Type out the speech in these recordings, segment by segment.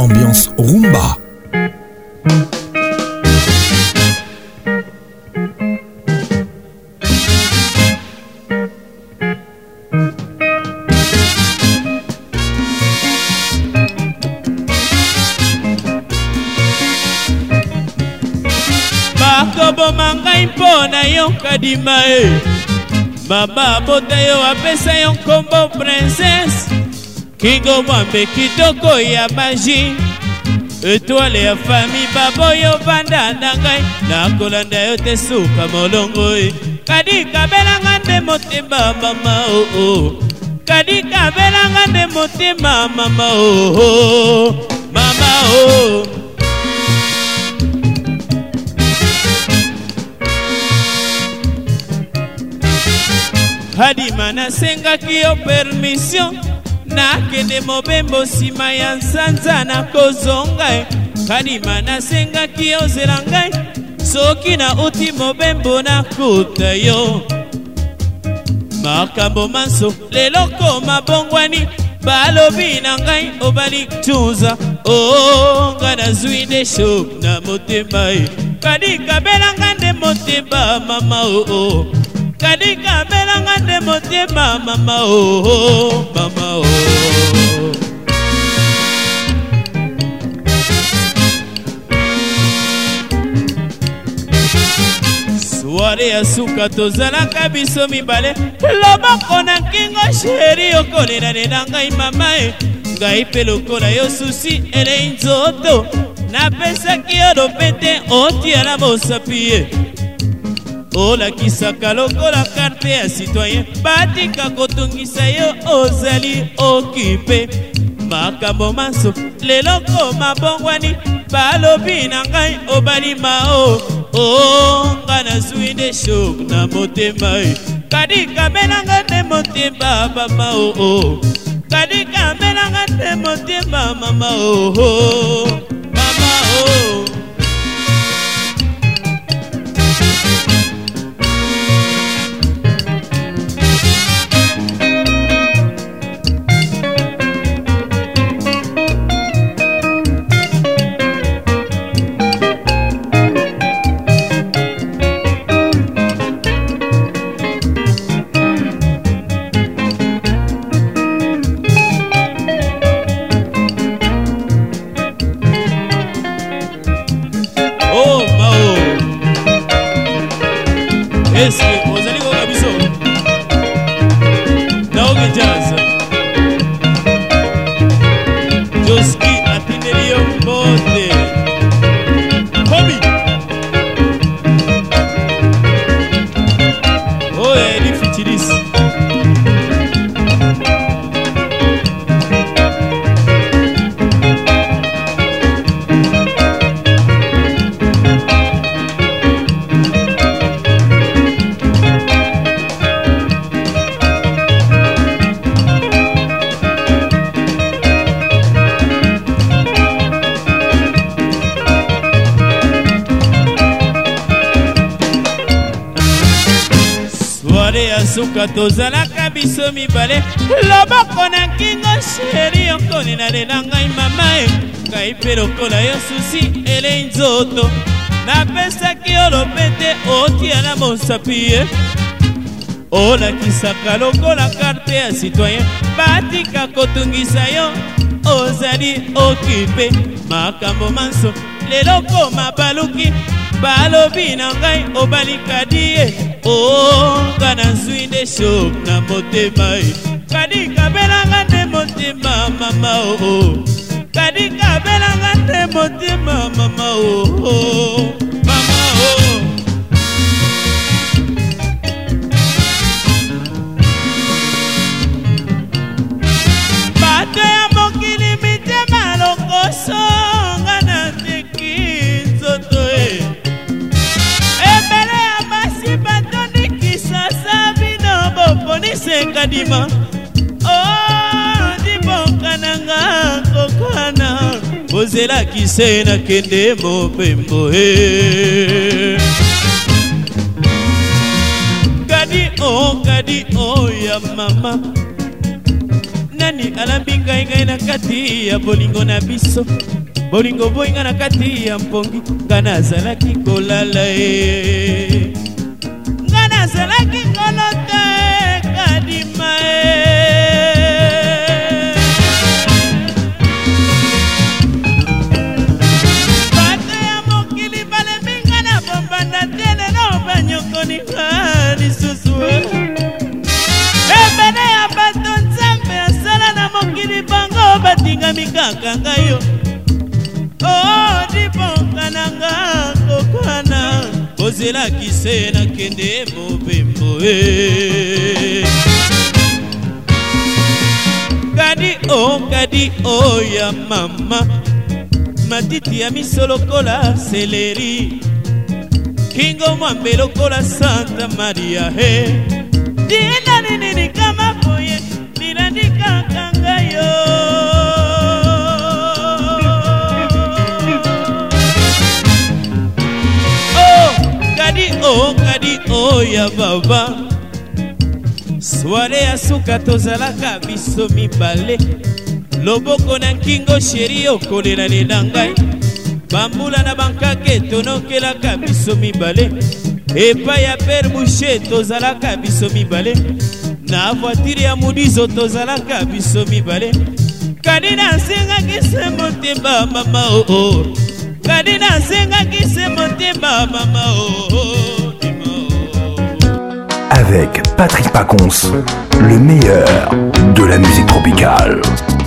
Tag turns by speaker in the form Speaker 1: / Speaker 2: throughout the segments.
Speaker 1: ambiance rumba.
Speaker 2: Bakoboma ngai mpona yo kadima e. Mama bota yo apesa yo nkombo princesse. Kingo mwambe kitoko ya magie. Étoile ya famille baboyo vanda na ngai. Nakolanda yo te suka molongo e. Kadi kabelanga nde motema mama oh oh. Kadi kabelanga nde motema mama oh oh. Mama oh. Hadima nasengaki yo permission. Nakende mobembo sima ya nsanza na kozonga. Hadima nasengaki yo zela ngai. Soki na uti mobembo na kuta yo. Makambo manso leloko mabongwani. Balobi na ngai obali tuza. Oh nga nazwi de shok na motema e. Kadi kabelanga nde motema mama oh oh. Kadi kabelanga nde motema mama oh oh. Mama oh. Soare ya suka tozalaka biso mibale. Loboko na kingo sheri okolela nena ngai mama e. Ngai pe lokola yo susi ele nzoto. Napesaki yo lopete otiala mosapi e. Ola kisaka lokola karte ya citoyen. Batika kotungisa yo ozali okipe. Makambo maso leloko mabongwani. Balobi na ngai obali mao. Oh nga nazwi de shok na motema e. Kadi kabelanga nde motema mama oh oh. Kadi kabelanga nde motema mama oh oh. Mama oh. Est-ce que vous allez voir biso? Naoge Jazz Joski Atinelio Mbote Hobby Oh Eli Fitilis suka tozalaka biso mibale. Loboko na kingo sheri okolela lela ngai mama e. Ngai pe lokola yo susi ele nzoto. Napesaki yo lopete otiala mosapi e. Olakisaka lokola karte ya citoyen. Batika kotungisa yo ozali okipe. Makambo manso leloko mabaluki. Balobi na ngai obali kadi e. Oh nga nazwi de shok na motema e. Kadi kabelanga nde motema mama oh oh. Kadi kabelanga nde motema mama oh oh. Mama oh. Bato ya mokili mitema lokoso. Nga nateki nzoto e. Kadima oh dibokananga kokana ozela kisena kende mobembo he. Kadi oh ya mama nani alambi ngai na kati ya bolingo na biso. bolingo boyinga na kati ya mpongi nga nazalaki kolala ye nga nazalaki kolota kadima bato ya mokili balembi nga na bombanda te lelo banyokoninga lisusu ebene ya bato nzambe asala na mokili bango batingami kaka ngai yo oh diponga nanga kokwana ozelaki se nakende mobembo kadi o ya mama matiti ya miso lokola seleri kingo mwambe lokola Santa Maria he dina nini kama boye nilandika ngai kadi o ya baba soare ya suka tozalaka biso mibale loboko na nkingo sheri okolela ngai bambula na bankake tonokelaka biso mibale epai ya pere boucher tozalaka biso mibale na voitire ya mudizo tozalaka biso mibale kadi nasengaki se motema mama oo kadi nasengaki se motema mama oo.
Speaker 1: Avec Patrick Pacons, le meilleur de la musique tropicale.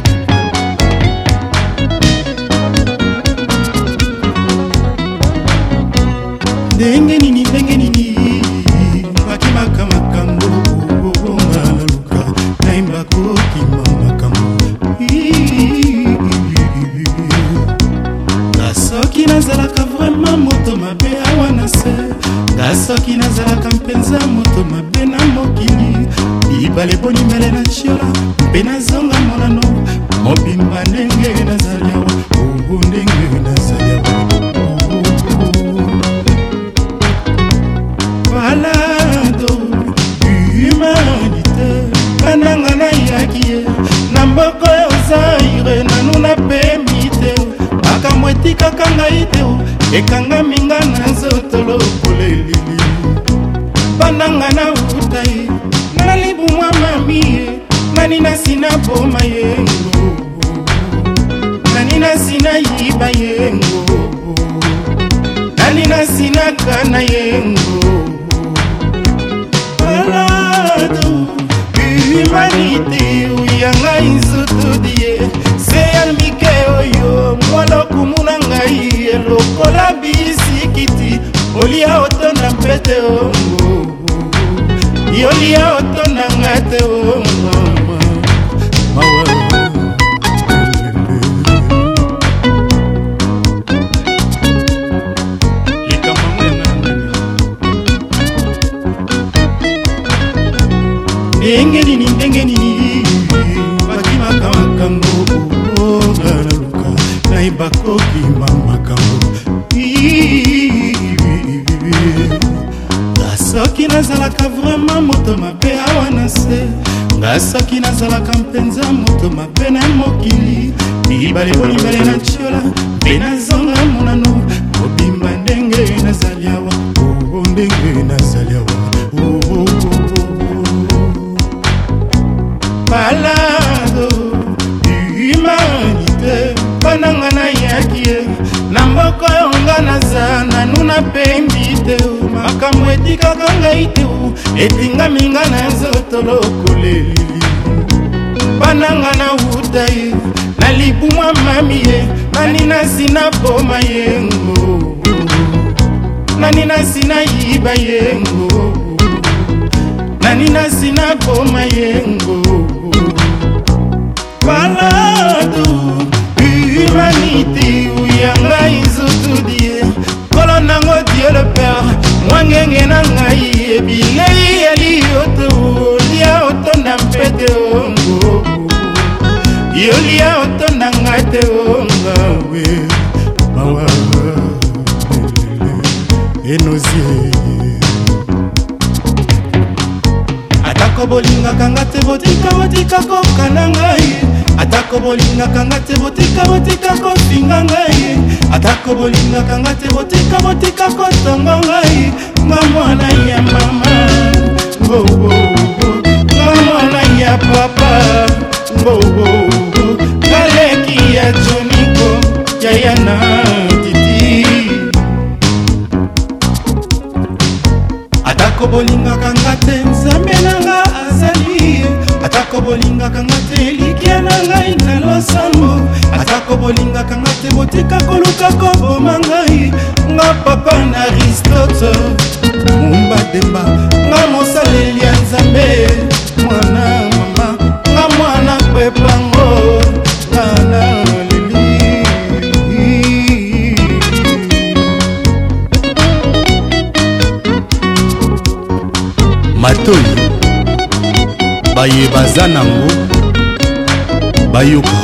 Speaker 3: Denge nini bakimaka makambo ngalaluka naimba kokima makambo ngasoki nazalaka vraiment moto mabe awa na se ngasoki nazalaka mpenza moto mabe na mokili ibale bonimele na chiola mpe nazonga monano mobimba ndenge nazali awa ndenge nazali awa balado humanité kananga na yakie na mboko ya Zaire nanu napemi te makambo etikaka ngai te ekangami nga na nzoto lokola elili bananga na utai na libumwa mami nani nasina boma yengo nani nasina yiba yengo nani nasina kana yengo balado humanité uyanga inzutudie seyalmike oyo mwalokumuna ngai elokola bisikiti olia otonda mpete ongo yolia otonda ngate ongo ndenge nini bakimaka makambo ngalaluka naimba kokima makambo ngasoki nazalaka vraiment moto mabe awa na se ngasoki nazalaka mpenza moto mabe na mokili mibale bonibale na chiola mpe nazonga monano mobimba ndenge nazali awa ndenge nazali awa balado humanité bananga na yakie na mboko yonga naza nanu napembi te makambo etikaka ngai te etingami nga na nzoto lokola elili bananga na utai na libumwa mami ye nani nasina boma yengo nani nasina yiba yengo nani nasina boma yengo balado humanité uyanga izutudie kolo nango Dieu le Père mwangenge na ngai ebilei elioto lia otonda mpete ongo yolia otonda ngate onga we mawa enozie atako bolingaka nga te botika kokana ngai atako bolingaka nga te botika kofinga ngai atako bolingaka nga te botika kotongo ngai nga mwana ya mama nga mwana ya papa galeki ya joniko yayana titi atako bolingaka nga te nzambe nanga azali atako bolingaka nga te likia na ngai na losambo atako bolingaka nga te botika koluka koboma ngai nga papa na Aristote mumba demba nga mosaleli ya nzambe mwana mama nga mwana kwepango nga na leli
Speaker 4: matoi baye baza nango bayoka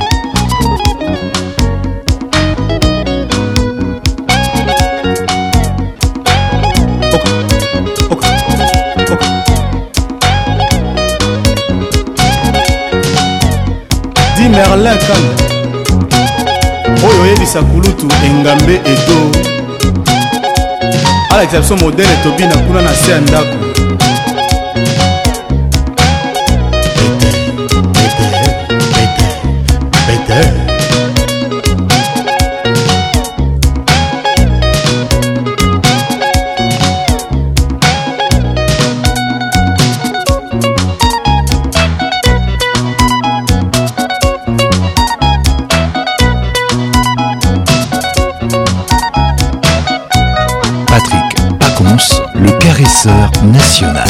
Speaker 4: di Merlin Kane oyo oyebisa kulutu engambe edo alakisa biso modele tobina kuna na se ya ndako
Speaker 1: Patrick Pacons, le caresseur national.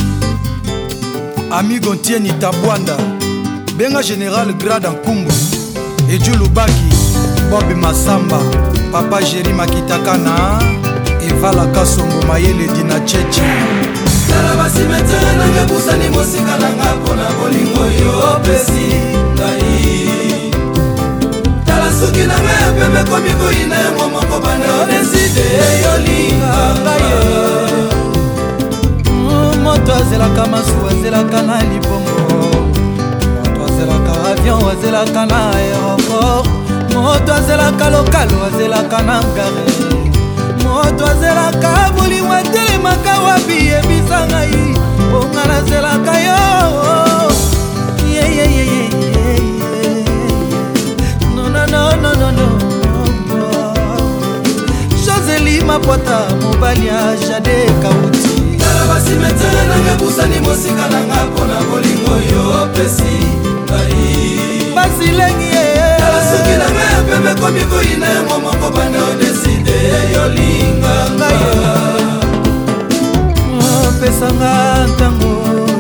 Speaker 5: Amigo Ntieni Tabwanda, Benga Général Grade Nkumbu, Eju Lubaki, Bob Masamba, Papa Jerry Makitakana, Eva Lakasongo Mayele Dina Chechi.
Speaker 6: Tala basi metele nange busani mosika nanga pona bolingo yo pesi ngai. Tala suki nanga pembe komiko ina momoko bande odeside yo linga
Speaker 5: Moto azelaka masu azelaka na libongo Moto azelaka avion azelaka na aéroport Moto azelaka lokalo azelaka na ngare Moto azelaka bolingo atelemaka wapi yebisa ngai Bonga nazelaka yo No Joseli Mapwata mobali ya Jade Kauti
Speaker 6: Tala basi metele nange busani mosika nanga pona bolingo yo pesi ngai
Speaker 5: Basi lengi
Speaker 6: Tala suki nanga pembe komiko ina momoko bande odeside yo linga
Speaker 5: Pesanga ntango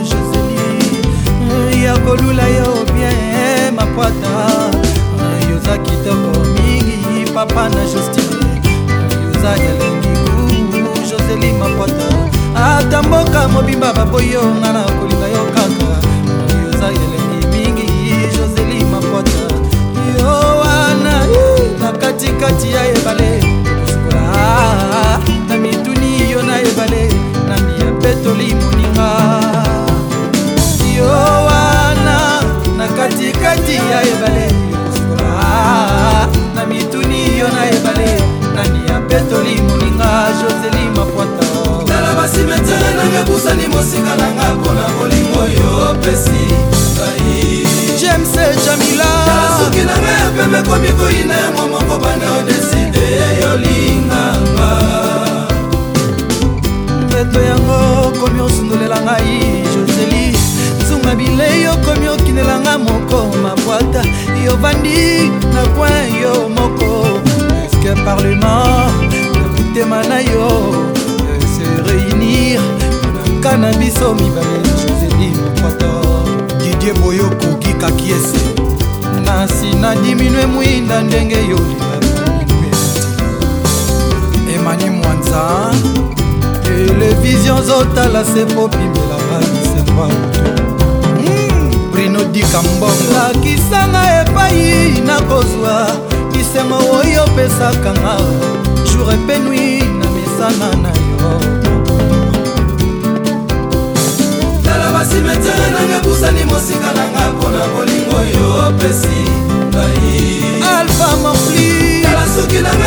Speaker 5: Joseli ya kolula yo bien Mapwata Yoza kitoko mingi papa na Justine Yoza elengi ku Joseli Mapwata Ata mboka mobimba baboyo ngana kolinga yo kaka Yoza elengi mingi Joseli Mapwata Yo wana na katikati ya ebale Kosukola na mituni yo na ebale Na miya petoli moninga Yo wana na katikati ya ebale Na mituni yo na ebale Nani ya petoli moninga Joseli Mapwata
Speaker 6: Tala basi metele nange busani mosika nanga pona bolingo yo pesi ngai
Speaker 5: James Jamila
Speaker 6: Tala suki nanga pembe komiko ina momoko bande odeside yo linganga
Speaker 5: Mbeto yango komi osundolela ngai Joseli Zunga bile yo komi okinelanga moko Mapwata yo vandi na coin yo moko Est-ce que parlement Nakutema na yo Se réunir Cannabis au mibale Joseli Mapwata Didier Boyoko Gika Kiese Nasi na diminue mwinda ndenge yo Emani Mwanza Télévision zotala se popimela Bisemba Bruno Dikambongo Lakisanga epai na kozwa Bisengo oyo pesaka nga Jour et nuit na mesana na yo
Speaker 6: Tala basi metele nange busani mosika nanga pona bolingo yo pesi ngai
Speaker 5: Alpha Morfli
Speaker 6: Tala suki nanga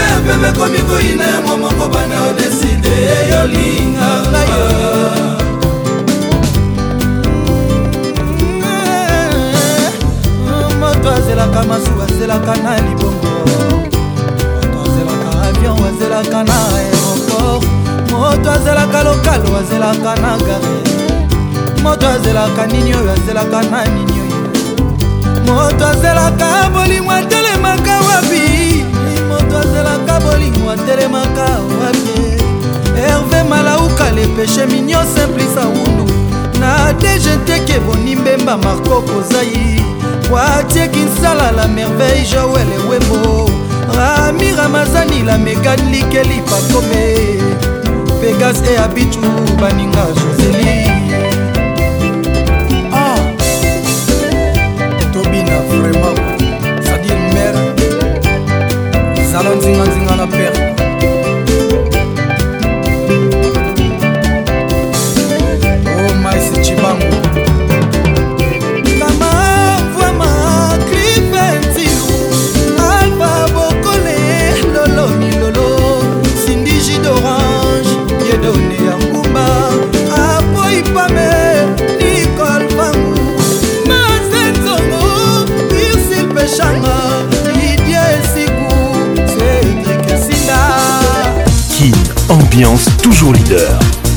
Speaker 6: olinganga
Speaker 5: moto azelaka masuwa azelaka na libongo moto azelaka avion azelaka na aéroport moto azelaka lokalo azelaka na gare moto azelaka nini oyo azelaka na nini oyo moto azelaka bolingo atelemaka wapi moto azelaka bolingo atelemaka wapi Hervé Malauka le péché mignon simplisa wundu na DGT Boni Mbemba Marco Kozai Watie Kinsala la merveille Joël Wembo Rami Ramazani la Megan Likeli Pakome Vegas et Abichu Baninga Joseli Ah Tobina vraiment c'est-à-dire mère Salon Zinga Zinga la perte Chibango Kama Vwama Clifentilou Alpha Bokole Lolo ni Lolo Cindy J d'Orange Yedone Yangumba Apo Ipame Nicole Bangou Mazenzongo Ursule Pechanga Lydia Esikou Cédric Sinda
Speaker 1: Kin, ambiance toujours leader.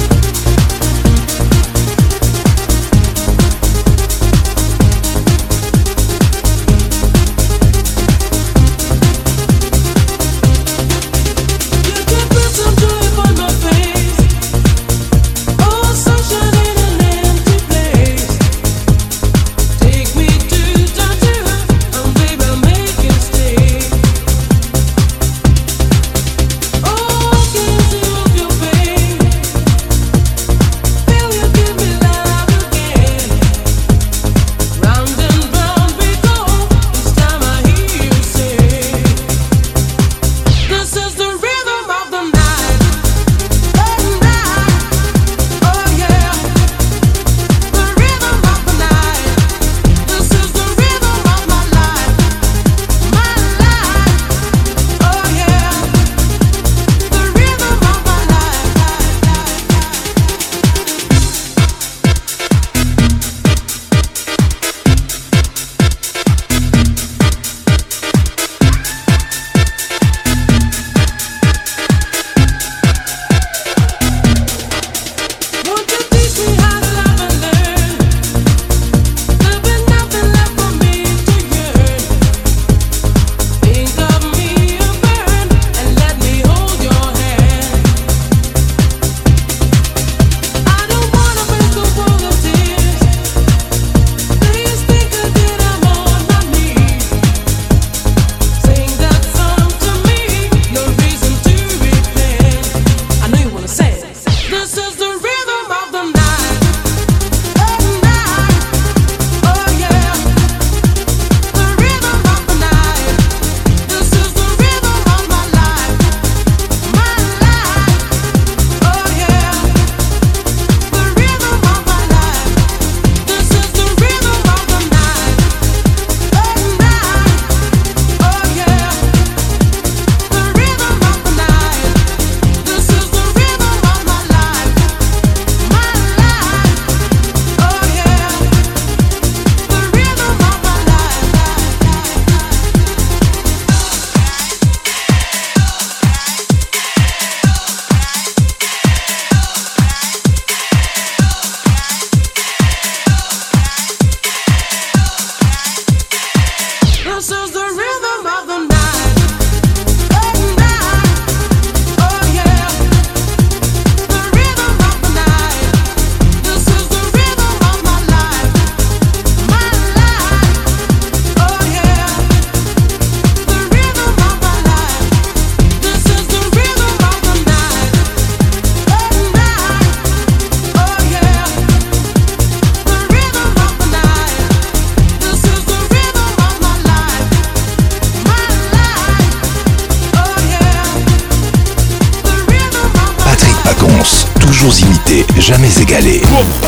Speaker 1: toujours imité, jamais égalé.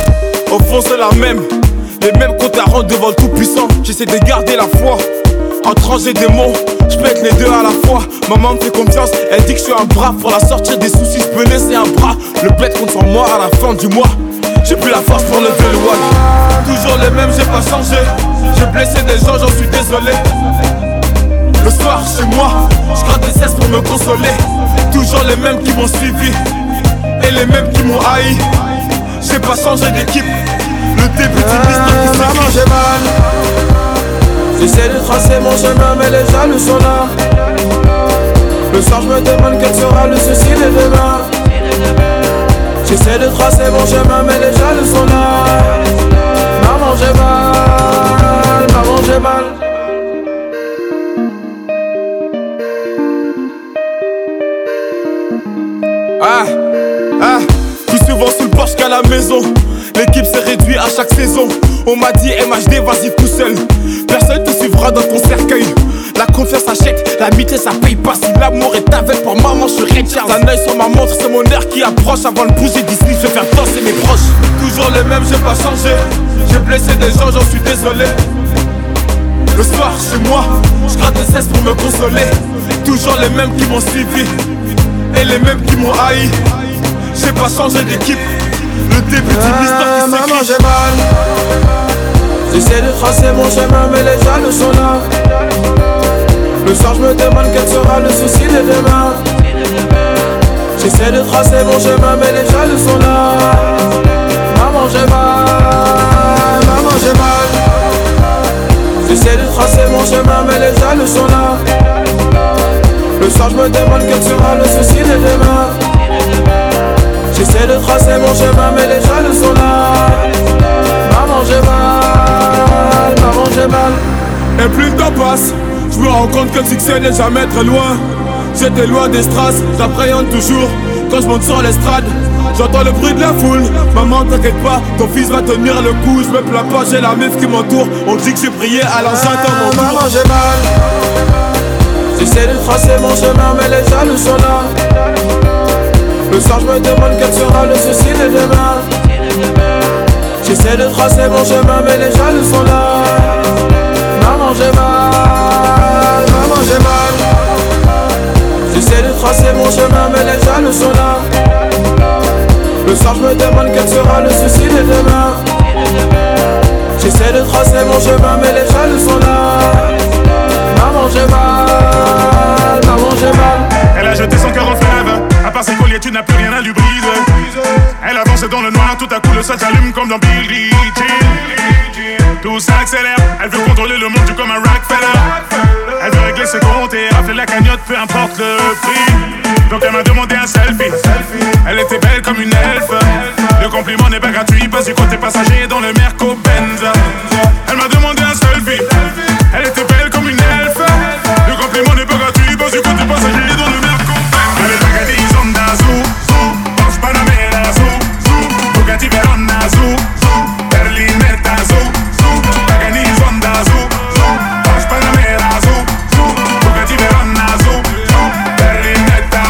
Speaker 7: Au fond c'est la même, les mêmes comptes à rendre devant le tout-puissant. J'essaie de garder la foi, en trancher des mots, je peux être les deux à la fois. Maman me fait confiance, elle dit que je suis un bras. Pour la sortir des soucis, je peux laisser un bras. Le bled compte sur moi à la fin du mois. J'ai plus la force pour lever le wall. Toujours les mêmes, j'ai pas changé. J'ai blessé des gens, j'en suis désolé. Le soir chez moi, je gratte des cesses pour me consoler. Toujours les mêmes qui m'ont suivi et les mêmes qui m'ont haï. J'ai pas changé d'équipe. Le début d'une histoire qui s'écrit.
Speaker 6: Maman, j'ai mal. J'essaie de tracer mon chemin mais les jaloux sont là. Le soir je me demande quel sera le souci de demain. J'essaie de tracer mon chemin mais les jaloux sont là. Maman j'ai mal, maman j'ai mal.
Speaker 7: Plus souvent sous le porche qu'à la maison. L'équipe s'est réduite à chaque saison. On m'a dit MHD vas-y tout seul. Personne te suivra dans ton cercueil. La confiance achète, l'amitié ça paye pas. Si l'amour est avec pour maman je suis Red Charles. Un œil sur ma montre, c'est mon air qui approche. Avant de bouger d'ici, je vais faire danser mes proches. Toujours les mêmes, j'ai pas changé. J'ai blessé des gens, j'en suis désolé. Le soir chez moi, je gratte des cesses pour me consoler. Toujours les mêmes qui m'ont suivi et les mêmes qui m'ont haï. J'ai pas changé d'équipe. Le début d'une histoire qui s'écrit.
Speaker 6: Maman j'ai mal. J'essaie de tracer mon chemin mais les jaloux sont là. Le soir je me demande quel sera le souci de demain. J'essaie de tracer mon chemin mais les jaloux sont là. Maman j'ai mal, maman j'ai mal. J'essaie de tracer mon chemin mais les jaloux sont là. Le soir je me demande quel sera le souci de demain. J'essaie de tracer mon chemin mais les jaloux sont là. Maman j'ai mal, maman j'ai mal.
Speaker 7: Et plus le temps passe, je me rends compte que le succès n'est jamais très loin. J'étais loin des strass, j'appréhende toujours. Quand je monte sur l'estrade, j'entends le bruit de la foule. Maman t'inquiète pas, ton fils va tenir le coup. Je me plains pas, j'ai la meuf qui m'entoure. On dit que j'ai prié à l'enceinte dans mon tour.
Speaker 6: Maman j'ai mal. J'essaie de tracer mon chemin mais les jaloux sont là. Le soir je me demande quel sera le souci de demain. J'essaie de tracer mon chemin mais les jaloux sont là. Maman j'ai mal, maman j'ai mal. J'essaie de tracer mon chemin mais les jaloux sont là. Le soir je me demande quel sera le souci de demain. J'essaie de tracer mon chemin mais les jaloux sont là. Maman j'ai mal, maman j'ai mal.
Speaker 3: Elle a jeté son cœur en fleuve. À part ses colliers, tu n'as plus rien à lui briser. Elle avance dans le noir, tout à coup le sol s'allume comme dans Billie Jean. Tout s'accélère, elle veut contrôler le monde comme un Rockefeller. Elle veut régler ses comptes et rafler la cagnotte, peu importe le prix. Donc elle m'a demandé un selfie. Elle était belle comme une elfe. Le compliment n'est pas gratuit, pas du côté passager dans le Merco-Benz. Elle m'a demandé un selfie. Elle était belle comme une elfe. Le compliment n'est pas gratuit, pas du côté passager dans le Merco-Benz. Elle est pagadise Honda Zoo, Porsche Panamera Zoo, Bugatti Verona Zoo, Berlinetta Zoo, pagadise Honda Zoo, Porsche Panamera Zoo, Bugatti Verona Zoo, Berlinetta.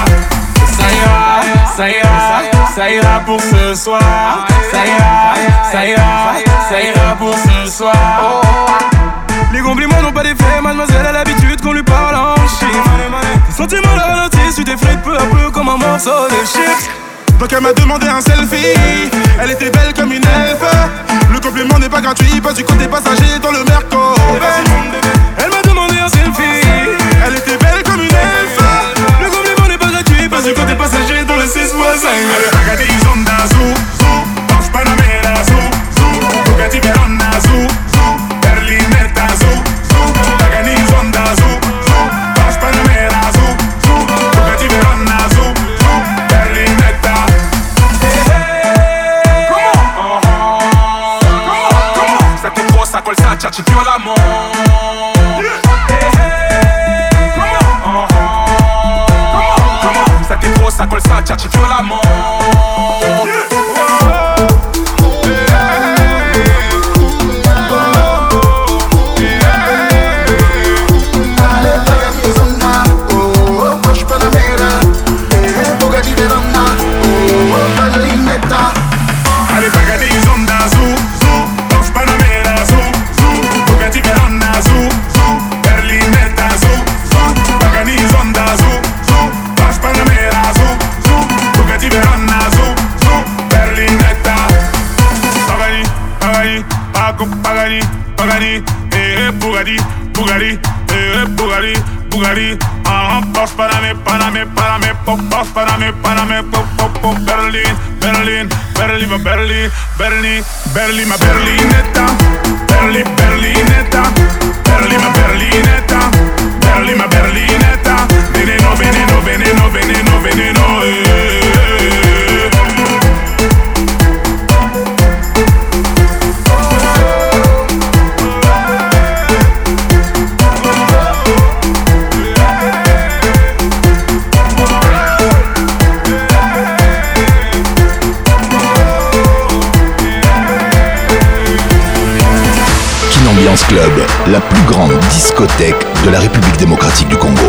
Speaker 7: Ça ira pour ce soir. Ça ira pour ce soir.
Speaker 6: Les compliments n'ont pas d'effet, mademoiselle a l'habitude qu'on lui parle en chiffres. Tes sentiments la ralentissent, tu t'effrites peu à peu comme un morceau de chips.
Speaker 3: Donc elle m'a demandé un selfie. Elle était belle comme une elfe. Le compliment n'est pas gratuit, pas du côté passager dans le Merco.
Speaker 6: Elle m'a demandé un selfie.
Speaker 3: Elle était belle comme une elfe.
Speaker 6: Le compliment n'est pas gratuit, pas du côté passager dans le 6 voisin.
Speaker 3: Elle est pagadise Honda Zoo, Porsche Panamera Zoo, Bugatti Verona Zoo, Berlinetta Zoo, pagadise Honda Zoo, Porsche Panamera Zoo, Bugatti Verona Zoo, Berlinetta.
Speaker 7: Comment ça t'est trop, ça colle, ça tchatche violemment.
Speaker 8: Bugatti, Porsche Panamé, Porsche Panamé, Berlin, Berlin, Berlin, ma Berlin, Berlin, Berlin, ma Berlinetta, Berlin, Berlinetta, Berlin, ma Berlinetta, Berlin, ma Berlinetta, veneno, veneno, veneno, veneno, veneno,
Speaker 1: Ambiance Club, la plus grande discothèque de la République démocratique du Congo.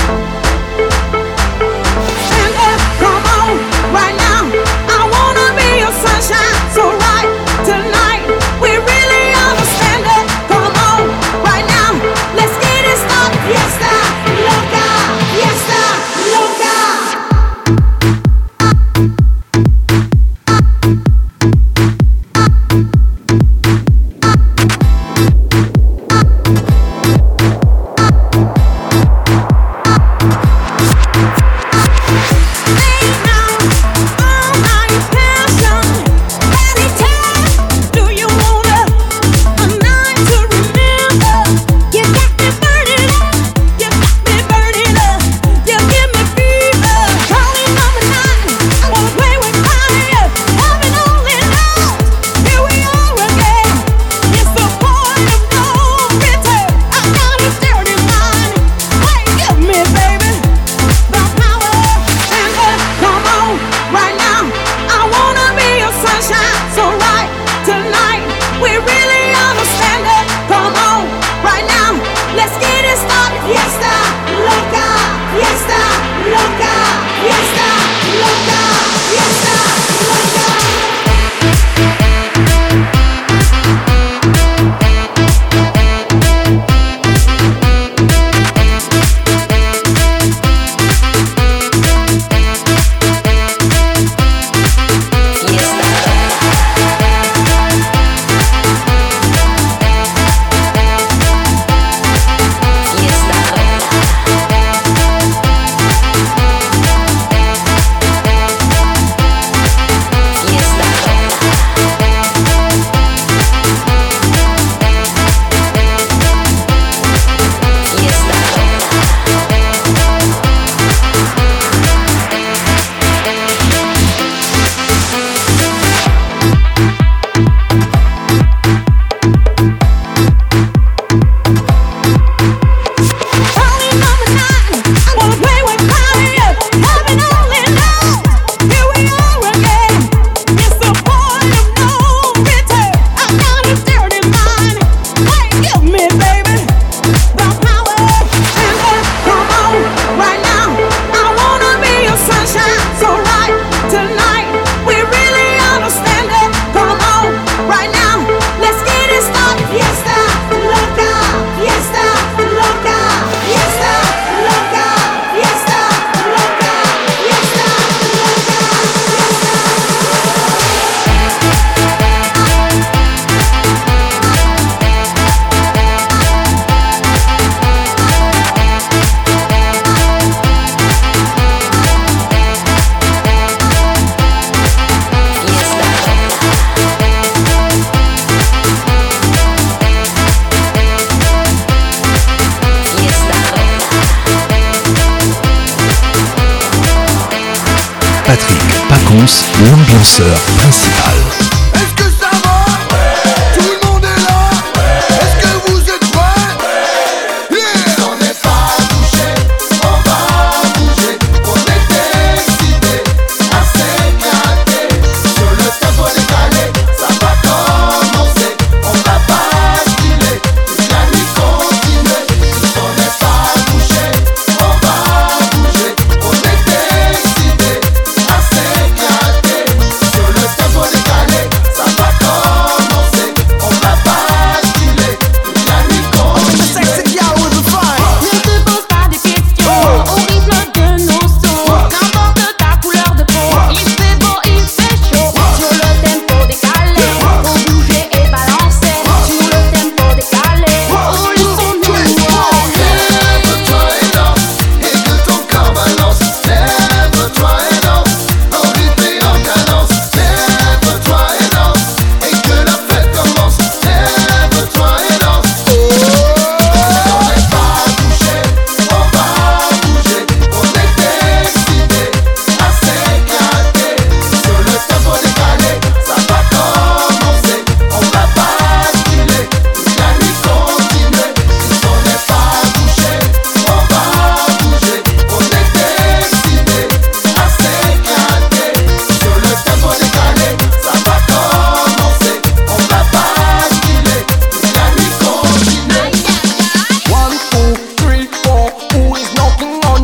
Speaker 1: Patrick Pacons, l'ambianceur principal.
Speaker 9: Est-ce que ça va? Tout le monde est là? Est-ce que vous êtes prêts? On n'est pas bougé, on va bouger. On est décidé à s'éclater. Sur le tempo décalé, ça va commencer. On va basculer, toute la nuit continuer. On n'est pas bougé, on va bouger. On est décidé à s'éclater. Sur le tempo décalé,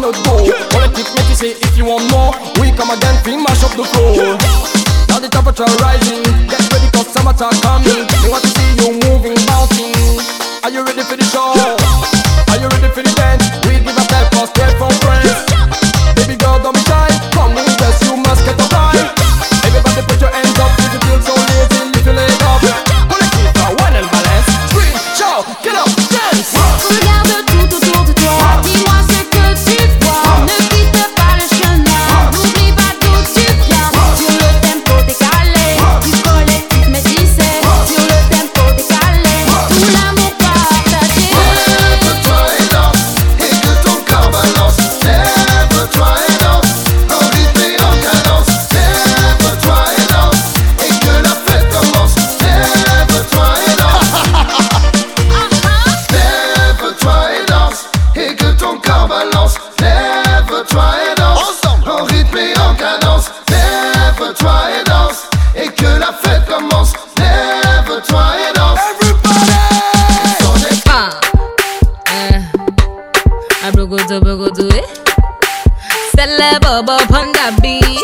Speaker 6: notre go. On les kick métissés, if you want more, we come again, we mash up the floor. Now the temperature rising, get ready cause summertime coming. They want to see you moving, bouncing. Are you ready for the show? Are you ready for the dance? We give a step for straight from friends. Baby girl, don't be shy, come with us, you must get a time. Everybody put your hands up if you feel so lazy, lift your leg up. Pull it keep a one and balance. Scream, shout, get up, dance.
Speaker 10: Regarde tout autour de toi, dis-moi ce que tu vois. Ne quitte pas le chemin, n'oublie pas d'où tu viens. Sur le tempo décalé, du collectif métissé. Sur le tempo décalé, tout l'amour partagé.
Speaker 9: Lève-toi et danse, et que ton corps balance. Lève-toi et danse, en rythme et en cadence. Lève-toi et danse, et que la fête commence. Lève-toi et danse. Lève-toi et danse, et que ton corps balance. Lève-toi et danse, en rythme et en cadence. Lève-toi et danse, et que la fête commence. Lève-toi et danse.
Speaker 10: Abrogodo, eh? Celeb up on the beat.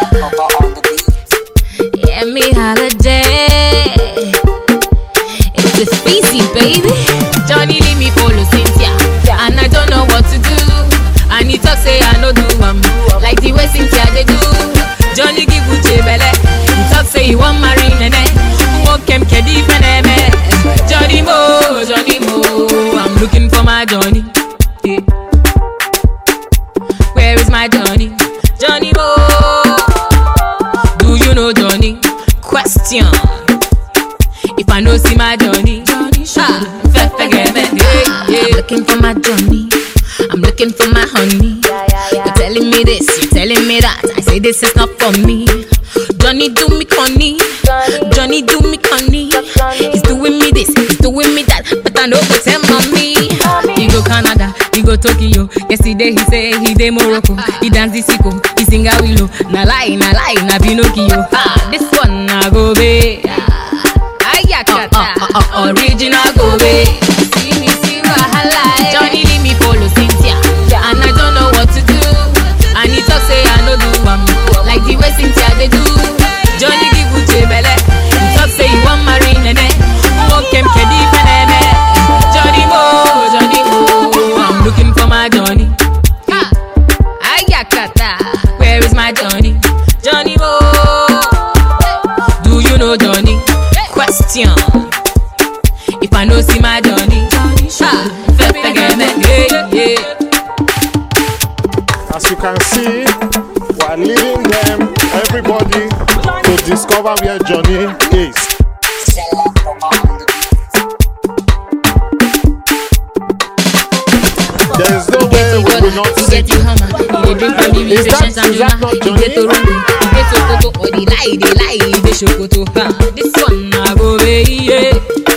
Speaker 10: Yeah, me holiday. It's a species, baby. Johnny leave me follow Cynthia, and I don't know what to do. And he talk say I no do like the way Cynthia they do. Johnny give Uche belle. He talk say he want marry nene. Walk him kedi feneme. Johnny Mo, I'm looking for my Johnny. Yeah. Where is my Johnny? Johnny Mo. Do you know Johnny? Question. If I know see my Johnny, I'm looking for my Johnny. I'm looking for my honey. You're telling me this, you're telling me that. I say this is not for me. Johnny do me conny. Johnny do me conny. He's doing me this, he's doing me that. But I know go tell mommy. He go Canada, he go Tokyo. Yesterday he say he dey Morocco. He dance the sicko, he sing a willow. Na lie, na Pinocchio. This one na go be. Original go be. See wahala. Johnny leave me follow Cynthia, and I don't know what to do. And he talk say I no do like the way Cynthia they do. Johnny give Uche belle. He talk say he want marry nene. Walk him kedi feneme. Johnny Mo, I'm looking for my Johnny. Where is my Johnny? Johnny Mo. Do you know Johnny? Question. If I know see my Johnny,
Speaker 11: as you can see, we are leading them, everybody, to discover where Johnny is. There is no way we will not see you. Is that not Johnny?
Speaker 10: This one I go away.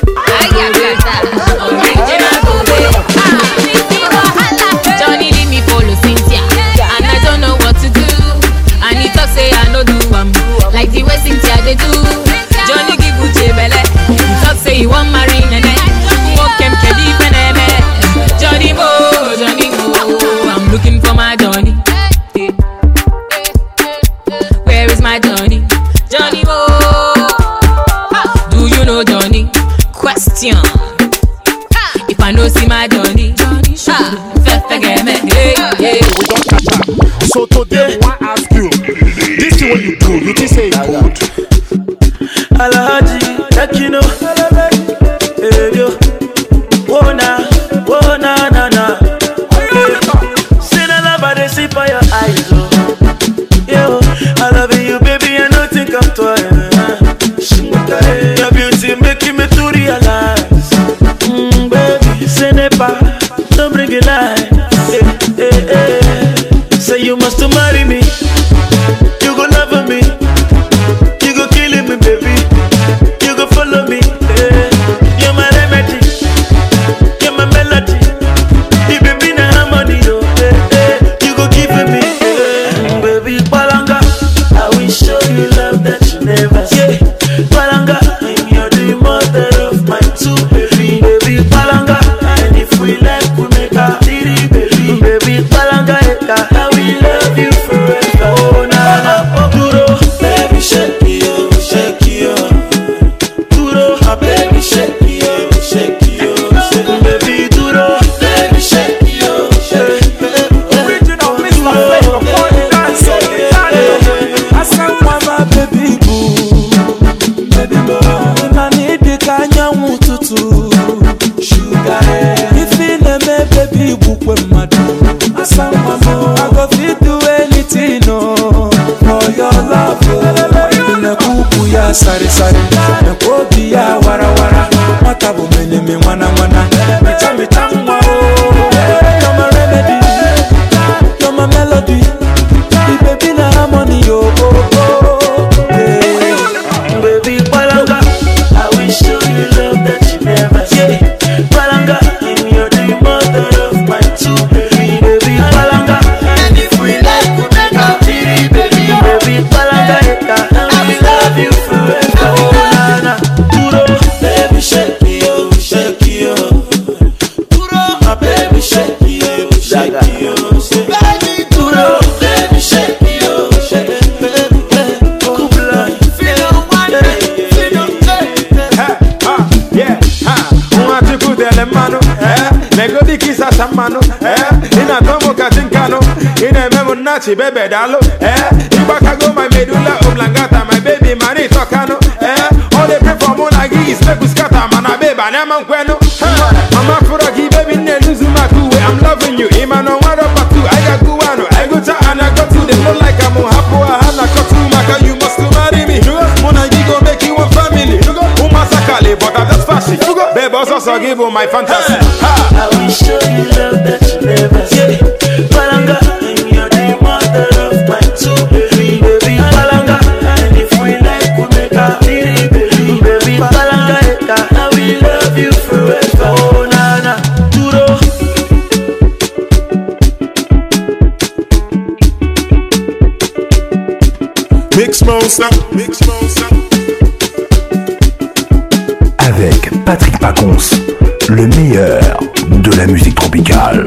Speaker 10: Johnny leave me follow Cynthia, and I don't know what to do. And he talk say I no do like the way Cynthia they do. Johnny give Uche belle. He talk say he want marry nene. Walk him kedi feneme. Johnny Mo, I'm looking for my Johnny. Where is my Johnny? Johnny Mo. Do you know Johnny? Question. If I know see my Johnny,
Speaker 11: so today I want to ask you, this is what you do, you think say it's good?
Speaker 12: Alhaji, Takino, yo, wona, na. Say na lava de si I go fit do anything, no, for your love. Na kuku ya sari sari, na kobi ya wara wara. Matabu mene me wana wana, micha micha mwa oh. You're my remedy, you're my melody. The baby na harmony oh oh oh. Yeah. Baby Palanga, I will show you love that you never see. Palanga, you're the mother of my two baby. Baby Palanga, and if we like, we make a baby. Baby Palanga, I will love you forever. Oh na na, puro, baby shake me oh, shake you. Puro, my baby shake me oh, shake you. Baby puro, baby shake me oh, shake baby. Kubla, feel one day, feel
Speaker 13: yeah, una tipu delle mano, nego di chissà samano, ina tomo katinkano, ina memo nachi bebe dalo, ibakago my medulla oblongata, my baby mani tokano, all they pray for monagi is make us scatter, mana beba neman kweno, I'm a furaki baby neluzuma kuwe, I'm loving you, imano wado patu, I got guano, I go to and I go to, they look like I'm on hapo, hana kotu, maka you must marry me, monagi go make you one family, umasakale, but I'm just fashion, babe also give you my fantasy.
Speaker 12: I will show you love that you never see. Palanga, you're the mother of my two baby. Baby Palanga, and if we like, we make a baby. Baby Palanga, I will love you forever. Oh na na, duro.
Speaker 11: Mix monster, mix monster.
Speaker 1: Avec Patrick Pacons, le meilleur de la musique tropicale.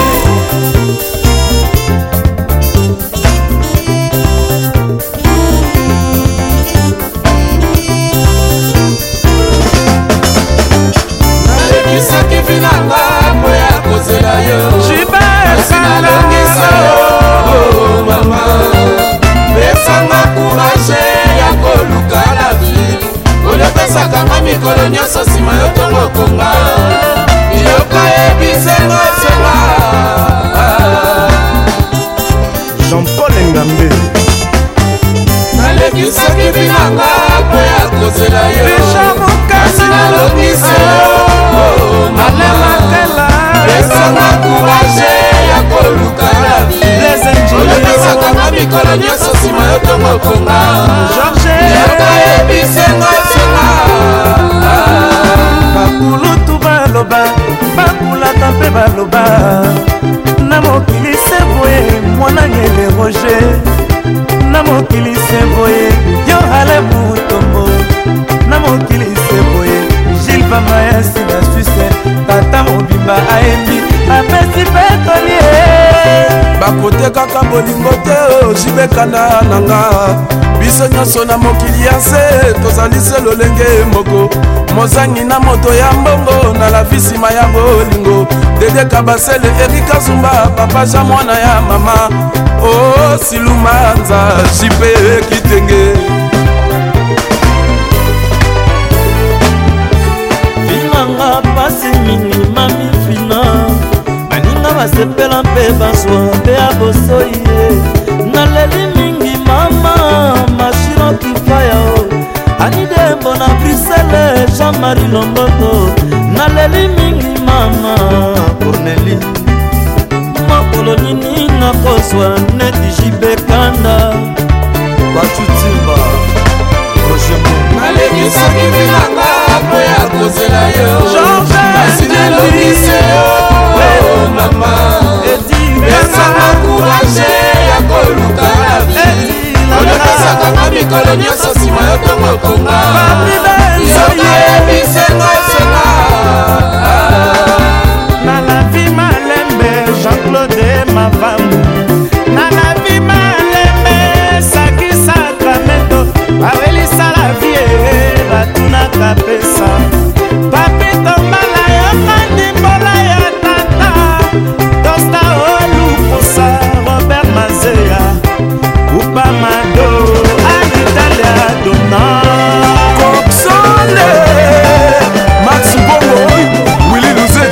Speaker 6: Nalekisaki vinanga boya kozela yo sinalongisa yo mama pesanga courage ya koluka la vie olepesaka nga mikolo nyonso nsima yo tongokonga yoka yebisenga senga
Speaker 4: Jean-Paul Ngambe
Speaker 6: nalekisaki binanga po ya kozela yo kasi nalongisa yo mama pesanga courage ya koluka la vie olepesaka nga mikolo nyonso nsima yo tongokonga yoka yebisenga senga
Speaker 12: bakulutu baloba bakulaka mpe baloba na mokili se boye mwana ngele roger na mokili se boye yohale mutombo na mokili se boye gile bamayasi na suisse tata mobimba ayebi apesi mpe kolie
Speaker 14: bakotekaka bolingo te ojibekana nanga biso nyonso na mokili ya se tozali se lolenge moko mozangi na moto ya mbongo na la visima ya bolingo dedeka basele erika zumba papaja mwana ya mama o silumanza jipe kitenge
Speaker 12: vinanga pasi mingi mami fina baninga basepela mpe bazwa mpe ya bosoi ye naleli mingi mama mashino kifaya o anidembo na brisele Jean-Marie Lomboto naleli mingi mama Corneli makolo nini nakozwa neti jibekanda batutimba
Speaker 6: nalekisaki bilanga po ya kozela yo kasi nalongise yo mama pesanga courage ya koluka la vie olepesaka nga mikolo nyonso nsima yo tongokonga yoka yebisenga senga
Speaker 3: na la vie malembe Jean-Claude Mavambu na la vie malembe Saki Sacramento bawelisa la vie batunaka pesa papito mbala yokandi mbola ya tata tosta oluposa Robert Mazea upamado anitalia dona
Speaker 14: Coxole Max Bongo Willy Luze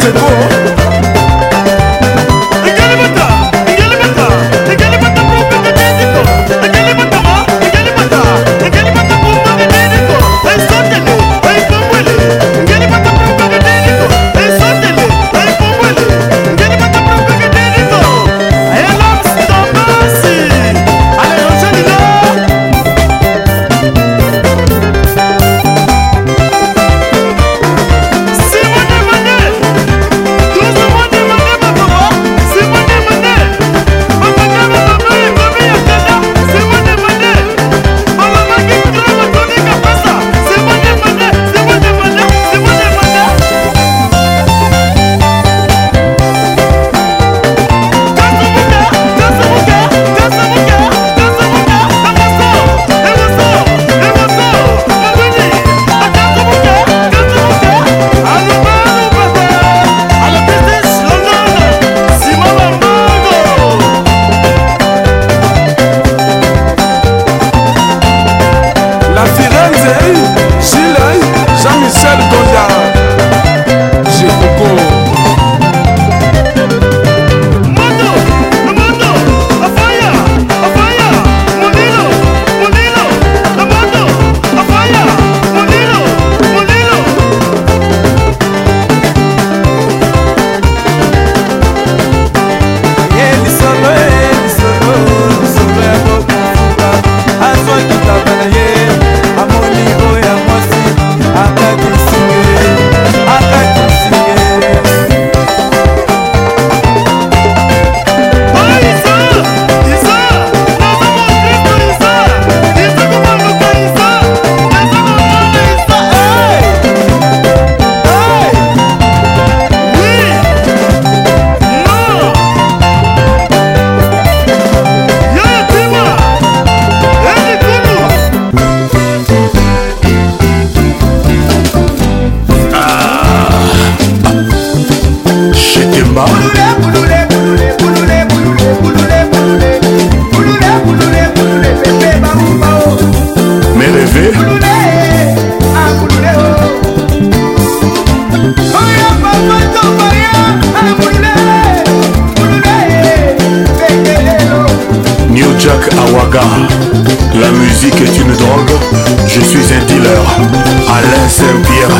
Speaker 1: Saga. La musique est une drogue, je suis un dealer. Alain Saint-Pierre.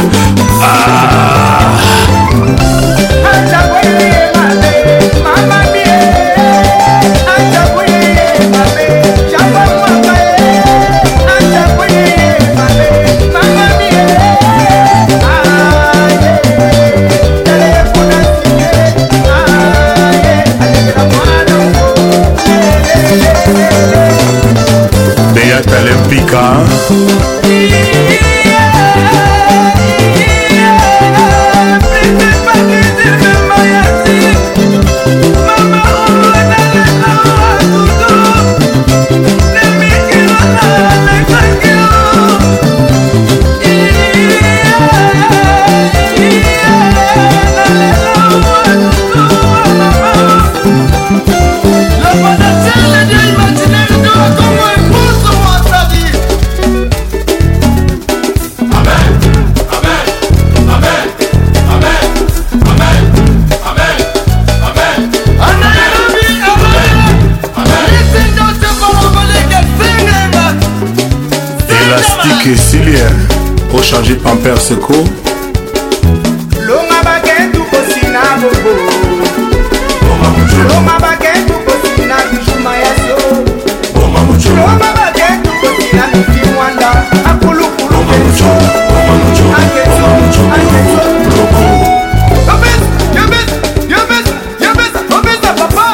Speaker 1: Beata Olympica. Élastique et Silien, pour changer Pampers Seco.
Speaker 15: Longa baguette ou cosina bobo. Longa baguette ou cosina bijuma yaso. Longa baguette ou cosina bifiwanda. Akulu kulu kenso. Akenso, akenso. Yobes, papa.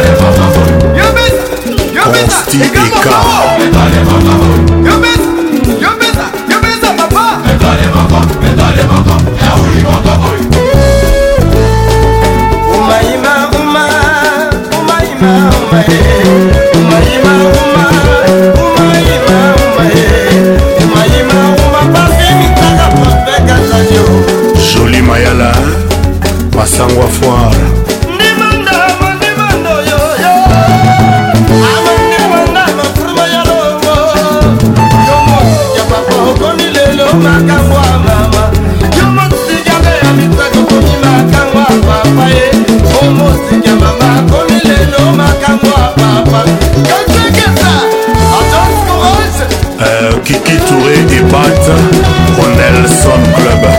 Speaker 15: Yobes,
Speaker 1: Constipika. Jolie Mayala, Masangwa Foire. Kiki Touré et Bat au Nelson Club.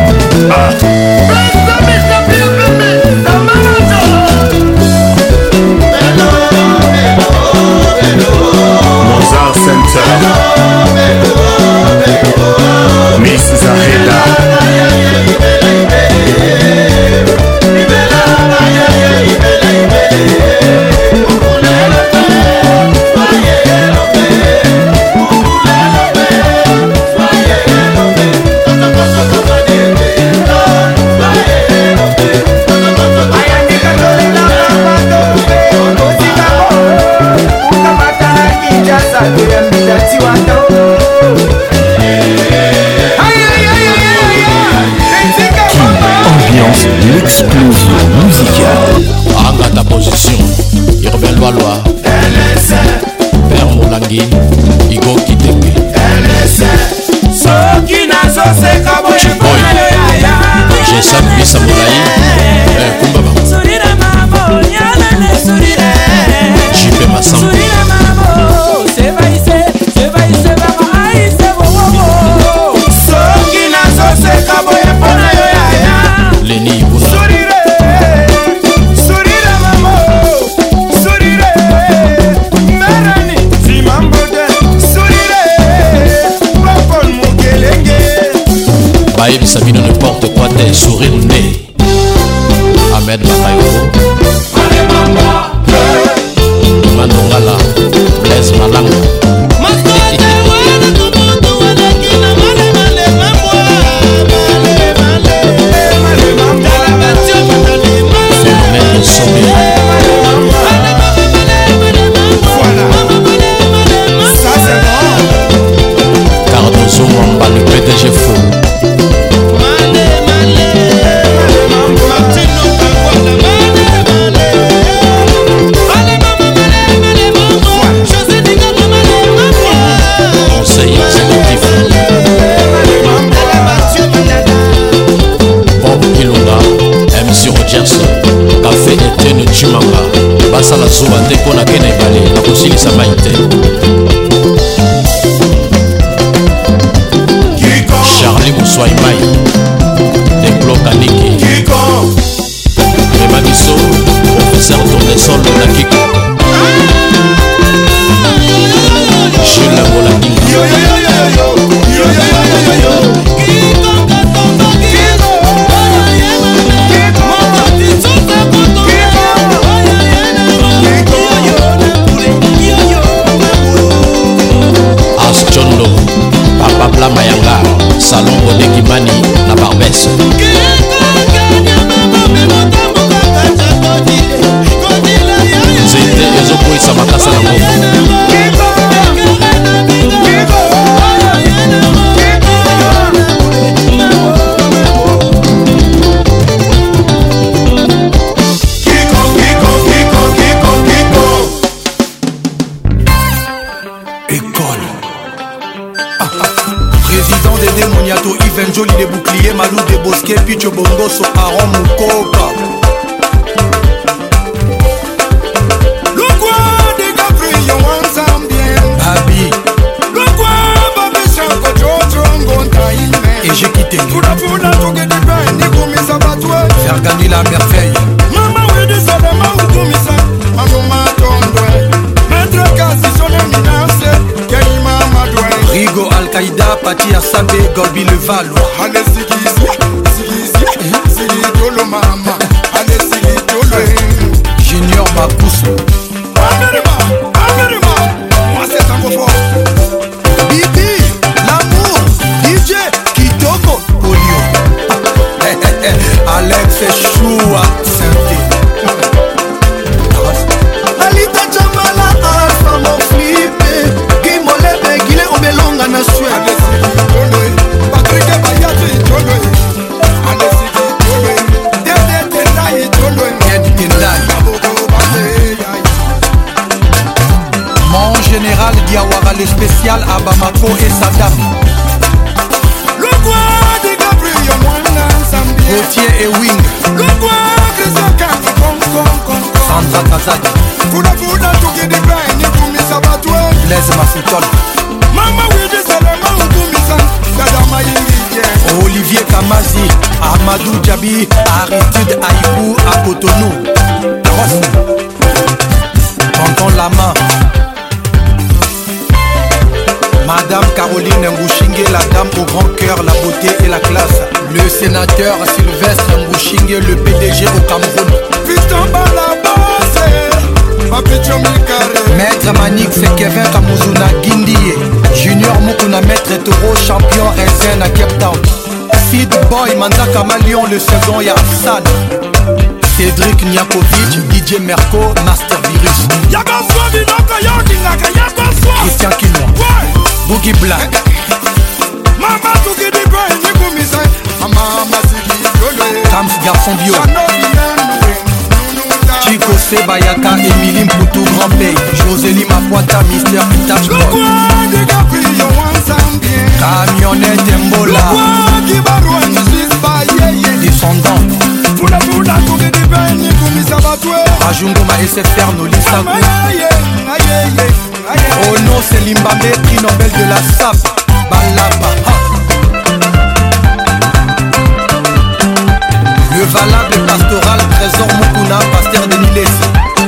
Speaker 1: Mozart Center. Miss Zaheda. Ambiance, l'explosion musicale.
Speaker 16: Anga ta position, Irvin Loaloa, Père Molangi, Igo Kitenge,
Speaker 15: Soki nazo seka boye boye ya.
Speaker 16: Jesan Bisa Moulaï, Kumbaba,
Speaker 15: Surira mamo, nyalane surira.
Speaker 16: JP Massam,
Speaker 15: Surira mamo, sebaise baba aise bobo. Soki nazo seka boye pona yo ya.
Speaker 16: Leni Ibuna,
Speaker 15: Surira mamo, surira. Merani, Zimambode, surira. Wapon mukelenge.
Speaker 16: Baye Bisabino n'importe quoi, t'es sourire né. Ahmed Bakayoko, nake na ebale nakosilisa mai te. Charlie Moussoui Mai Deplo Kaniki Rema Bisso Professeur Tournesol na Kiko Jules Molandinga As Chondo Papa Bla Mayanga Salon Bode Kimani na Barbès Zete ezokwisa makasa na ngomba
Speaker 17: Yves Joli des boucliers, Malou des bosquets, Picho Bongoso, Aaron Moukoka.
Speaker 9: Le quoi des Gabriel, on s'en bien.
Speaker 17: Babi.
Speaker 9: Le quoi, Babi, Chanko, Jojo, Ngontaïme.
Speaker 17: Et j'ai quitté.
Speaker 9: Fouda, Fouda, tout que des bains, ni comme ça va toi.
Speaker 17: Faire gagner la merveille.
Speaker 9: Maman, oui, de ça, de ma ou comme ça. Maman, ton doigt. Maître Kassi, son éminence. Kaïma, ma doigt.
Speaker 17: Rigo Al-Qaïda, Pati Assabe, Golbi le Valo.
Speaker 9: Allez, Sigi, Dolo, Mama. Allez, Sigi, Dolo.
Speaker 17: Junior Makusu.
Speaker 9: Amerima, moi c'est un beau fort.
Speaker 17: Bibi, l'amour, DJ, Kitoko, Polio. Alex Choua, Saint-Denis.
Speaker 9: Alita Jamala, Alpha, mon flippé. Guimolebe, Guilé, Obelonga, na Suède. Patrick Bayati, Tolo. Alessigi, Tolo. Dede Tendai, Tolo.
Speaker 17: Dede Tendai. Mon général Diawara, le spécial à Bamako et Saddam.
Speaker 9: Le quoi de Gabriel, Mwana, Zambia.
Speaker 17: Gauthier et Wing.
Speaker 9: Le quoi de Zaka,
Speaker 17: Sandra Kazadi.
Speaker 9: Fouda, tout que des bains, ni comme ça va toi.
Speaker 17: Blaise Mafoutol.
Speaker 9: Mama, oui, de Salama, ou comme ça. Dada Maïngi.
Speaker 17: Olivier Kamazi, Amadou Djabi, Aristide Aïbou à Cotonou. Tonton Lama. Madame Caroline Ngouchingue, la dame au grand cœur, la beauté et la classe. Le sénateur Sylvestre Ngouchingue, le PDG au Cameroun. Maître Manix Kevin Kamuzuna Guindie. Junior Mukuna Maître Toro, champion RSN à Cape Town. Sid Boy Mandaka Malion, le second Yassan. Cédric Niakovic, DJ Merco, Master Virus. Christian Kilon, Boogie Black. Kams Garçon Bio. Chico Sebayaka, Émilie Mpoutou, Grand Pays. Josélie Mapoita, Mister Touch Boy. Camionnette Mbola. Descendant. Rajungoma SFR Nolisa. Oh non, c'est Limbambe, prix Nobel de la SAP. Balaba. Le valable pastoral, trésor Mukuna, pasteur de Nilesi.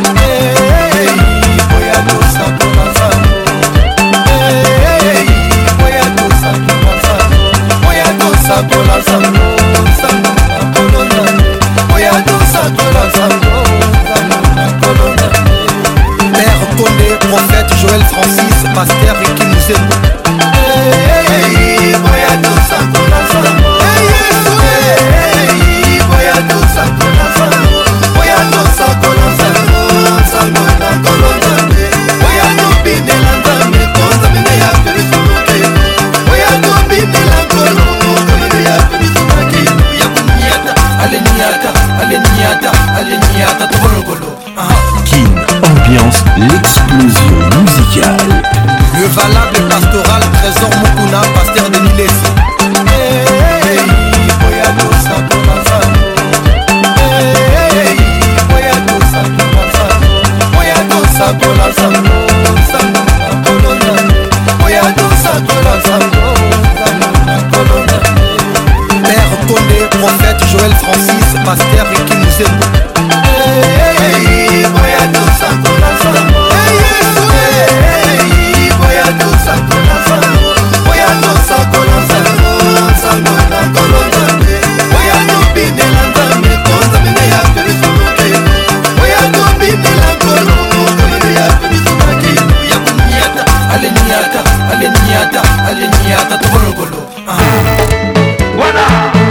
Speaker 17: Père Condé, prophète Joël Francis, pasteur Ricky Mouzembo.
Speaker 1: Kin, ambiance, l'explosion musicale.
Speaker 17: Le valable pastoral, trésor Mukuna, pasteur de Nilesi. Hey, sakola sango sango na kolona oya tosakola sango sango na kolona Père Condé, prophète Joël Francis, pasteur Ricky Mouzembo oya tosakola sango oya tosakola sango oya tosakola sango sango na kolona oya tobinela nzambe tonzambe ya pelisoloke oya tobinela nkolo ya pelisoloke ya kuniata aleniata aleniata aleniata tokolokolo voilà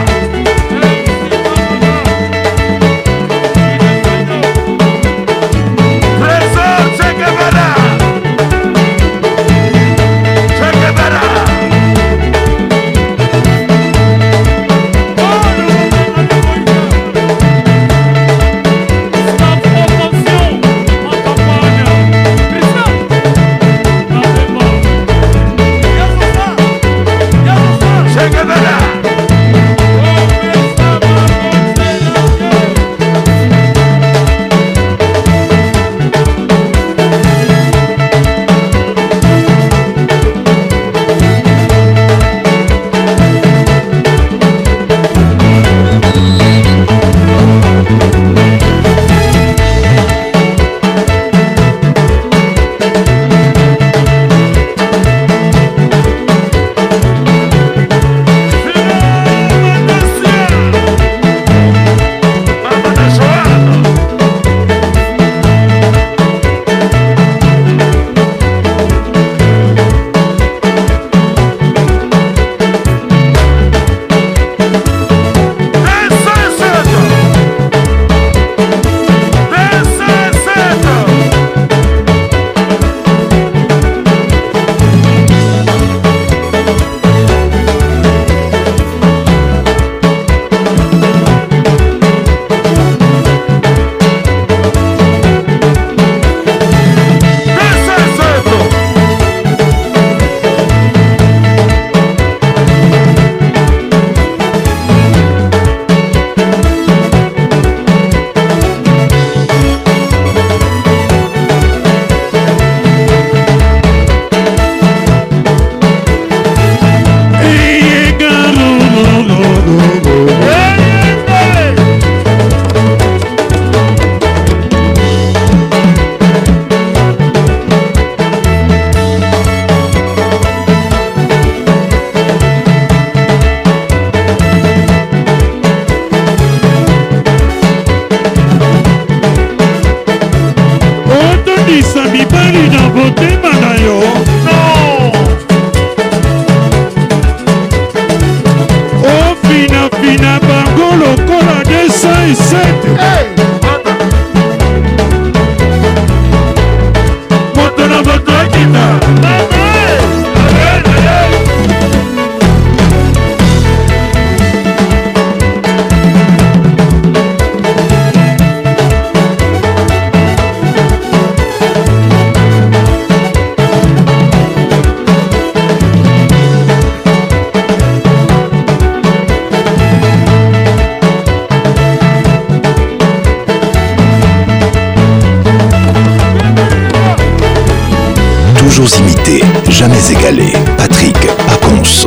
Speaker 1: Toujours imité, jamais égalé. Patrick Pacons.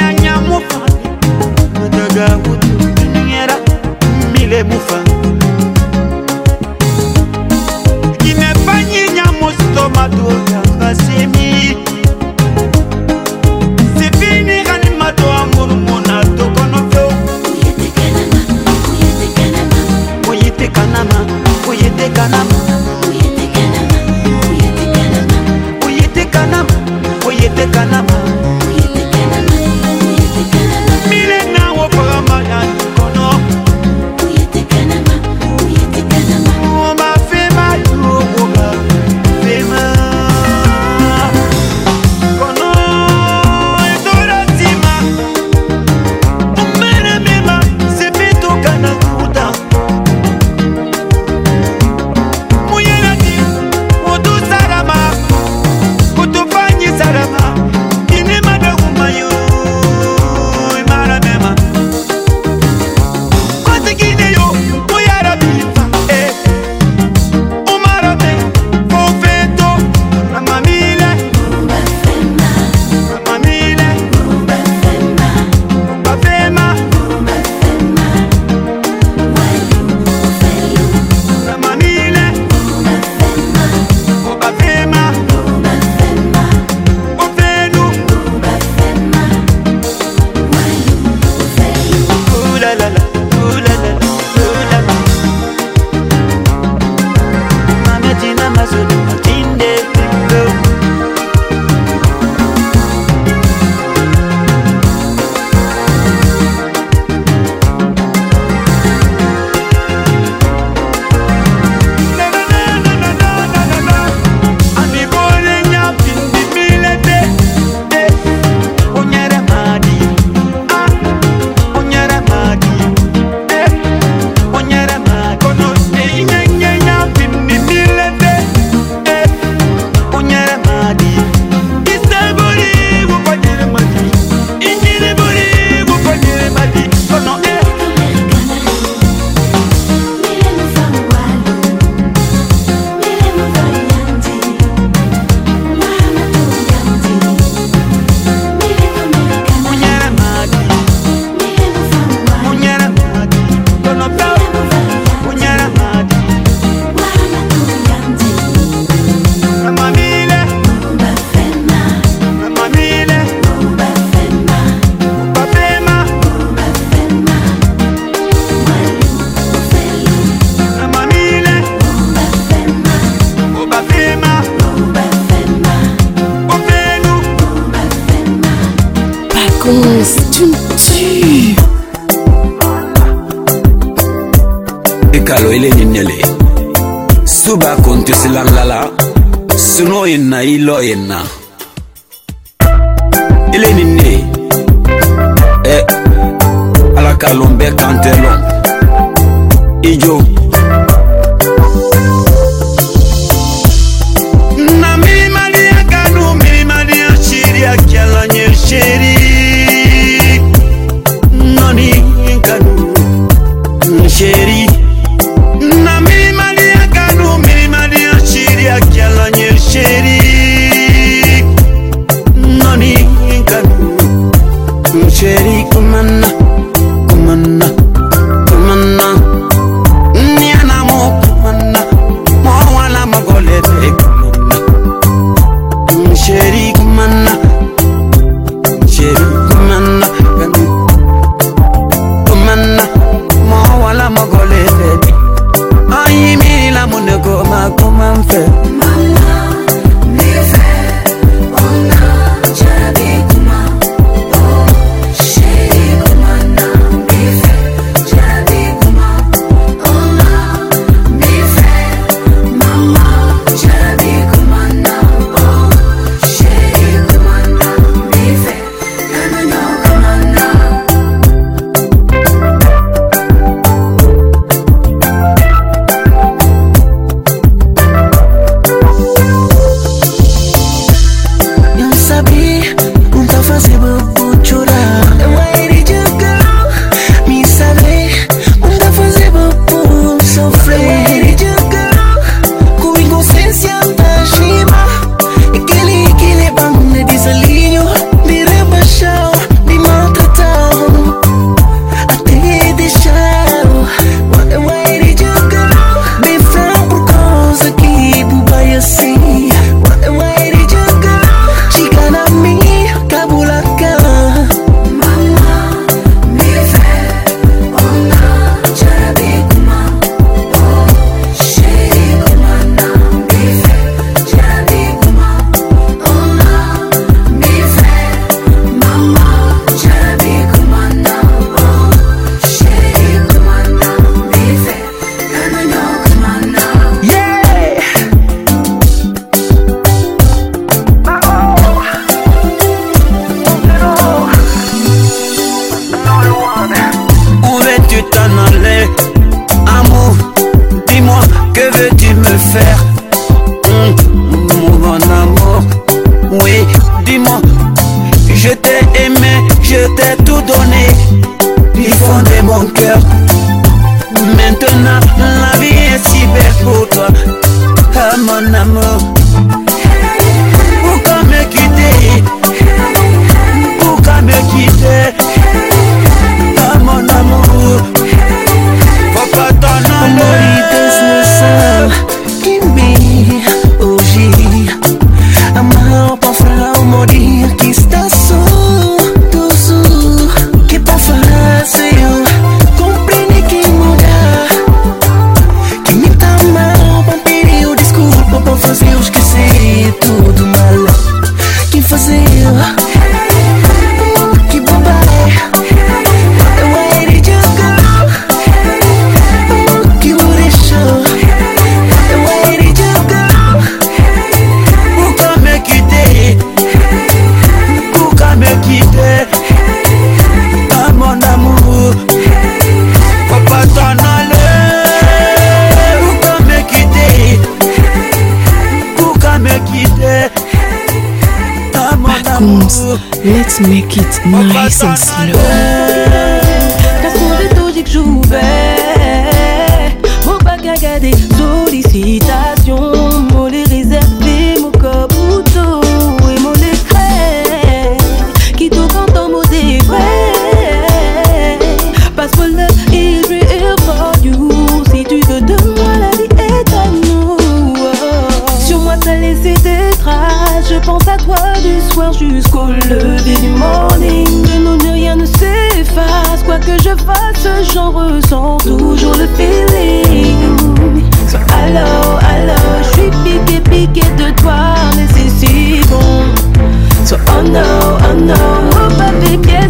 Speaker 18: Mufa Pacons, tu me tues.
Speaker 19: Ekalo ile ninyele Suba kontu silalala Suno inna ilo inna Ile ninye Ala kalombe kantelon Ijo Na mimimalia kanu mimimalia shiri Akiala nye shiri Noni kanu shiri Na mimimalia kanu mimimalia shiri Akiala nye shiri Noni kanu shiri kumana kumana kumana Niana mo kumana Mo wala magolete kumana Sheri kumana Sheri kumana Kumana Mo wala magolete Ayi miri la mune goma kuma mfe Mama Nife Ona Jarabi kuma Oh Sheri kumana Nife Jarabi kuma Ona Nife Mama Jarabi kumana Oh Sheri kumana Nife Kamano kumana
Speaker 20: Não sabia, não tá fazendo por chorar. Why did you go? Me saber, não tá fazendo por sofrer. Why did you go? Com inconsciência da chima. Aquele que leva de desalinho, de rebaixar, de maltratar, até deixar. Why did you go? Bem fraco por causa que tu vai assim. Why did you go? Chica na minha cabulaca. Mama, me vê, ona, jarabi kuma, oh, sheri kumana, me vê, jarabi kuma, ona, me vê, mama, jarabi kumana, oh, sheri kumana, me vê, kamano kumana. Yeah.
Speaker 19: Où veux-tu t'en aller? Amour, dis-moi, que veux-tu me faire? Mon amour, oui, dis-moi. Je t'ai aimé, je t'ai tout donné du fond de mon cœur. Maintenant, la vie est si belle pour toi, ah, mon amour. Pourquoi me quitter? Pourquoi me quitter? Ah, mon amour, papa ton
Speaker 20: Amor desnecessário que me hoje amar para falar o morir que está só doce que para falar se eu compreende que mudar que me tá mal para pedir o desculpa para fazer eu esquecer tudo mal que fazer que bobagem. Why did you go? Que me deixou? Why did you go?
Speaker 19: Pourquoi me quitter? Pourquoi me quitter? Ah, mon amour, papa t'en aller. Pourquoi me quitter? Pourquoi me quitter? Ah, mon amour,
Speaker 18: let's make it nice and slow.
Speaker 21: Caçou de que j'ouvais mon bac à garder sollicitations, mon les réservé, mon caputo et mon décret qui tout quand on m'a dit vrai. Passe pour le is real for you. Si tu veux de moi, la vie est à nous. Sur moi, t'as laissé des traces. Je pense à toi du soir jusqu'au lever du morning. De nous, rien ne s'efface. Quoi que je fasse, j'en ressens toujours le feeling. So allo, allo, je suis piqué de toi, mais c'est si bon. So oh no, oh papi, bien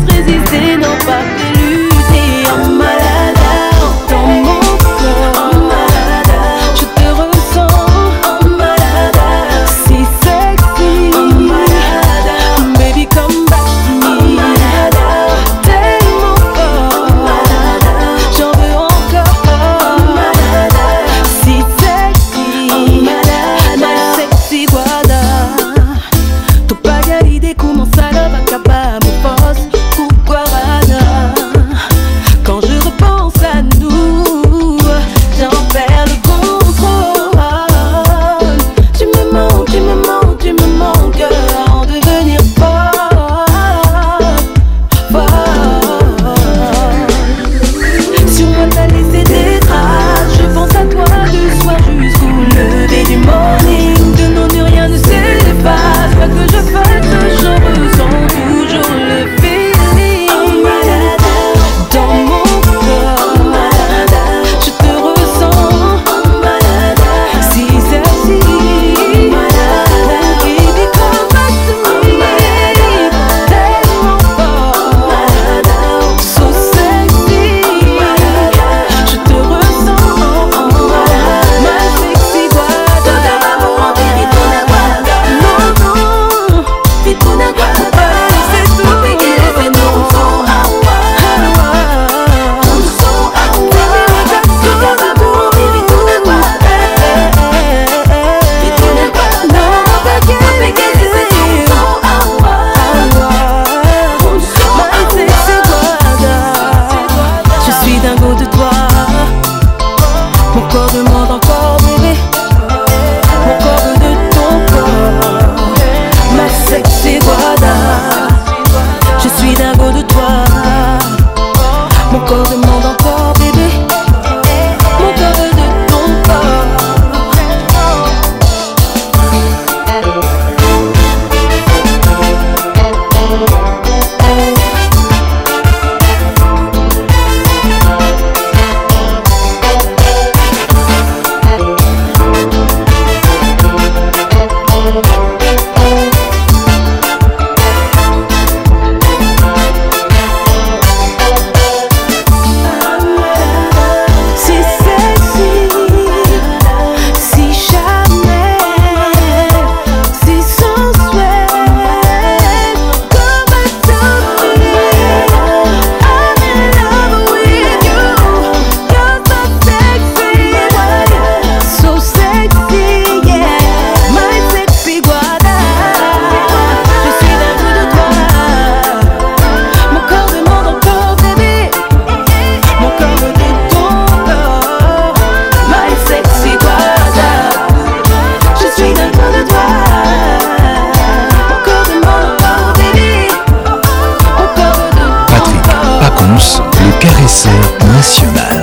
Speaker 1: caresseur national.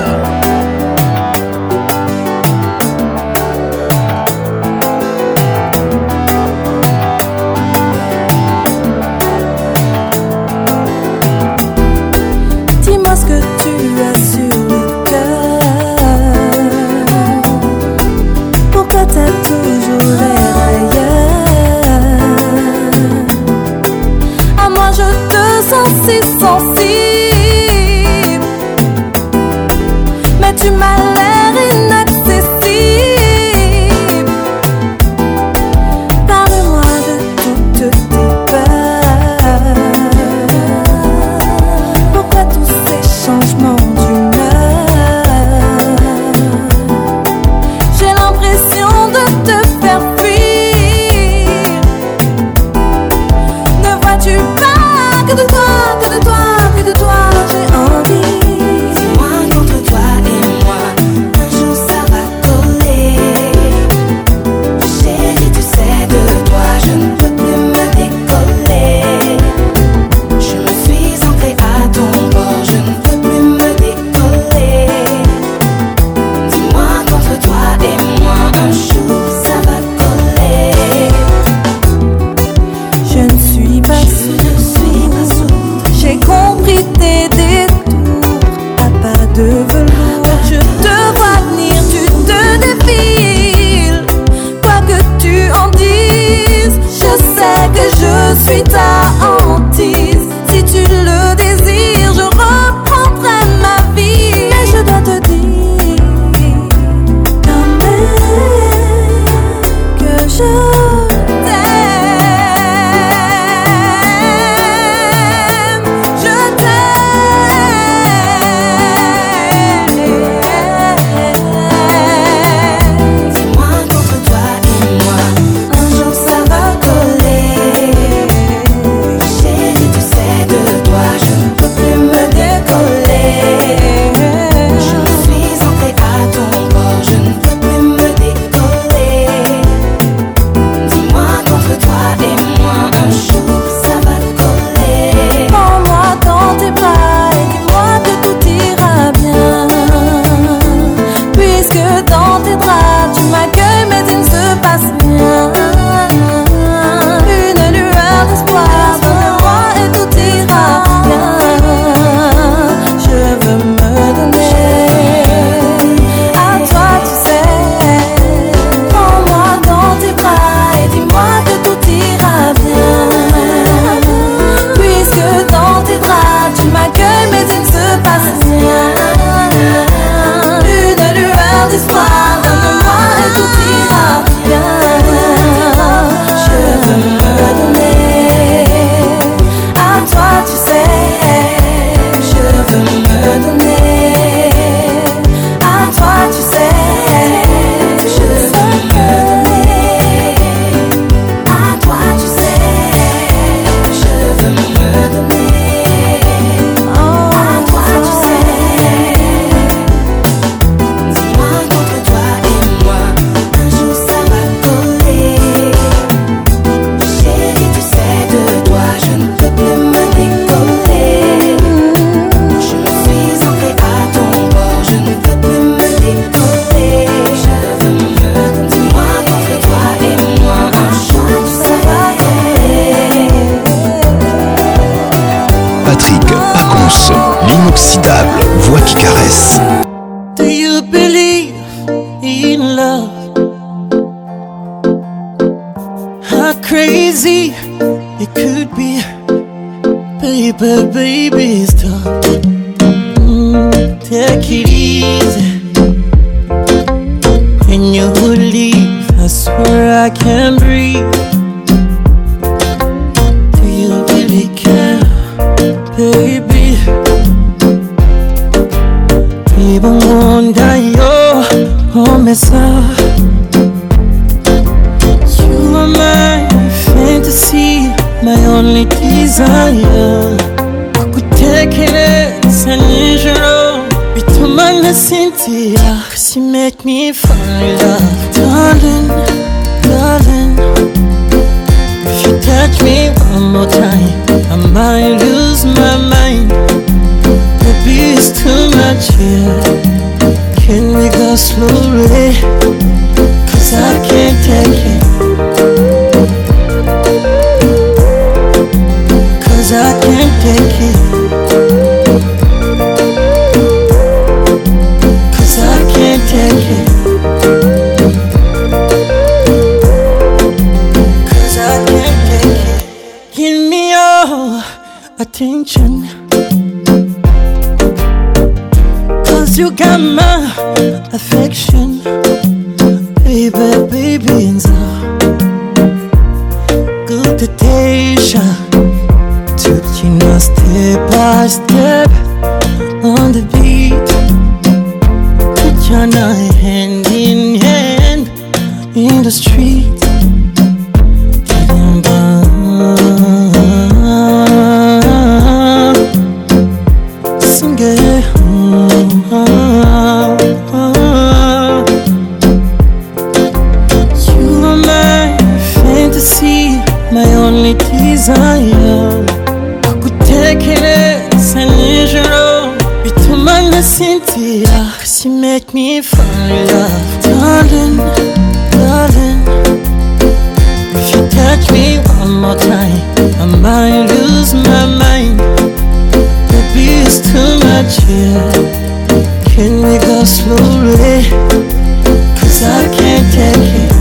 Speaker 21: Dis-moi ce que tu as sur le cœur. Pourquoi t'as toujours l'air ailleurs? À moi je te sens si sensible, mais tu m'as l'air inaccessible. Parle-moi de toutes tes peurs. Pourquoi tous ces changements d'humeur? J'ai l'impression de te faire fuir. Ne vois-tu pas que de toi, que de toi, que de toi j'ai envie? Dis-moi contre toi et moi, un jour ça va coller. Chérie, tu sais de toi, je ne peux plus me décoller. Je me suis ancrée à ton bord, je ne peux plus me décoller. Dis-moi contre toi et moi, un jour ça va coller. Je ne suis pas sourde, j'ai compris tes détours. À pas de velours, je te vois venir, tu te défiles. Quoi que tu en dises, je sais que je suis ta hantise. Si tu le désires, je reprendrai ma vie. Mais je dois te dire quand même que je t'aime. Je t'aime. Dis-moi contre toi et moi, un jour ça va coller. Chérie, tu sais de toi, je ne peux plus me décoller. Je me suis ancrée à ton bord, je ne peux plus me décoller. Dis-moi contre toi et moi, un jour ça va coller. Prends-moi dans tes bras et dis-moi que tout ira bien. Puisque dans tes draps tu m'accueilles mais il ne se passe rien. Une lueur d'espoir donne-moi et tout ira bien. Je veux me donner à toi, tu sais. Prends-moi dans tes bras et dis-moi que tout ira bien. Puisque dans tes draps tu m'accueilles mais il ne se passe rien. Une lueur d'espoir donne-moi et tout ira bien. Je veux me donner à toi, tu sais. Je veux me donner à toi, tu sais. Je veux me donner à toi, tu sais. Je veux me donner à toi, tu sais. Dis-moi contre toi et moi, un jour ça va coller. Chérie, tu sais de toi, je ne peux plus me décoller. Je me suis ancrée à ton bord, je ne peux plus me décoller. Je veux me donner. Dis-moi contre toi et moi, un jour ça va coller.
Speaker 1: Patrick Pacons, l'inoxydable voix qui caresse.
Speaker 20: Do you believe in love? How crazy it could be. Baby, baby, stop. Take it easy. When you leave, I swear I can't breathe. Do you really care, baby? Even wonder your home is up. You are my fantasy, my only desire. Kukutekereza nijoro bituma nasinzira, 'cause you make me fall in love. Darling, darling, if you touch me one more time, I might lose my mind. Baby, it's too slowly, 'cause I can't take it. 'Cause I can't take it. 'Cause I can't take it. 'Cause I can't take it. Give me your attention, 'cause you got my affection. Baby, baby, and so good to taste. You know, step by step on the beat, put your hand in hand in the street. Sing it. You are my fantasy, my only desire. Cynthia, 'cause you make me fall in love. Darling, darling, if you touch me one more time, I might lose my mind. Baby, it's too much here. Can we go slowly? 'Cause I can't take it.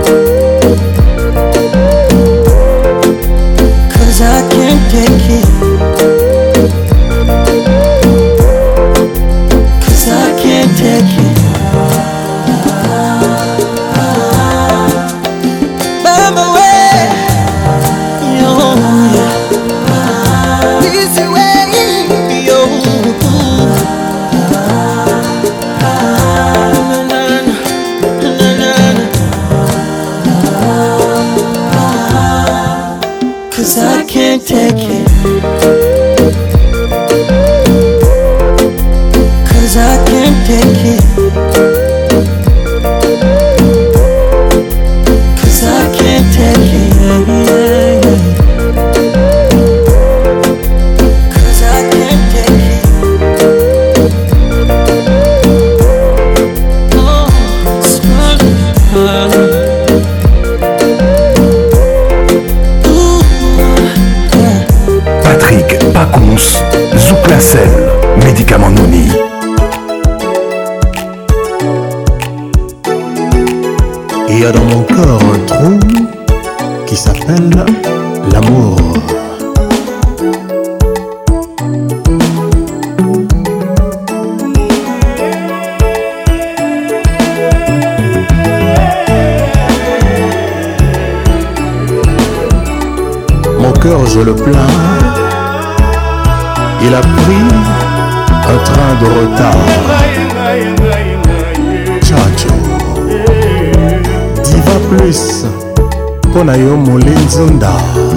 Speaker 20: 'Cause I can't take it. Take it. Bamba way, yo, easy way, yo. Cause I can't take it. Cause I can't take it. Cause I can't take it. Cause I can't take it. Oh,
Speaker 1: Patrick Pacons, Zouk la selle, médicament Noni.
Speaker 2: Il y a dans mon corps un trou qui s'appelle l'amour. Mon cœur, je le plains, il a pris un train de retard. Chacho Diva plus Pona yo Molenzonda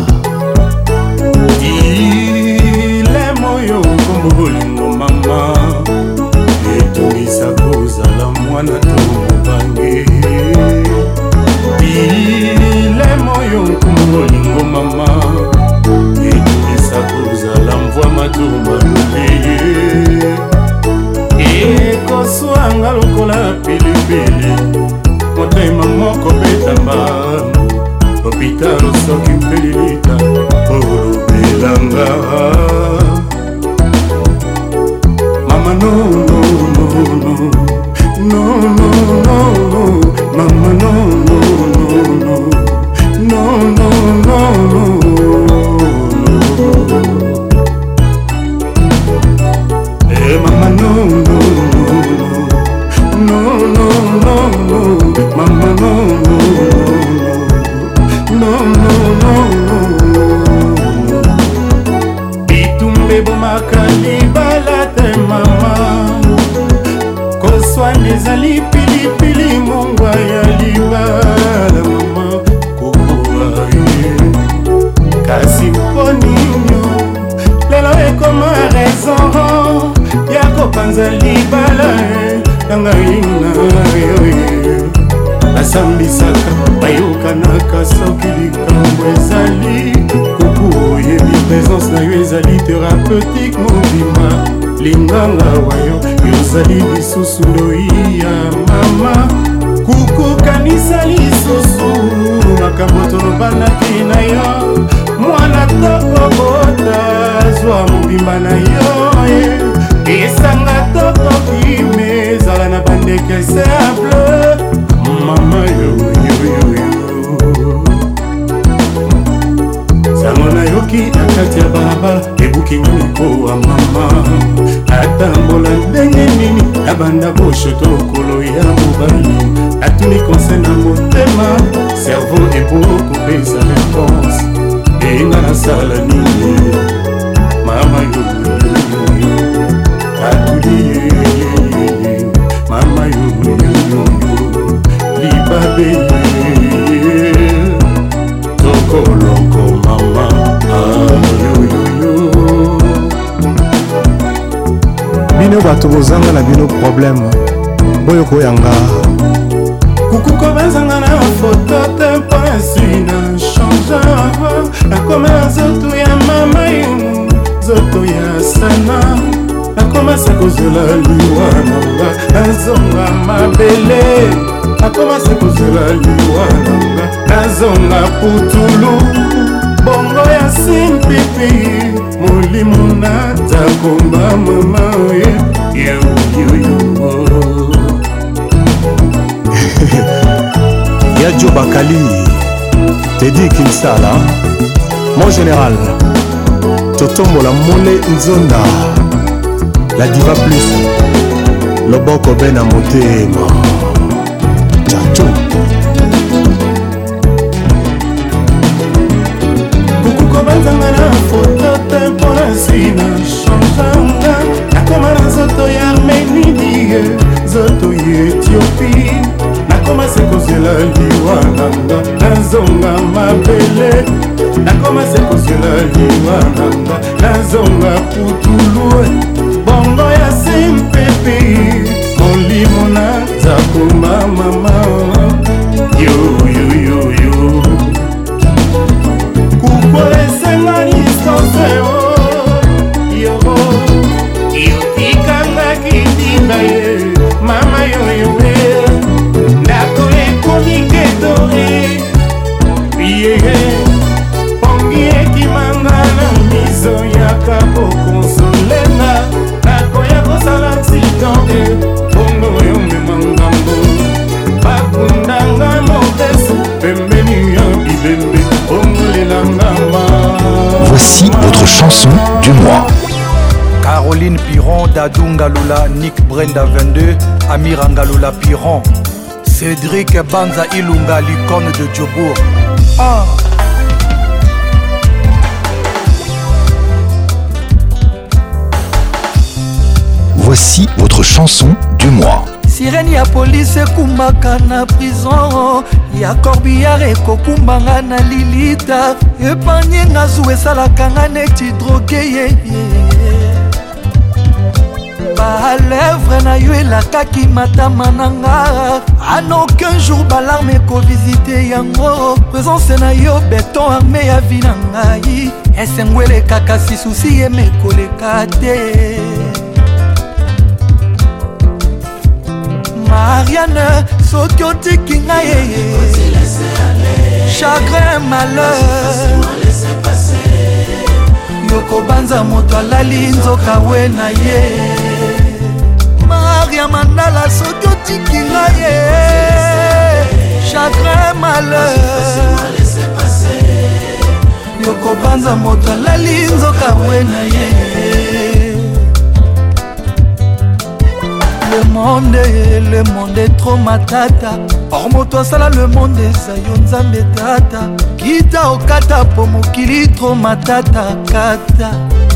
Speaker 3: Ile moyo kumbulingo mama Etumisa kozala mwana tomubange Ile moyo kumbulingo mama Etumisa kozala mvwa matumbangule Ekoswanga lokola pilipili Motema moko betamba Hôpital soki mpelilita Olubelanga Mama no no no no No no no no Mama no no no no No no no no Eh mama no no no no no no Mama no no no no no Bitumbe bomakali balate mama Koswa nezali pilipili mongwa ya libala mama Kokoa kasi poninyo Lelo ekoma raison Yako panza libala Tangaina Asambisaka bayokanaka soki likambo ezali Kuku oyebi présence na yo ezali thérapeutique mobima linganga wayo yozali lisusu ndoi ya mama kukukanisa lisusu makambo tolobanaki na yo mwana tokobota zwa mobimba na yo esanga tokokime ezala na bandeke simple mama yoyoyoyo sango nayoki na kati ya balabala ebukinga mikowa mama atambola ndenge nini abanda boshoto lokolo ya mobali atuni konse na motema servo ebokopesa réponse enga nasala nini mama yoyoyoyo atuli mama yoyoyoyo libabe tokoloko mama yoyoyo
Speaker 2: bino bato bozanga na bino problème boyo koyanga
Speaker 3: kukuko bazanga na foto te mpasi na change nakoma na zoto ya mama yo zoto ya sana nakomasa kozela liwa nanga nazonga mabele nakomasa kozela liwa nanga nazonga putulu bongo ya simpipi molimo natakomba mama yoyoyo
Speaker 2: Yadjo Bakali Teddy Kinsala mon général Totombola Mole Nzonda la diva plus Loboko Bena Motema Chacho
Speaker 3: kukuko banzanga na foto te mpona sina changanga nakoma na zoto ya armenidie zoto ya ethiopie nakomase kozela liwa nanga nazonga mabele nakomase kozela liwa nanga nazonga putulu bongo ya simpepe molimo nazakoma mama yoyoyoyo kukolesenga nisoseo yo yotikanga kitimba ye mama yoyoe ndako ekomikedore ye pongi ekimanga na miso yaka kokonsolenga nakoya kosala accident bongo oyo memangambo bakundanga mobesu pembeni ya bibembe bongolelangama.
Speaker 1: Voici votre chanson du mois.
Speaker 17: Caroline Piron, Dadou Ngaloula, Nick Brenda 22, Amir Ngaloula Piron, Cédric Banza Ilunga, l'icône de Djobour. Ah.
Speaker 1: Voici votre chanson du mois.
Speaker 20: sirene ya polisi ekumbaka na prison ya corbillard ekokumbanga na lilita epanye nga zu esalaka nga neti droge yeye balèvre na yo elakaki matama na nga en aucun jour balarme ekovisite yango présence na yo beton arme ya vi na ngai esengo elekaka sisusi yemekoleka te Marianne, soki otiki ngai yeye chagrin malheur yokobanza moto alali nzoka we na ye Maria Mandala, soki otiki ngai yeye chagrin malheur yokobanza moto alali nzoka we na ye Le monde est trop matata or moto asala le monde eza yo nzambe tata kita okata po mokili trop matata kata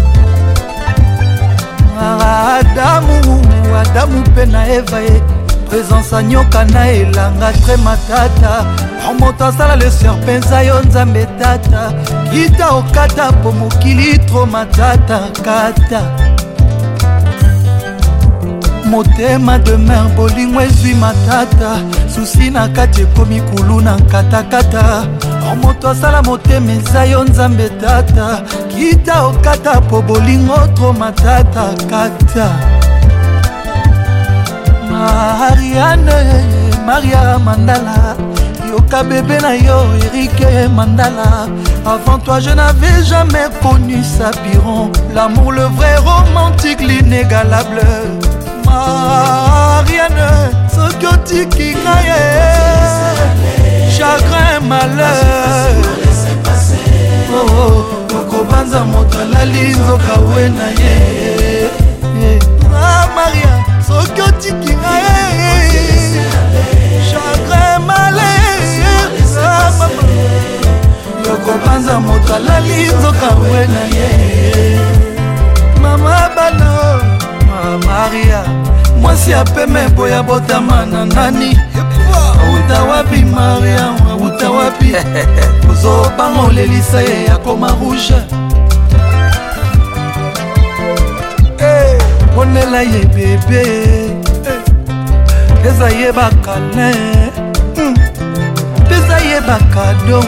Speaker 20: Adamu mpe na Eva ye présence anyoka na elanga tre matata or moto asala le serpent eza yo nzambe tata kita okata po mokili trop matata kata motema de mer bolingo ezwi matata susi na kati ekomi kulu na nkatakata
Speaker 5: moto asala motema eza yo nzambe tata kita okata po bolingo tro matata kata Marianne Maria Mandala yoka bébé na yo Eric Mandala. Avant toi je n'avais jamais connu Sapiron, l'amour le vrai romantique l'inégalable. Marianne Sokotiki Kaye, chagrin malheur. Oh Kokobanza moto la linzo kawena ye. Maria Sokotiki Kaye, chagrin malheur. Kokobanza moto la linzo kawena ye. Mama bano Maria mwasi apeme boya botamana nani auta wapi Maria auta wapi ozobango lelisa ye yakoma rouge ponela ye bebe peza ye bakale peza ye bakado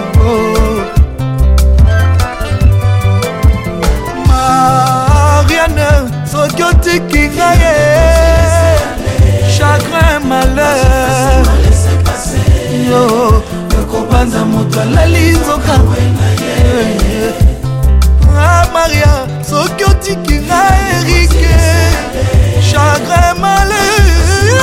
Speaker 5: Marianne soki otiki ngai chagrin malheur yo yokobanza moto alali nzoka Maria soki otiki ngai Erike chagrin malheur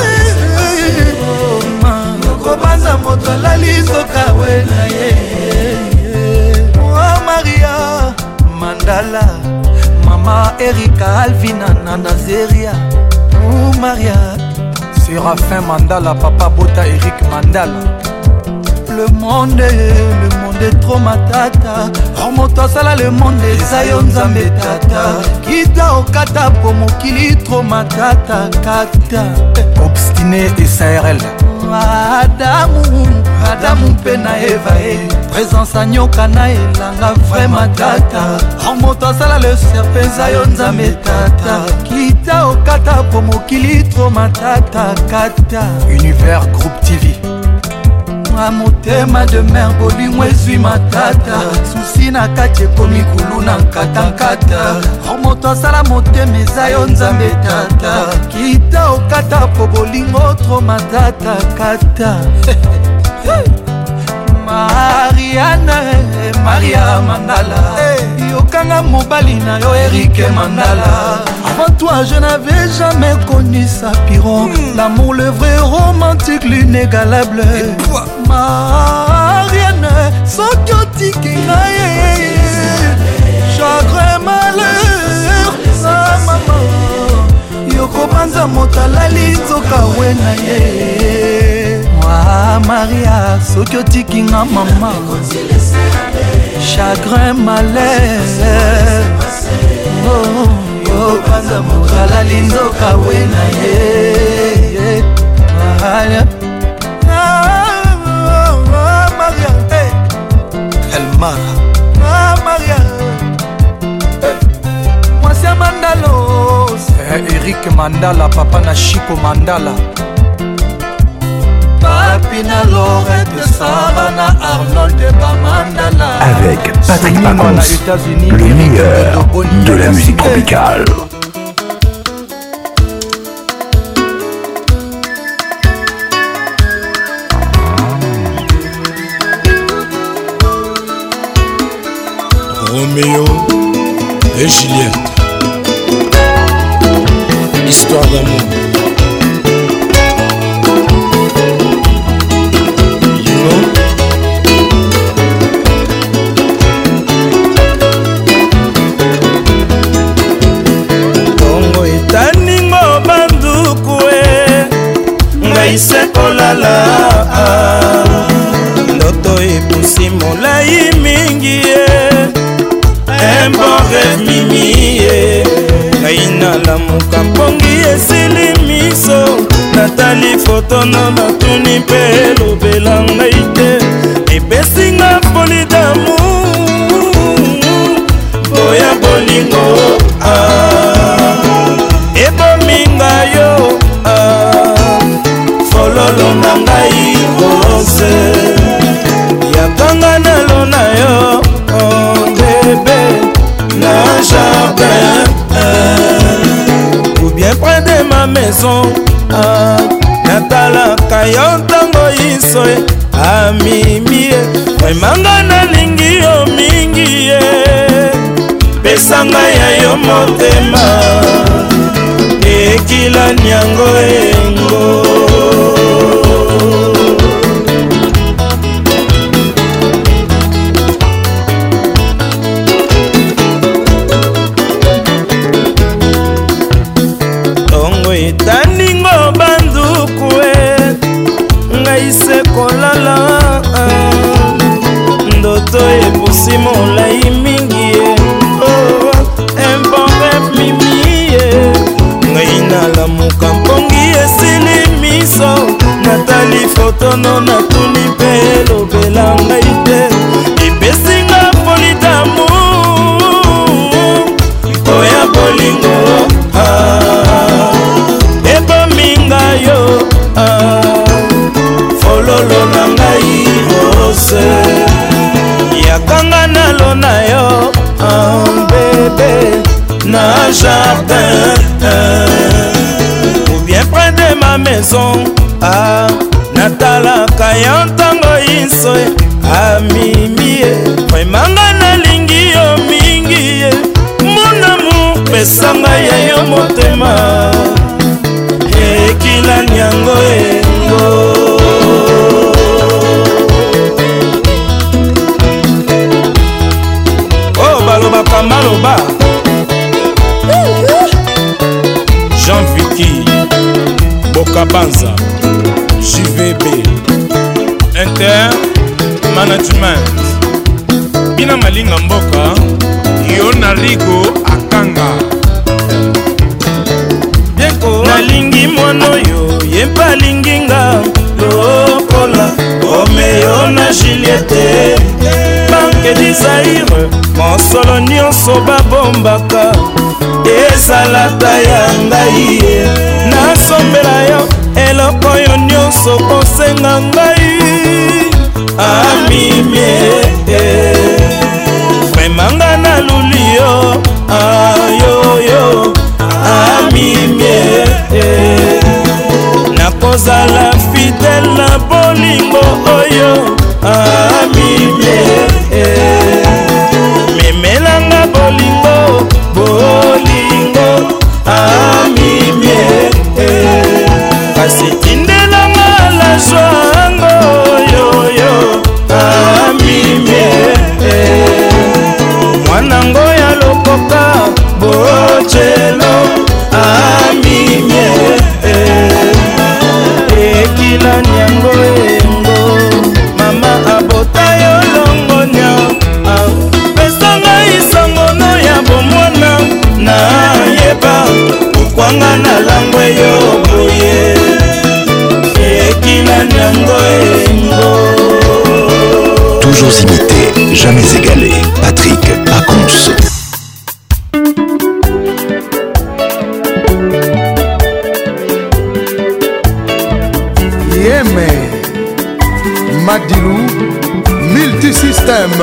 Speaker 5: yokobanza moto alali nzoka wena ye Maria Mandala Mama Erika Alvina Nanazeria Maria Séraphin Mandala Papa Bota Eric Mandala. Le monde est trop matata. Remonte sala le monde est Zion Nzambe tata. Kita okata po mokili trop matata kata. Obstiné et SARL Adamu pena Eva présence à nyoka na elanga vraiment tata. Remonte sala le serpent Zion Nzambe tata. Kita okata po mokili trop matata kata. Univers Groupe TV. Motema de mer bolingo ezwi matata. Susi na kati ekomi kulu na nkata-nkata. Moto asala motema eza yo nzambe tata. Kita okata po bolingo tro matata kata. Marianne Maria Mandala yokanga mobali na yo Eric Mandala. Avant toi je n'avais jamais connu Sapiron, l'amour le vrai romantique l'inégalable. Marianne soki otiki ngai chagrin malheur sa mama yokobanza moto alali nzoka wena ye. Maria soki otiki nga mama chagrin malheur yokobanza moto alali nzoka wena ye. Maria Elmara Maria mwasi Mandalo Eric Mandala papa na Chico Mandala Papina Lorette Sarah na Arnold Mandala.
Speaker 1: Avec Patrick Pacons, le meilleur de la musique tropicale.
Speaker 16: Roméo et Juliette, histoire d'amour.
Speaker 22: Bongo etaningo banduku ngai sekolala ndoto epusi molai mingi un bon rêve mimi ngai nalamuka mpongi esili miso natali fotono natuni mpe elobela ngai te epesinga poli d'amour boya bolingo ebominga yo fololo na ngai rose yakanga na ma maison natalaka yo ntango iso amimi emanga nalingi yo mingi ye pesanga ya yo motema ekila nyango engo tongo etaningo banduku ngai se kolala ndoto epusi molai mingi embonge mimi ngai nalamuka mpongi esili miso natali fotono natuni mpe elobela ngai te epesinga politamu oya bolingo ebominga yo fololo na ngai rose yakanga nalona yo bebe na jardin ou bien près de ma maison natalaka yo ntango iso amimi vremanga nalingi yo mingi mon amour pesanga ya yo motema ekila nyango engo oh balobaka maloba Jean Vicky Bokabanza JVB Inter Management Bina Malinga Mboka Yona Rigo Akanga Bienko Nalingi Monoyo Yempa Linginga Lokola Romeo na Juliette Banque Desire Monsolo nyonso babombaka ezalata ya ngai nasombela yo eloko yo nyonso kosenga ngai amimie vremanga naluli yo ayoyo amimie nakozala fidele na bolingo oyo amimie memelanga bolingo bolingo amimie kasi tindelanga la jwango yoyo amimie mwanango ya lokoka bojelo amimie ekila nyango engo mama abota yo longonya pesanga isangono ya bomwana na yeba ukwanga na langwe yo boye ekila nyango engo.
Speaker 1: Toujours imité, jamais égalé. Patrick Pacons.
Speaker 7: Yémé Madilou Multisystème.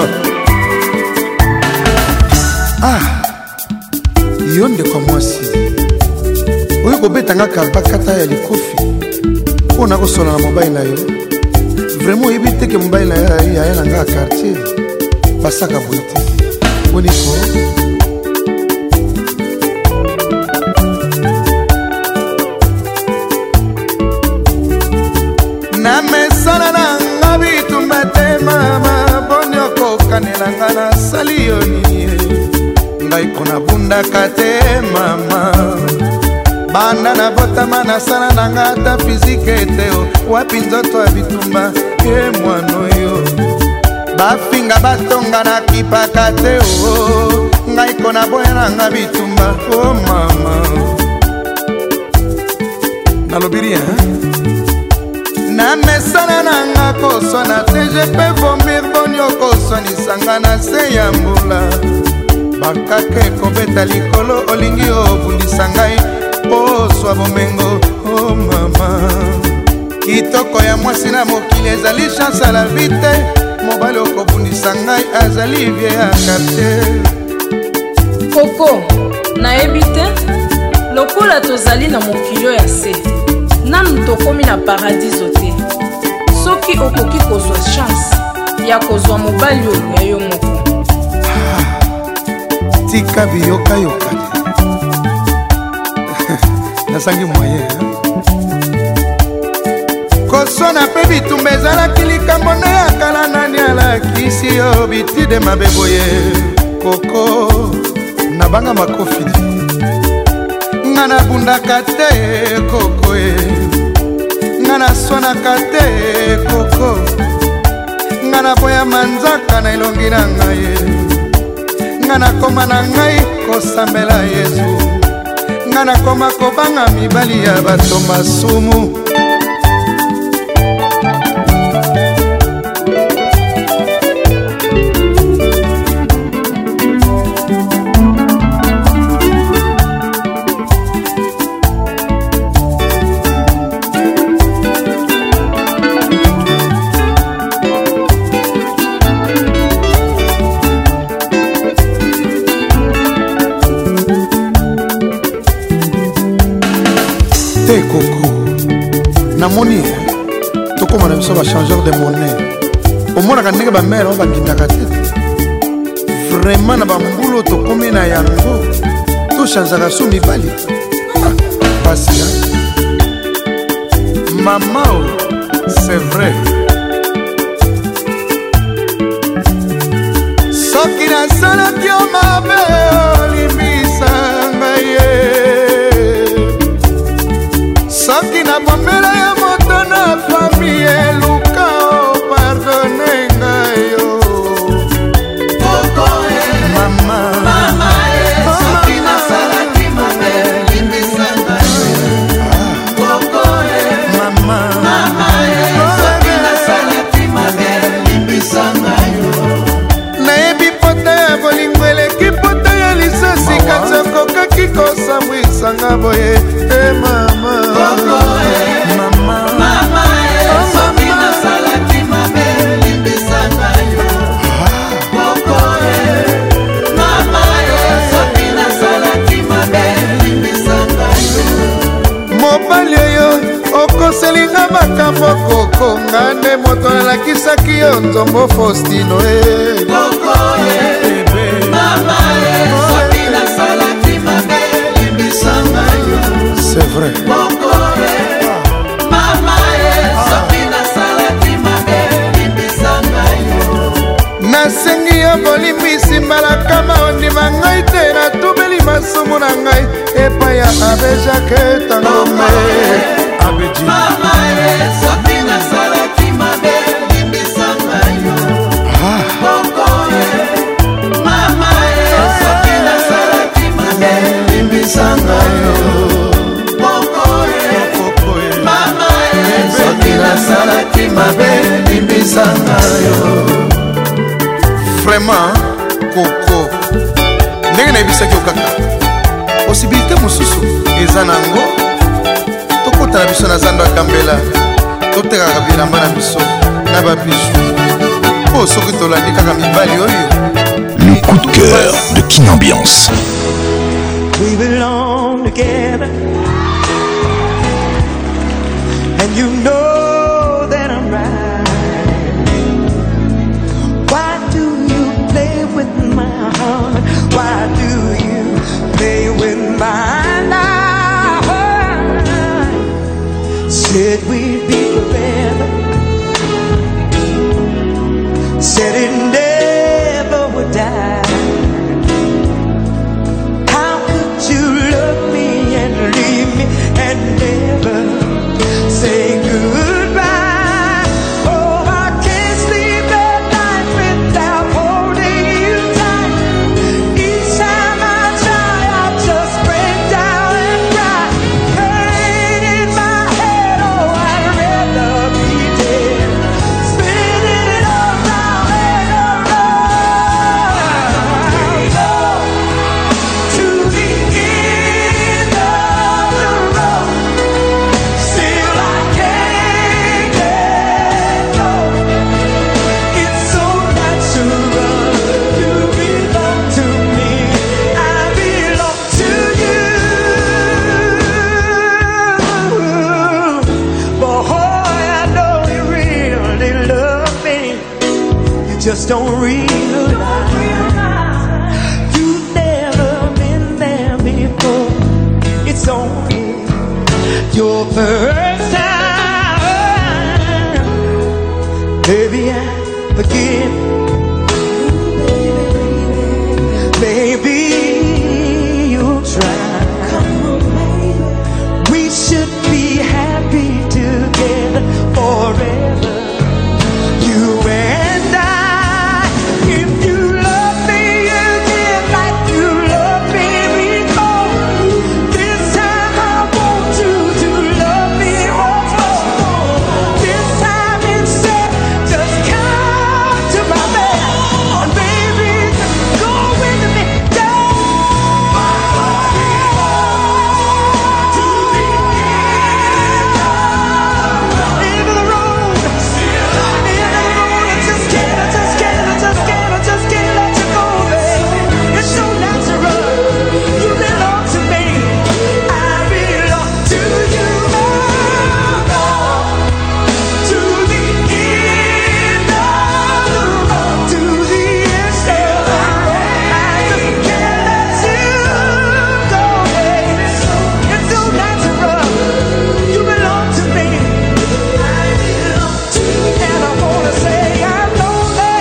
Speaker 7: Ah, yonde kwa mwasi oyo kobetanga kabakata ya likofi mpona kosola na mobali na yo vraiment oyebi teke mobali na yo aya na nga ya quartier basaka boye te bonifo na mesana na nga bitumba te mama boni okokanelanga nasali yo nini ngai mpona bundaka te mama banda na botama na sana na nga ata fizike te wapi nzoto ya bitumba ye mwana oyo bafinga batonga na kipaka te ngai kona boya na nga bitumba o mama nalobiri na mesana na nga koswana te je pe vomir boni okoswanisanga na se ya mbula bakaka ekobeta likolo olingi obundisa ngai oswa bomengo o mama kitoko ya mwasi na mokili ezali chance ala vi te mobali okobundisa ngai azali vie ya quartier
Speaker 8: koko nayebi te lokola tozali na mokili ya se nanu tokomi na paradiso te soki okoki kozwa chance ya kozwa mobali oyo ya yo moko.
Speaker 7: tika biyokayoka nasangi moye kosona mpe bitumba ezalaki likambo nde ya kala nani alakisi yo bitide mabe boye koko nabanga makofi nga nabundaka te koko e nga naswanaka te koko nga naboya manzaka na elongi na ngai nga nakoma na ngai kosambela Yesu nga nakoma kobanga mibali ya bato masumu. namoni tokoma na biso bachangeur de monnaie omonaka ndenge bamere oyo bakindaka te vraiment na bambulu tokomi na yango tochangeaka so mibali pasi mama o c'est vrai soki nasalaki yo mabe olimbisa ngai ye soki nabombela ya moto na fami eluka o pardone ngai yo mama soki nasalaki mabe limbisa ngai mama soki nasalaki mabe limbisa ngai nayebi pota ya bolingo eleki pota ya lisasi kati okokaki kosambwisanga boye e mama mobali oyo okoselinga makambo kokonga nde moto alakisaki yo nzombo Faustino c'est vrai nasengi yo bolimbisi mbalakama ondima ngai te natubeli masumu na ngai epai ya abe jake tangome abeji nasalaki mabe limbisanga yo vraiment koko ndenge nayebisaki yo kaka posibilité mosusu eza nango tokotana biso na zando akambela totekaka bilamba na biso na babiju mpo soki tolandi kaka mibali oyo.
Speaker 1: Le coup de cœur de Kin Ambiance.
Speaker 10: We belong together and you know that I'm right. Why do you play with my heart? Why do you play with my life? Said we'd be forever, said it never would die. How could you love me and leave me and never say goodbye? Oh, I can't sleep at night without holding you tight. Each time I try, I just break down and cry. Pain in my head, oh, I'd rather be dead. Spinning it all round and just don't realize you've never been there before. It's only your first time. Baby, I forgive. Baby, you'll try. We should be happy together forever. You and I. If you love me again like you loved me before, this time I want you to love me once more. This time instead, just come to my bed, and baby, go with me down to the end of the road. Just can't let you go, baby. It's so natural. You belong to me. I belong to you. To the end of the road. To the end of the road. I just can't let you go, baby. It's so natural. You belong to me. I belong to you. And I wanna say I'm lonely.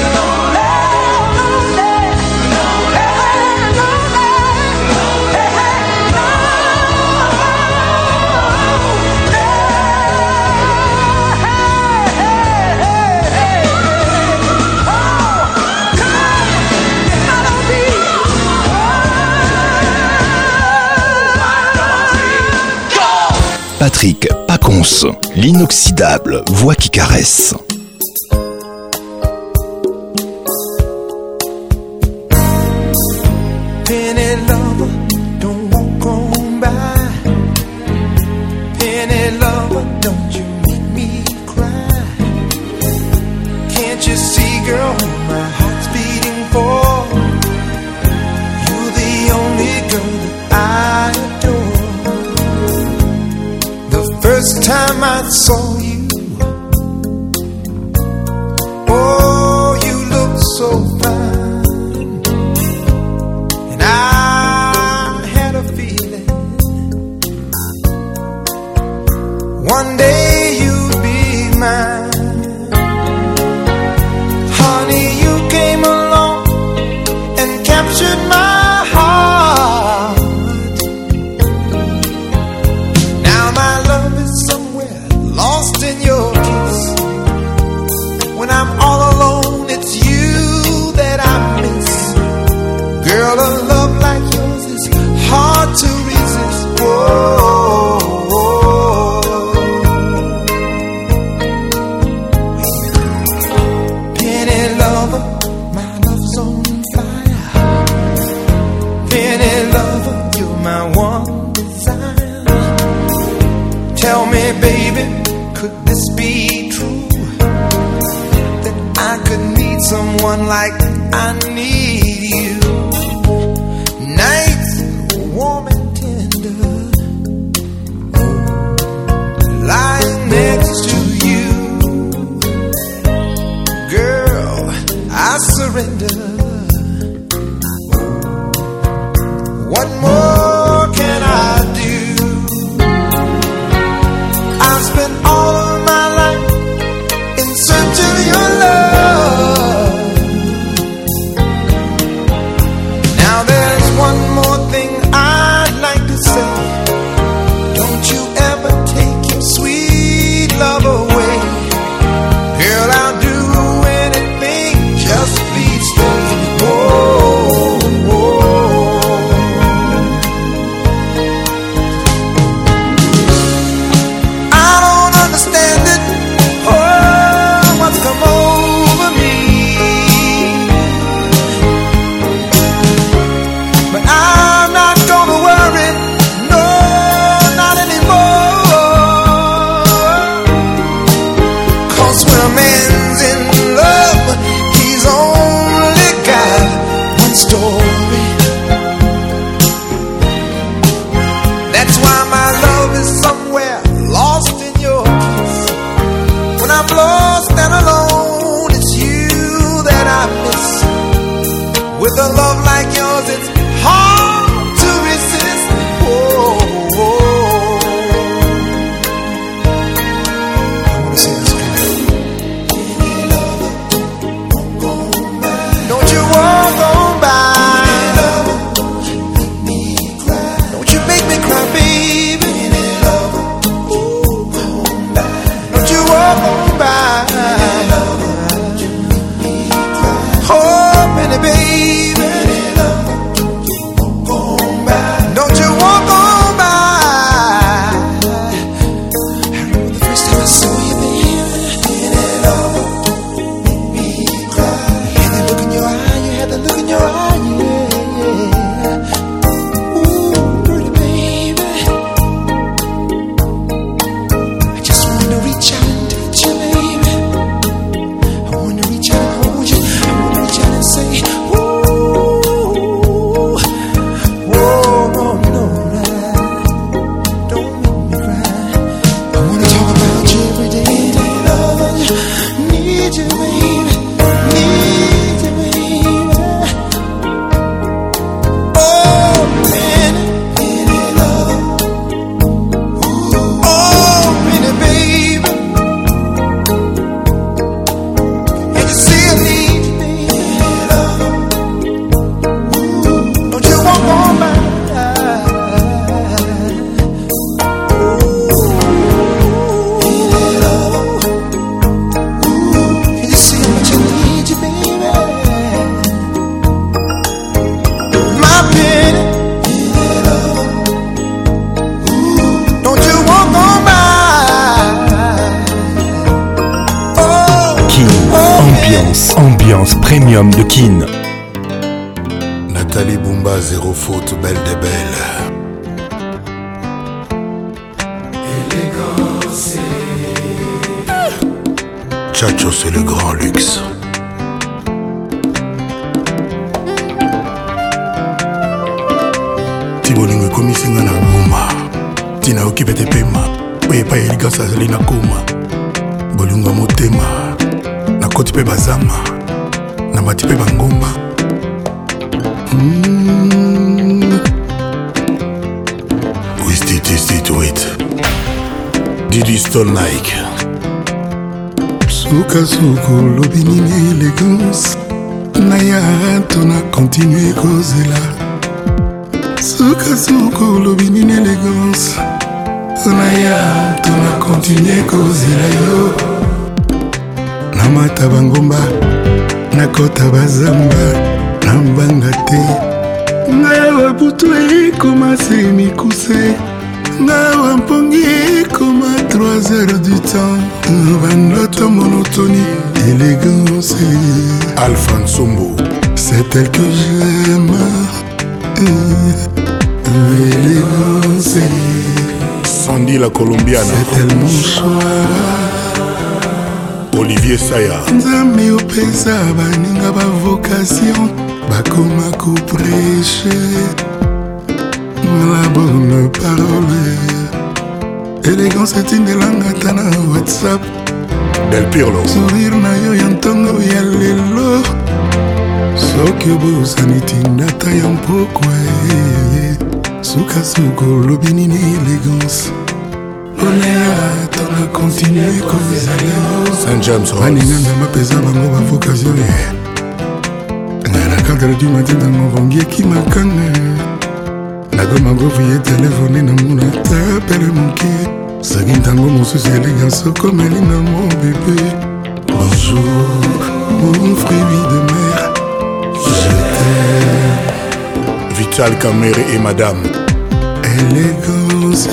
Speaker 1: Patrick Pacons, l'inoxydable voix qui caresse.
Speaker 10: Penny lover, don't walk on by. Penny lover, don't you make me cry. Can't you see, girl, who my heart's beating for? You're the only girl that I adore. The first time I saw you, oh, you look so fine. I had a feeling one day you'd be mine. Honey, you came along and captured my heart. Now my love is somewhere lost in your kiss. When I'm all alone, it's you that I miss. Girl, a love like yours is hard to resist. Whoa, Penny lover, my love's on fire. Penny lover, you're my one desire. Tell me, baby, could this be true? That I could need someone like I need you. Nights warm and tender, lying next to you. Girl, I surrender. What more can I do? I've spent all of my life in search of your love. Now there's one more thing I'd like to say. Don't you ever take your sweet love away. Girl, I'll do anything, just please stay.
Speaker 1: l'ambiance premium de Kin.
Speaker 11: Nathalie Bumba, zéro faute, belle des belles.
Speaker 6: Élégance.
Speaker 11: Chacho, c'est le grand luxe. Tibolingo komisinga na goma. Tina okipete pema. Oye pa élégance azali na koma. Bolingo motema. Na koti pe bazama. Na mati pe bangomba. Wait. Didi Stone Nike.
Speaker 7: Suka lobi nini élégance. Naya tona continue kozela. Suka lobi nini élégance. Naya tona continue kozela yo. Namata bangomba. Nakota bazamba. Nambanga te. Naya wabutu ekoma se mikuse. Ngawa mpongi comme à 3 heures du temps. Notre monotonie, élégance.
Speaker 11: Alphonse Sombo.
Speaker 7: C'est elle que j'aime. L'élégance.
Speaker 11: Sandy la Colombienne.
Speaker 7: C'est elle mon choix.
Speaker 11: Olivier Saya.
Speaker 7: Nzambe opesa baninga ba vocation. Bakoma ko prêcher la bonne parole. Élégance est une langue atana WhatsApp.
Speaker 11: Del Pirlo.
Speaker 7: Sourire na yo yantongo ya lelo. Soki obosani tindata ya mpokwe. Suka lobi nini élégance. Oléa tona continue kozala.
Speaker 11: Saint James Rose.
Speaker 7: Baninga mapeza bango ba vocation. Na 4 du matin dans mon qui makanga. Nagoma goviye telefone na muna tapele moke. Sagi ntango mosusu élégance comme Elina mon bébé. Bonjour mon fruit de mer. Je t'aime.
Speaker 11: Vital Kamere et madame.
Speaker 7: Élégance.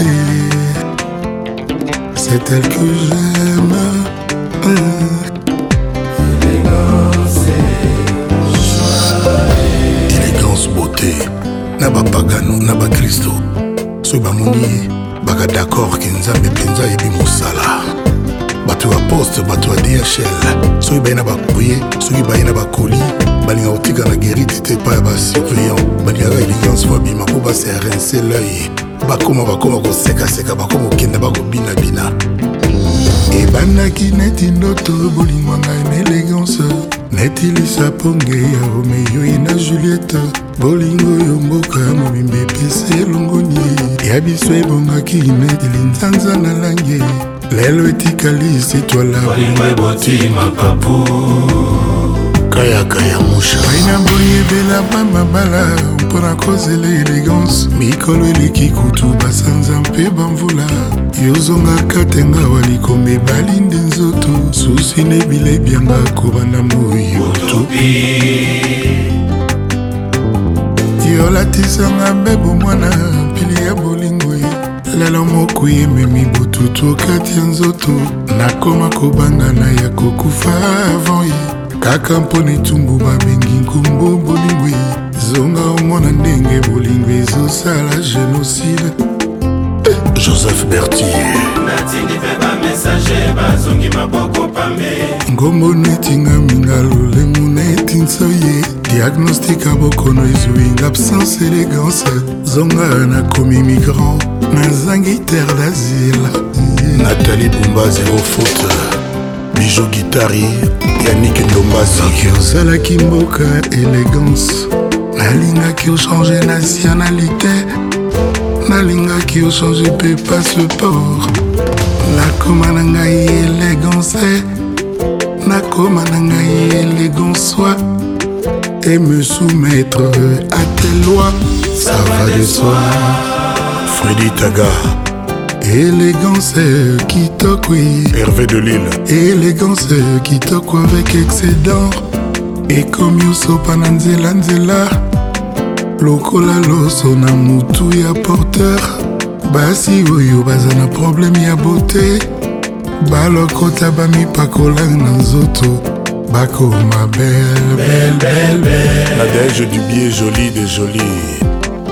Speaker 7: C'est elle que j'aime.
Speaker 11: Élégance, beauté. Naba pagano, naba Christo. Soy bamoni, baga d'accord que nzambe penza yebi mosala. Bato a poste, bato a DHL. Soy baina ba couiller, soy baina ba colis. Balinga otika na guérite te pa ba surveillant. Balinga élégance fois bima po ba se rincer l'œil. Bakoma ko seka bakoma kenda bako bina.
Speaker 7: Ebandaki neti ndoto bolingo ngai na élégance. Neti lisa ponge ya Romeo ina Juliette. Bolingo yo mboka ya mobimba epesi elongoni. Ya biso ebongaki neti linzanza na lange. Lelo etikali sitwala bolingo eboti mapapu.
Speaker 11: Kaya musha
Speaker 7: baina boye bela bamabala mpona kozela élégance. Mikolo eleki kutu basanza mpe bamvula. Yozongaka tenga walikombe balinde nzoto. Susi nebila ebyanga kobanda moyo yolatisanga mbebo mwana pili ya bolingo ye. Lelo moko ememi botutu okati ya nzoto. Nakoma kobangana ya kokufa avant ye. Kaka mpona etumbu babengi nkombo bolingo ye. Zonga omona ndenge bolingo ezosala génocide.
Speaker 11: Joseph Berthier.
Speaker 6: Natindi pe ba messager bazongi maboko pambe.
Speaker 7: Ngombo netinga minga lolemu neti nsoye. Diagnostic abokono ezwinga absence élégance. Zonga nakomi migrant nazangi terre d'asile.
Speaker 11: Nathalie Bumba, zéro faute. Bijou Guitari, Yannick Ndombasi.
Speaker 7: Soki osalaki mboka élégance. Nalingaki ochange nationalité. Nalingaki ochange mpe passeport. Nakoma na ngai élégance. Nakoma na ngai élégance soi. Et me soumettre à tes lois. Ça va de soi.
Speaker 11: Freddy Taga.
Speaker 7: Élégance kitoko.
Speaker 11: Hervé de Lille.
Speaker 7: Élégance kitoko avec excédent. Et comme yosopa na nzela nzela. Lokola loso na mutu ya porteur. Basi oyo baza na problème ya beauté. Balokota bamipakola na nzoto.
Speaker 11: Bako ma belle, belle, belle, belle. Nadège du biais joli des jolis.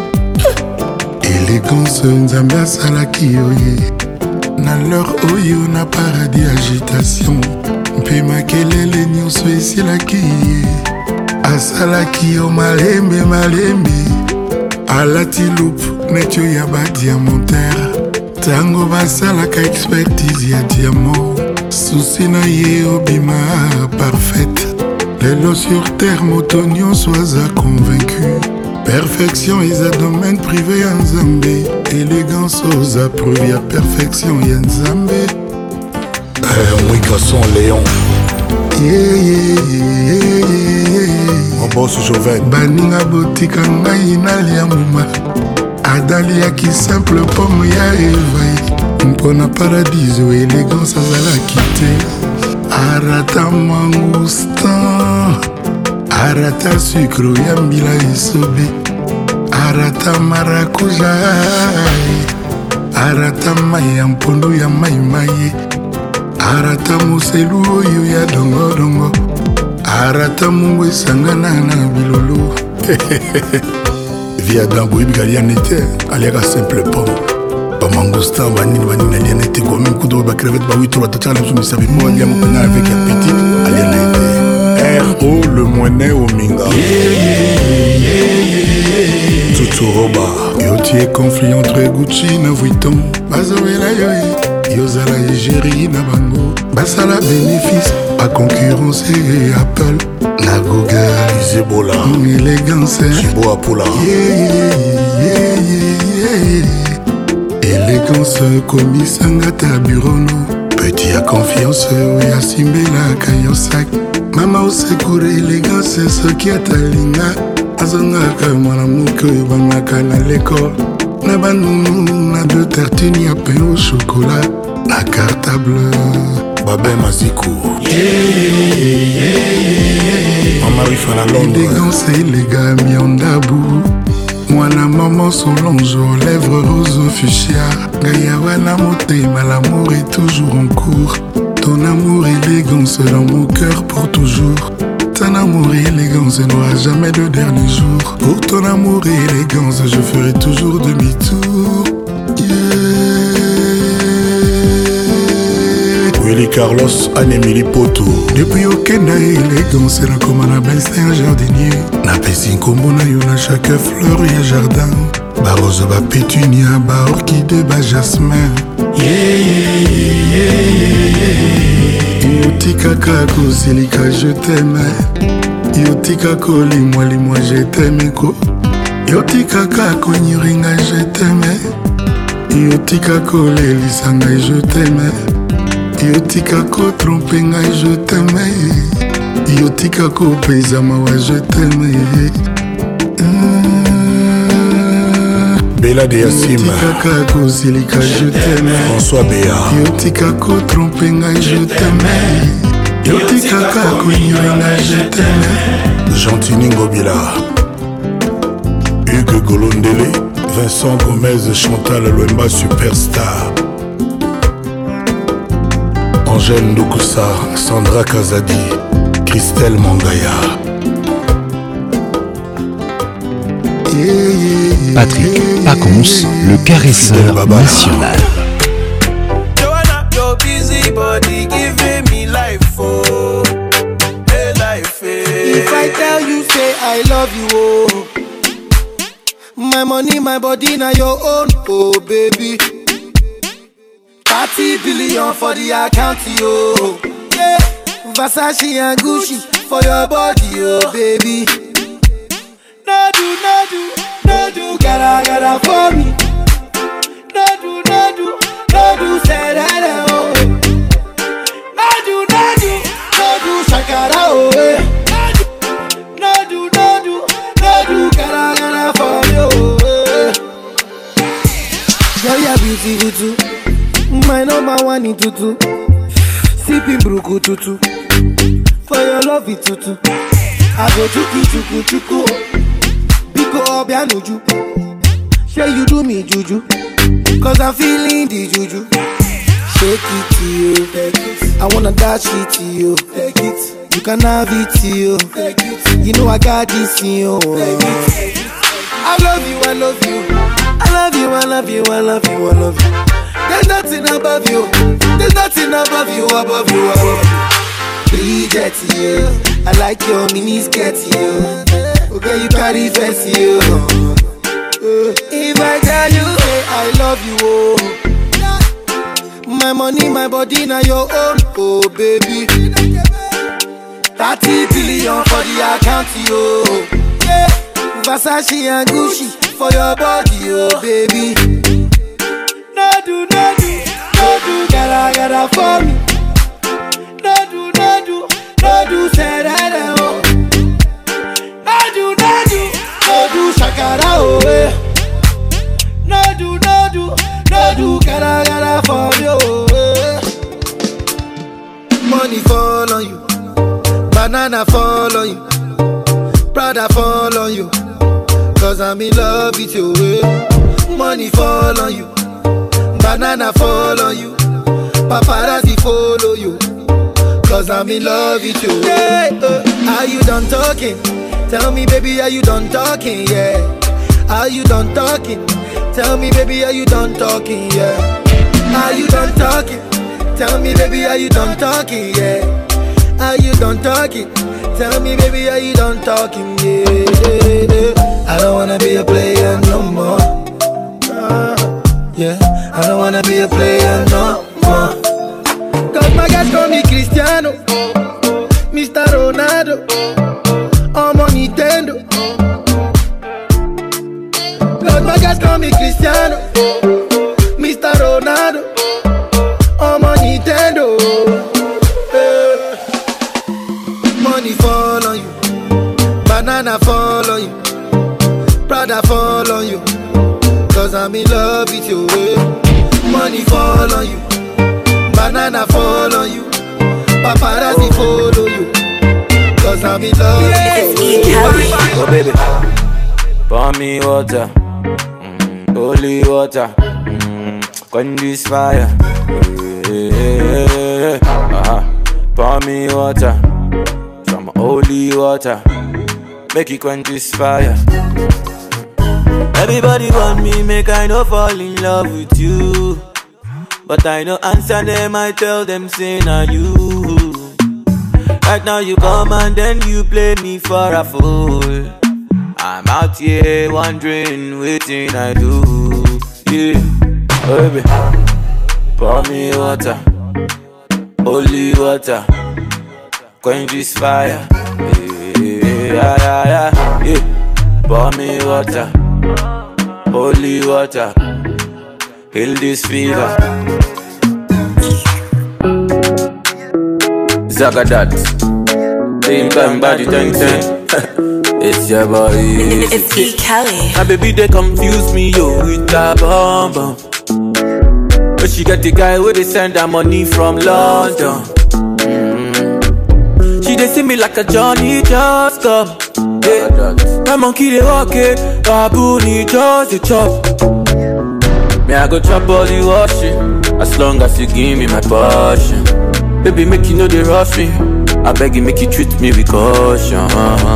Speaker 11: Élégance nzambe asalaki oye. Na leur oyo na paradis agitation. Mpe makelele nyonso esilaki ye. Asalaki yo malembe malembe. Alati loupe netio ya badiamantere. Tango basalaka expertise ya diamant. Souci na ye obima parfaite. Lelo sur terre moto nyonso aza convaincu. Perfection isa domaine privé ya nzambe. Élégance oza preuve ya perfection ya nzambe. Mwika son Léon. Mon boss Joven. Baninga botika ngai nalia muma. Adaliaki simple pomme ya Eva. Mpona paradiso élégance azalaki te. Arata mangustan. Arata sucre ya mbila isobe. Arata maracuja. Arata mai ya mpondo ya mai. Arata muselu oyo ya dongo dongo. Arata mungu esangana na bilolo. Via dambo ibigali anete aliaka simple pomme. Ba mangustin banini aliana ete kwa même kudo ba crevette ba wito ba tachala msumi sabi mo aliama pena avec appétit aliana ete. R.O. le moinet au minga. Tutu roba. Yo tie conflit entre Gucci na Vuitton. Bazowela yo Yozala égérie na bango. Basala bénéfice. A concurrence et Apple. Na Google. Zebola. Élégance. Chibo Apula. Élégance komisanga ta bureau. Petit à confiance. Oya simbela kayosak. Mama osekure élégance. Soki atalinga. Azongaka mwana muke bangaka na l'école. Na banunu na deux tartines ya pain au chocolat. Na cartable Babé Mazikou. Maman Rifana Londres. Élégance et les gars miandabou. Moi la maman Solange aux lèvres rose fuchsia. Gaïawana motema, l'amour est toujours en cours. Ton amour élégance dans mon cœur pour toujours. Ton amour et élégance n'aura jamais de dernier jour. Pour ton amour et élégance je ferai toujours demi-tour. Willy Carlos, Anne-Émilie Poto. Depuis aucun élégance, la commande c'est un jardinier. Na pesi kombo na yo na chaque fleur et jardin. Ba rose, ba pétunia, ba orchidée, ba jasmin. Yotika kako silika je t'aime. Yotika ko limwa je t'aime ko. Yotika kako nyiringa je t'aime. Yotika ko lelisanga je t'aime. Yotika ko trompe ngai je t'aime. Yotika ko pesa mawa je t'aime. Bella de Yassim. Yotika ko silika je t'aime. François Béa. Yotika ko trompe ngai je t'aime. Yotika ko nyiringa je t'aime. Gentini Ngobila. Hugues Golondele. Vincent Gomez, Chantal Loemba Superstar. Angèle Ndokusa, Sandra Kazadi, Christelle Mangaya.
Speaker 1: Patrick Pacons, le caresseur national.
Speaker 4: Joanna, your busy body giving me life, oh, hey life, hey.
Speaker 15: If I tell you, say I love you, oh, my money, my body, now your own, oh baby. 30 billion for the account, yo. Yeah, Versace and Gucci for your body, oh baby. No do, gotta for me. No do, say that, oh. No do, shakara, oh. No do, gotta for me, oh. Girl, you're beautiful too. My number one in tutu. Sipping bruku tutu. For your love it tutu. I go chuku. Biko obianuju. Say you do me juju. Cause I'm feeling the juju. Shake it to you. I wanna dash it to you. Take it. You can have it, you. You know I got this, you. I love you, I love you. I love you, I love you, I love you, I love you. There's nothing above you. There's nothing above you, above you, above you. Bridget, you. I like your mini skirt, you. Okay, you carry fancy, you. If I tell you, hey, I love you, oh. My money, my body, now your own, oh baby. 30 billion for the account, yo. Yeah. Versace and Gucci for your body, oh baby. No do, gotta for me. No do, say that, oh. No do, shakara, oh, eh. No do, gotta for you, eh. Money fall on you, banana fall on you, Prada fall on you, cause I'm in love with you, eh. Money fall on you, banana fall on you, paparazzi follow you, cause I'm in love with you, yeah. Are you done talking? Tell me baby, are you done talking, yeah. Are you done talking? Tell me baby, are you done talking, yeah. Are you done talking? Tell me baby, are you done talking, yeah. Are you done talking? Tell me baby, are you done talking, yeah. I don't wanna be a player no more, yeah. I don't wanna be a player no more. Cause my guys call me Cristiano, Mr. Ronaldo, I'm on Nintendo. Cause my guys call me Cristiano, Mr. Ronaldo, I'm on Nintendo. Money fall on you, banana fall on you, Prada fall on you, cause I'm in love with you, eh. Money fall on you, banana fall on you, paparazzi follow you, cause I'm in love with you, eh.
Speaker 12: Oh baby, pour me water, holy water, quench this fire, pour me water, some holy water, make it quench this fire. Everybody want me, make I no fall in love with you, but I no answer them, I tell them say na you. Right now you come and then you play me for a fool. I'm out here wondering waiting I do, yeah. Oh baby, pour me water, holy water, quench this fire, yeah. Pour me water, holy water, heal this fever. Zagadat, same time body 10-10. It's your boy.
Speaker 18: It's E. Kelly.
Speaker 12: My baby they confuse me yo with that bomb bomb. But she got the guy where they send her money from London. She they see me like a Johnny just come. Yeah. My monkey they walk it, baboon he just a chop. Me I go chop all the washing, as long as you give me my passion. Baby make you know they rush me, I beg you make you treat me with caution.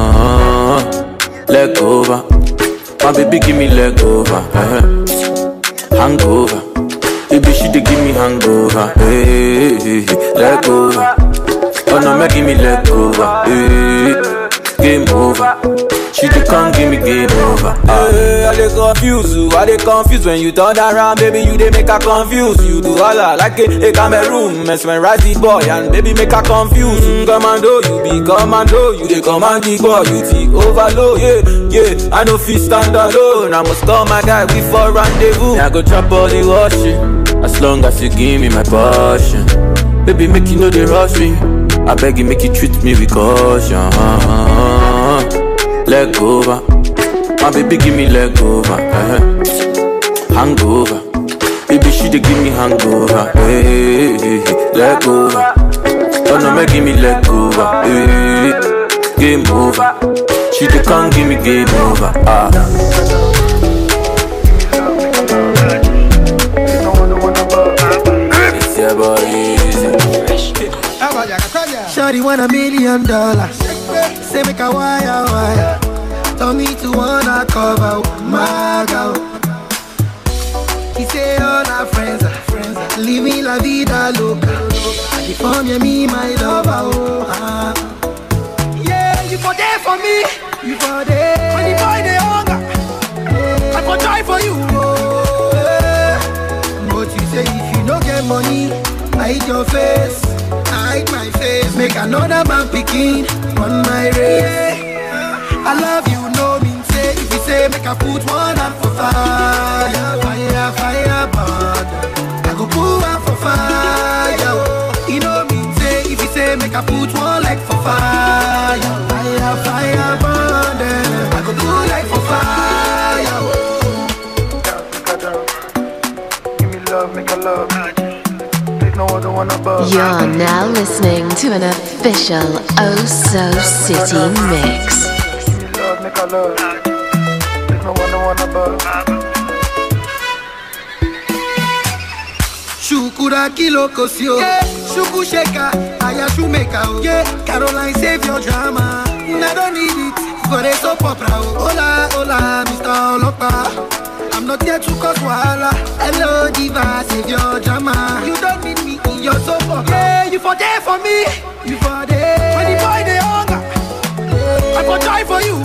Speaker 12: Leg over, my baby give me leg over, hangover. Baby she dey give me hangover, hey, leg over. Oh no, make give me leg over, hey, game over. She dey come give me game over. Hey, I dey confuse you, I dey confused when you turn around, baby you dey make her confused. You do all like a Cameroon, mesmerize the boy and baby make her confused. Commando, you be commando, you dey command the boy, you the overload. Yeah, I no fit stand alone, I must call my guy, we for rendezvous. I go chop all the washing, as long as you give me my passion. Baby make you know they rush me, I beg you make you treat me with caution. Leg over, my baby give me leg over, hangover. Baby she dey give me hangover, hey, leg over. Oh no, make give me leg over, hey, game over. She dey come give me game over. It's your boy easy.
Speaker 15: Shawty want $1 million. Say make a wire. Tell me to wanna cover my girl. She say all our friends are living la vida loca. And if I'm me, my lover, yeah, you for there for me, you for there. When the boy they hunger, I for try for you, But you say if you don't get money, hide your face, hide my face. Make another man picking on my race. I love you, no mean say. If you say make I put one hand for fire, burn. I go put one for fire. You know mean say. If you say make I put one leg for fire, burn. I go put leg for fire. Give me love, make a love. There's no other one above.
Speaker 13: You're now listening to an official Oh So City mix.
Speaker 15: Make a love. There's no one above. Shukura kilo kosio, yeah. Shuku sheka, aya shumeka, yeah. Caroline save your drama. I don't need it for a soap opera. Hola, hola, Mr. Olopa. I'm not here to cause wahala. Hello, diva, save your drama. You don't need me in your soap opera. Yeah, you for there for me. You for there. When the boy they hunger, I for try for you.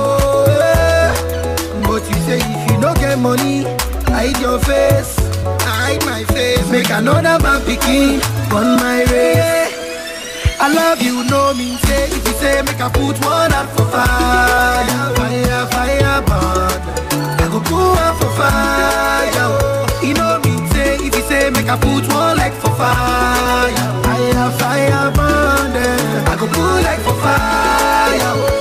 Speaker 15: But you say if you don't get money, hide your face, hide my face. Make another man picking on my race. I love you, no mean say. If you say make I put one hand for fire, burn. I go put one for fire. You know mean say. If you say make I put one leg for fire, burn. I go put leg for fire.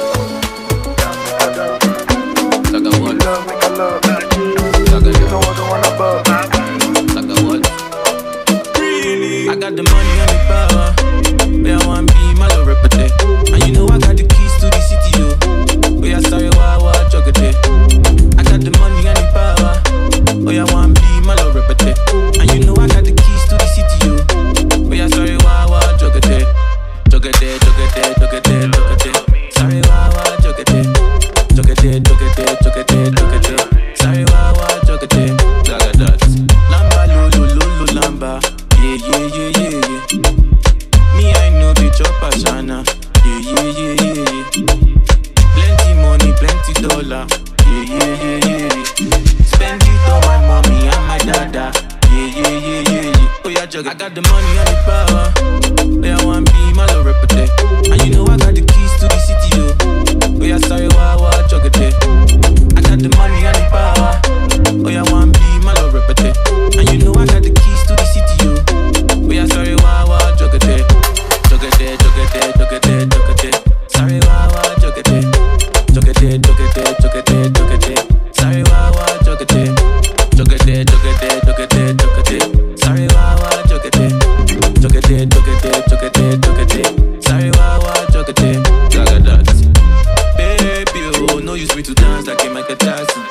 Speaker 12: I got the money and the power. Where I want be my love repete. And you know I got the keys to the city, yo. Where I sorry why chocolate. I got the money and the power. Where I want be my love repete. And you know I got the keys to the city, yo. Where I sorry why chocolate. Chocolate. Sorry why chocolate. Chocolate. Sorry why chocolate. Gaga dots. Lamba lulu lamba. Yeah. Me, I know the chopper, Shana. Yeah. Plenty money, plenty dollar. Yeah. Spend it on my mommy and my dada. Yeah. Oh, yeah, juggle. I got the money and the power. Where I want be my love repete. And you know I got the keys to the city, yo. Oh, yeah, sorry, why, chocolate. I got the money and the power. Oh, yeah, want be my love repete. And you know I got the keys to the city, yo. We are sorry, why, chocolate. Sorry, why, chocolate. Sorry, why, chocolate. Sorry, why, chocolate. Sorry, why, chocolate. Gaga dots. Baby, oh, no use me to dance like a Michael Jackson.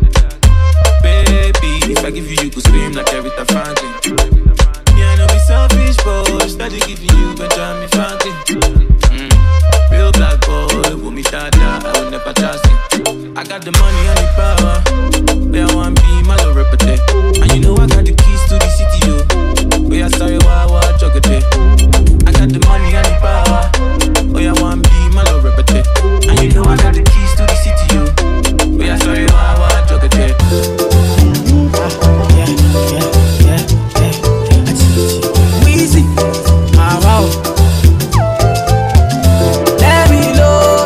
Speaker 12: Baby, if I give you, you could scream like Aretha Franklin. Yeah, I know be selfish, boy. Steady giving you Benjamin Franklin. Real black boy, with me dada, I will never trust him. I got the money and the power. Where I want be my love repete. And you know I got the keys to the city, yo. Where I sorry, why, chocolate. I got the money and the power. Where I want be my love repete. And you know I got the keys to the city, yo. Where I sorry, why, chocolate.
Speaker 14: Weezy, wow. Let me know,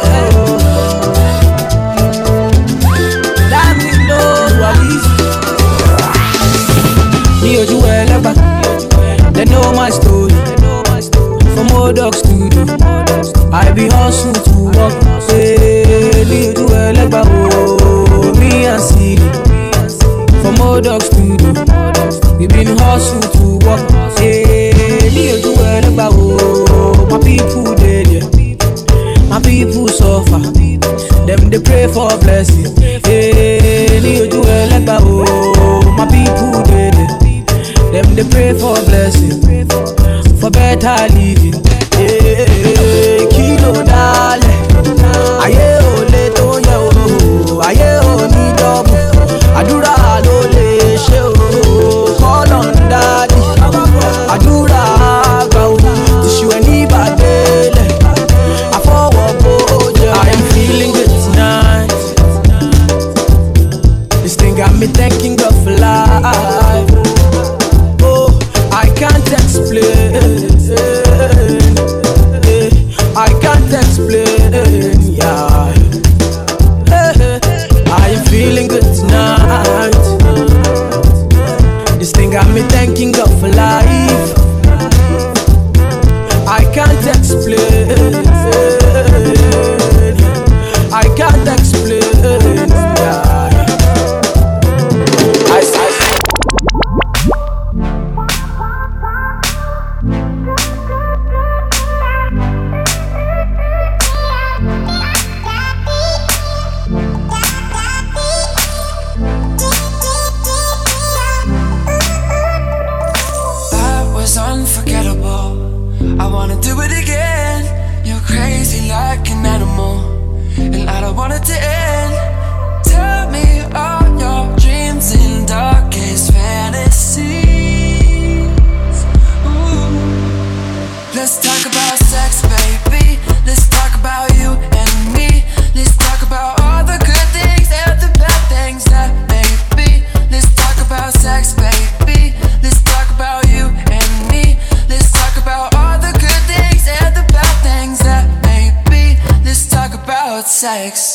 Speaker 14: they know my story. From old dog studio, I be hustle to work. Say, do oh, me and City. From old dog studio, we been hustle to work. Say, do oh, my people dead, yeah. My people suffer. Them they pray for blessing. Hey, do oh, my people dead, yeah. Them they pray for blessing, for better living. Yeah. me thanking God for life. I can't explain. I can't explain.
Speaker 6: That was unforgettable. I wanna do it again. You're crazy like an animal, and I don't want it to end. Tell me all your dreams and darkest fantasies. Ooh. Let's talk about sex, baby. Let's talk about you and me. Let's talk about all the good things and the bad things that may be. Let's talk about sex, baby. Let's talk about you and me. Let's talk about all the good things and the bad things that may be. Let's talk about sex.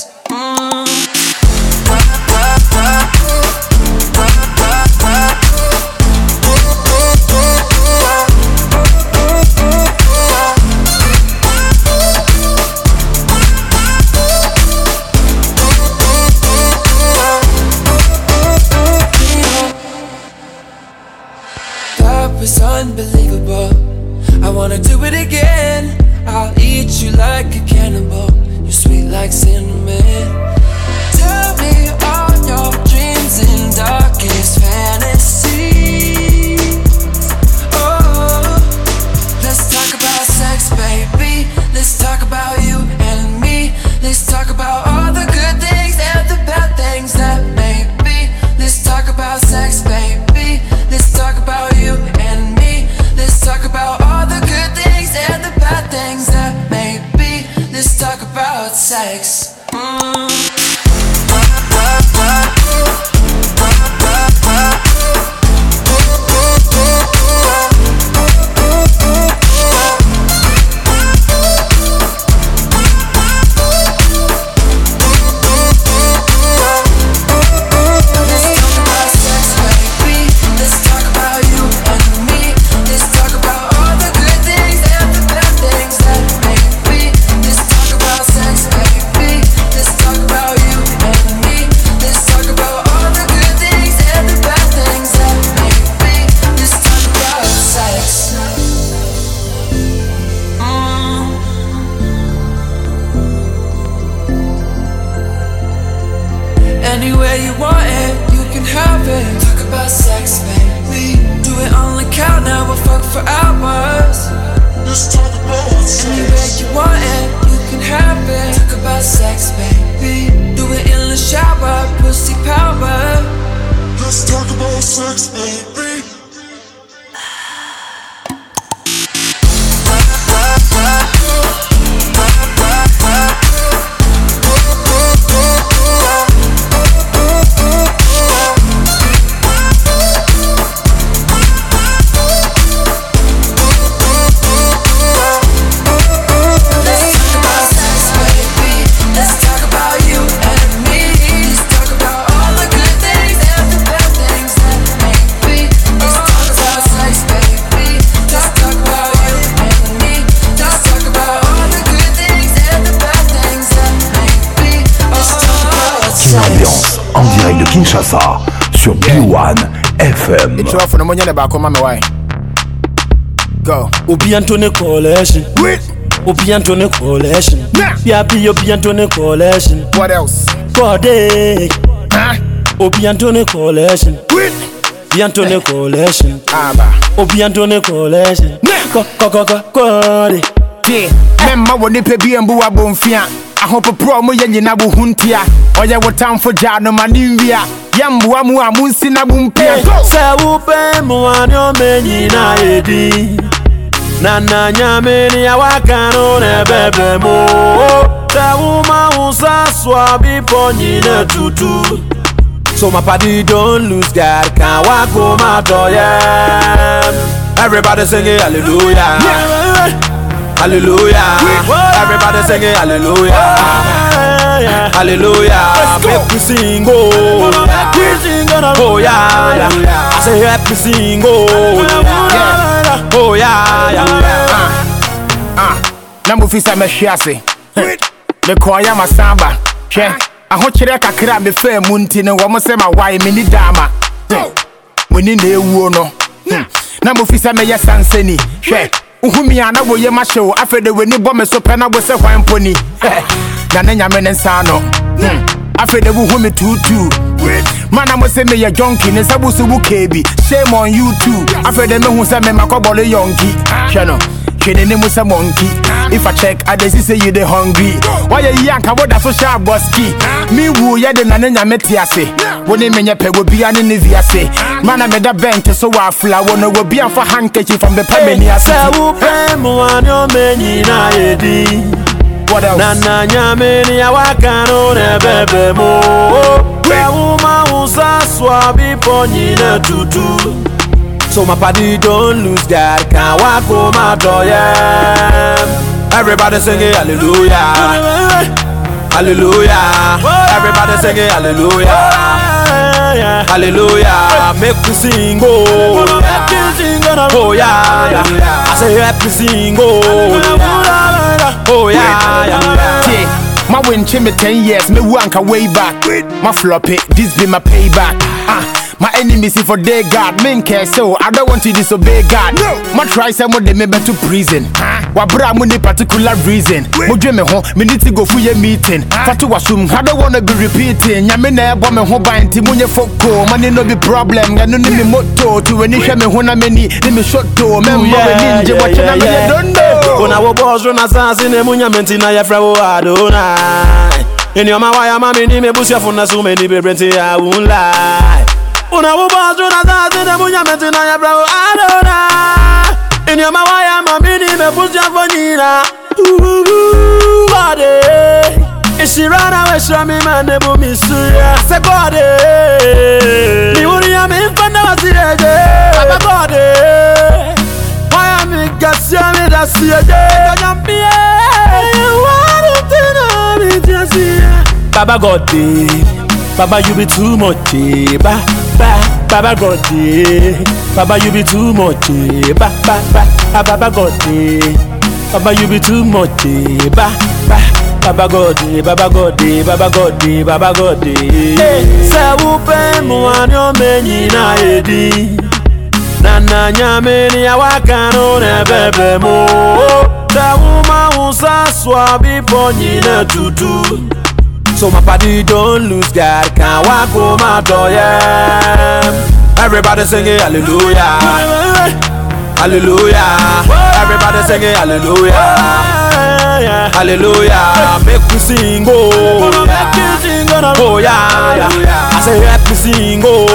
Speaker 6: That was unbelievable. I wanna do it again. I'll eat you like a cannibal. You're sweet like cinnamon. Tell me all your dreams and darkest fantasies. Oh, let's talk about sex, baby. Let's talk about you and me. Let's talk about all the good things and the bad things that may be. Let's talk about sex, baby. Let's talk about you and me. Let's talk about all the good things and the bad things that may be. Let's talk about sex. Anywhere you want it, you can have it. Talk about sex, baby. Do it on the count now, we'll fuck for hours. Let's talk about sex. Anywhere you want it, you can have it. Talk about sex, baby. Do it in the shower, pussy power. Let's talk about sex, baby.
Speaker 1: En direct de Kinshasa sur B1 FM.
Speaker 9: It's off for the money back on my way. Go.
Speaker 22: Obiantone Collection. Obiantone Collection. Yapi Obiantone Collection.
Speaker 9: What else?
Speaker 22: Code. Obiantone Collection. Obiantone Collection. Obiantone Collection. Code.
Speaker 9: Yeah. Memma woni pe bi embu abonfia. Ahopo pro mo yenye na bu huntia. Oye wo time for jano manivia. Yambu amu amunsi na bumpia.
Speaker 22: Se upe mo anyo menyi na edi. Nana nyameni ya wakano ne bebe mo. Se uma usa swabi ponyi ne tutu. So my party don't lose God, can't walk home out of everybody singing hallelujah. Hallelujah. Everybody singing hallelujah. Hallelujah. Make we sing, oh. gonna oh yeah, yeah. I say everything oh yeah, oh yeah.
Speaker 9: Namu fisa me shiase. Me kwaya masamba. Che. Ahokyere kakra me fa munti ne wo mo se ma wai me ni dama. Muni na ewu no. Na mo fisa me ye sanseni. Hwe. Uhumi ana wo ye ma hyew afede weni bo me so pe na bo se hwan poni. Na na nyame ne nsa no. Afede bu humi tutu. Mana mo se me ye junkie ne sabu su bu kebi. Shame on you too. Afede me hu se me makobole yonki. Hwe no. Kene musa monkey. If I check, I just say you the hungry. Why you yank about that social bossky? Me woo ya the nanya metiase. When they mean your peg will be an inviase. Man, I made a bench so I flower no will be for handkerchief from the Pemenia. What else?
Speaker 22: Nana nyameni ya wakano ne bebe mo. Uma usa swabi ponyine tutu. So my body don't lose God, can't walk home my door, yeah. Everybody singing hallelujah, hallelujah. Everybody singing hallelujah, hallelujah. Make me sing, oh yeah. I say happy sing, oh yeah.
Speaker 9: My win me 10 years, me wanka way back. My floppy, this be my payback. My enemies see for their God, men care so I don't want to disobey God. No, my try some of them to prison. Wabra muni particular reason. Mujwe me ho, me need to go for your meeting. Fatu wasum, I don't wanna be repeating. Yamene bomb me ho bind timunye foko. Money no be problem. Ganu ni me motto to any shame me hona many. Ni me shot to member ninja watch na me don't know.
Speaker 22: When I was boss run assassin e munya mentina ya fra wo adonai. In your mawaya mami ni me busia funa so many be brenti I won't lie. Una wubazu na zazi ne munya metina ya bravo adona. In your mawaya mamini me push ya fonina. Body. Ishi rana we shami mane bu misuya. Se body. Ni uri ya mi mfanda wasireje. Baba body. Waya mi gasya mi dasiyeje. Kajambie. Warutina mi jasiya. Baba Goddy. Baba, you be too much, Baba Goddy. Baba, you be too much, Baba Goddy. Baba, you be too much, Baba Goddy, Baba Goddy, Baba Goddy, Baba Goddy. Say upe mwanyo menyi na edi. Nana nyameni ya wakano ne bebe mo. Say uma usa swabi ponyine tutu. So my body don't lose God, can't walk home my door, yeah. Everybody singing hallelujah, hallelujah. Everybody singing hallelujah, hallelujah. Make me sing, oh yeah, I say happy sing, oh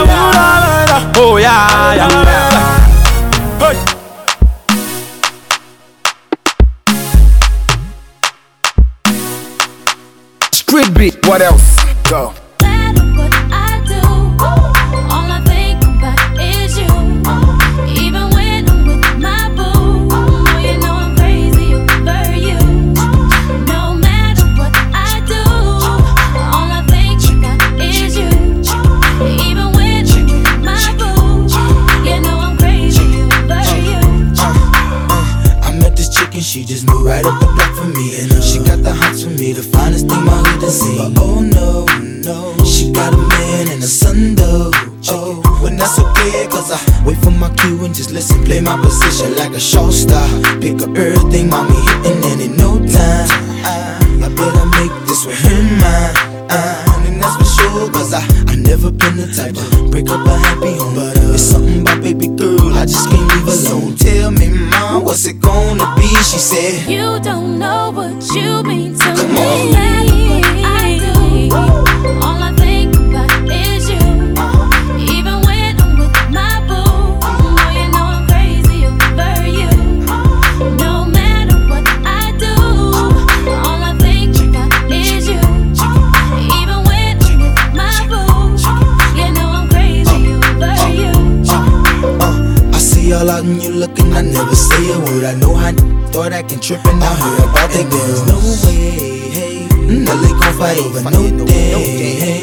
Speaker 22: yeah. Hey.
Speaker 9: Street beat, what else? Go.
Speaker 6: She just moved right up the block for me, and she got the hots for me, the finest thing my hood has seen. But oh no, no, she got a man and a son though. Oh, but that's okay, cause I wait for my cue and just listen, play my position like a show star. Pick up everything, mommy hitting, and in no time I better make this with him mine. And that's for sure, cause I never been the type to break up a happy home. But it's something about baby girl, I just can't leave alone. Tell me, mom, what's it gonna be? She said,
Speaker 19: you don't know what you mean to
Speaker 6: Come
Speaker 19: me.
Speaker 6: on.
Speaker 19: I do. All I think about is you. Even when I'm with my boo, oh, you know I'm crazy over you. No matter what I do, all I think about is you. Even when I'm with my boo, you know I'm crazy over you.
Speaker 6: I see all out and you looking, I never say a word. I know how thought I can trip and I heard about that. There's no way, hey, no, they gon' fight over no day, hey.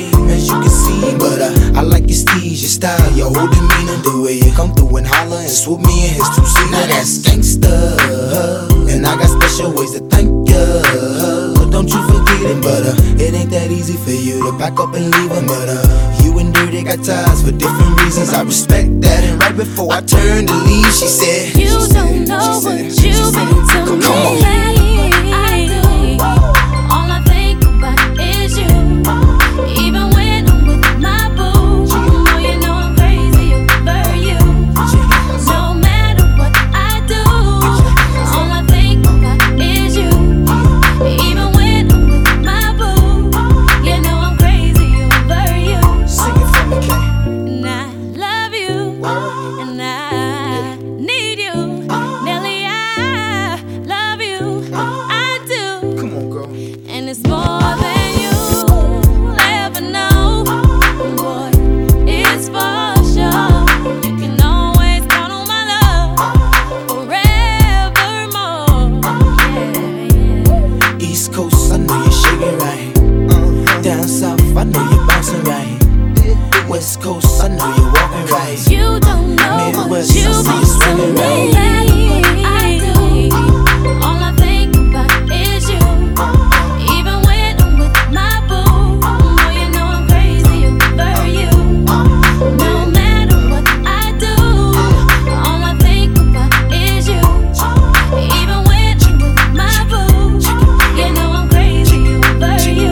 Speaker 6: as you can see. But I like your steez, your style, your whole demeanor, the way you come through and holler and swoop me in his two-seater. Now that's gangsta, and I got special ways to thank ya. Don't you forget it, but it ain't that easy for you to pack up and leave him. But you and Dirty got ties for different reasons. I respect that. And right before I turned to leave, she said,
Speaker 19: You don't know what you've been to me.
Speaker 6: Come on.
Speaker 19: I do. All I think about is you. Even when I'm with my boo, oh, you know I'm crazy over you. No matter what I do, all I think about is you. Even when I'm with my boo, you know I'm crazy over you.
Speaker 6: Sing it for me, Kay.
Speaker 19: And I love you, and I need you. Nelly, I love you, I do.
Speaker 6: Come on, girl.
Speaker 19: And it's more than you'll ever know. Boy, it's for sure. You can always count on my love forevermore. Yeah.
Speaker 6: East Coast, I know you're shaking right. Down south, I know you're bouncing right. West Coast, I know you're walking right.
Speaker 19: You don't know
Speaker 6: Midwest,
Speaker 19: what
Speaker 6: I
Speaker 19: you've
Speaker 6: see
Speaker 19: been
Speaker 6: you swinging
Speaker 19: to
Speaker 6: right.
Speaker 19: me. I do. All I think about is you. Even when I'm with my boo, oh, you know I'm crazy over you. No matter what I do, all I think about is you. Even when I'm with my boo, you know I'm crazy over you.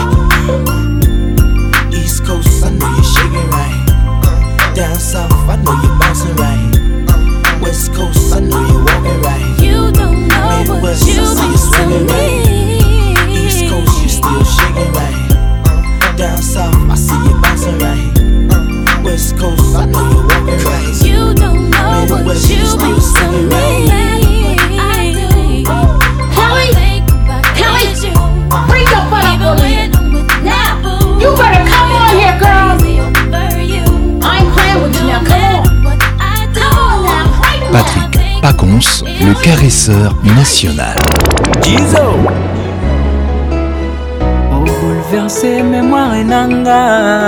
Speaker 6: East Coast, I know you're shaking right. Down south, I know you're bouncing right. West Coast, I know you're walking right.
Speaker 19: You don't know what
Speaker 6: Midwest, I
Speaker 19: you've
Speaker 6: see you
Speaker 19: been to
Speaker 6: swinging right. East
Speaker 19: me.
Speaker 6: Coast, you still shaking right. Down south, I see you bouncing right. West Coast, I know you're walking right.
Speaker 19: You don't know what
Speaker 6: Midwest, you
Speaker 19: you've
Speaker 6: still
Speaker 19: been to
Speaker 6: swinging
Speaker 19: me.
Speaker 6: right.
Speaker 19: I do. All I think about is you.
Speaker 2: Bring your butt up
Speaker 19: Even
Speaker 2: over here.
Speaker 19: when I'm with my boo,
Speaker 2: You better come on here, girl.
Speaker 19: crazy over you.
Speaker 2: I ain't playing with you now. Come on.
Speaker 19: What I do.
Speaker 1: Patrick Pacons, le caresseur national.
Speaker 14: Gizo obouleverse mémoire nanga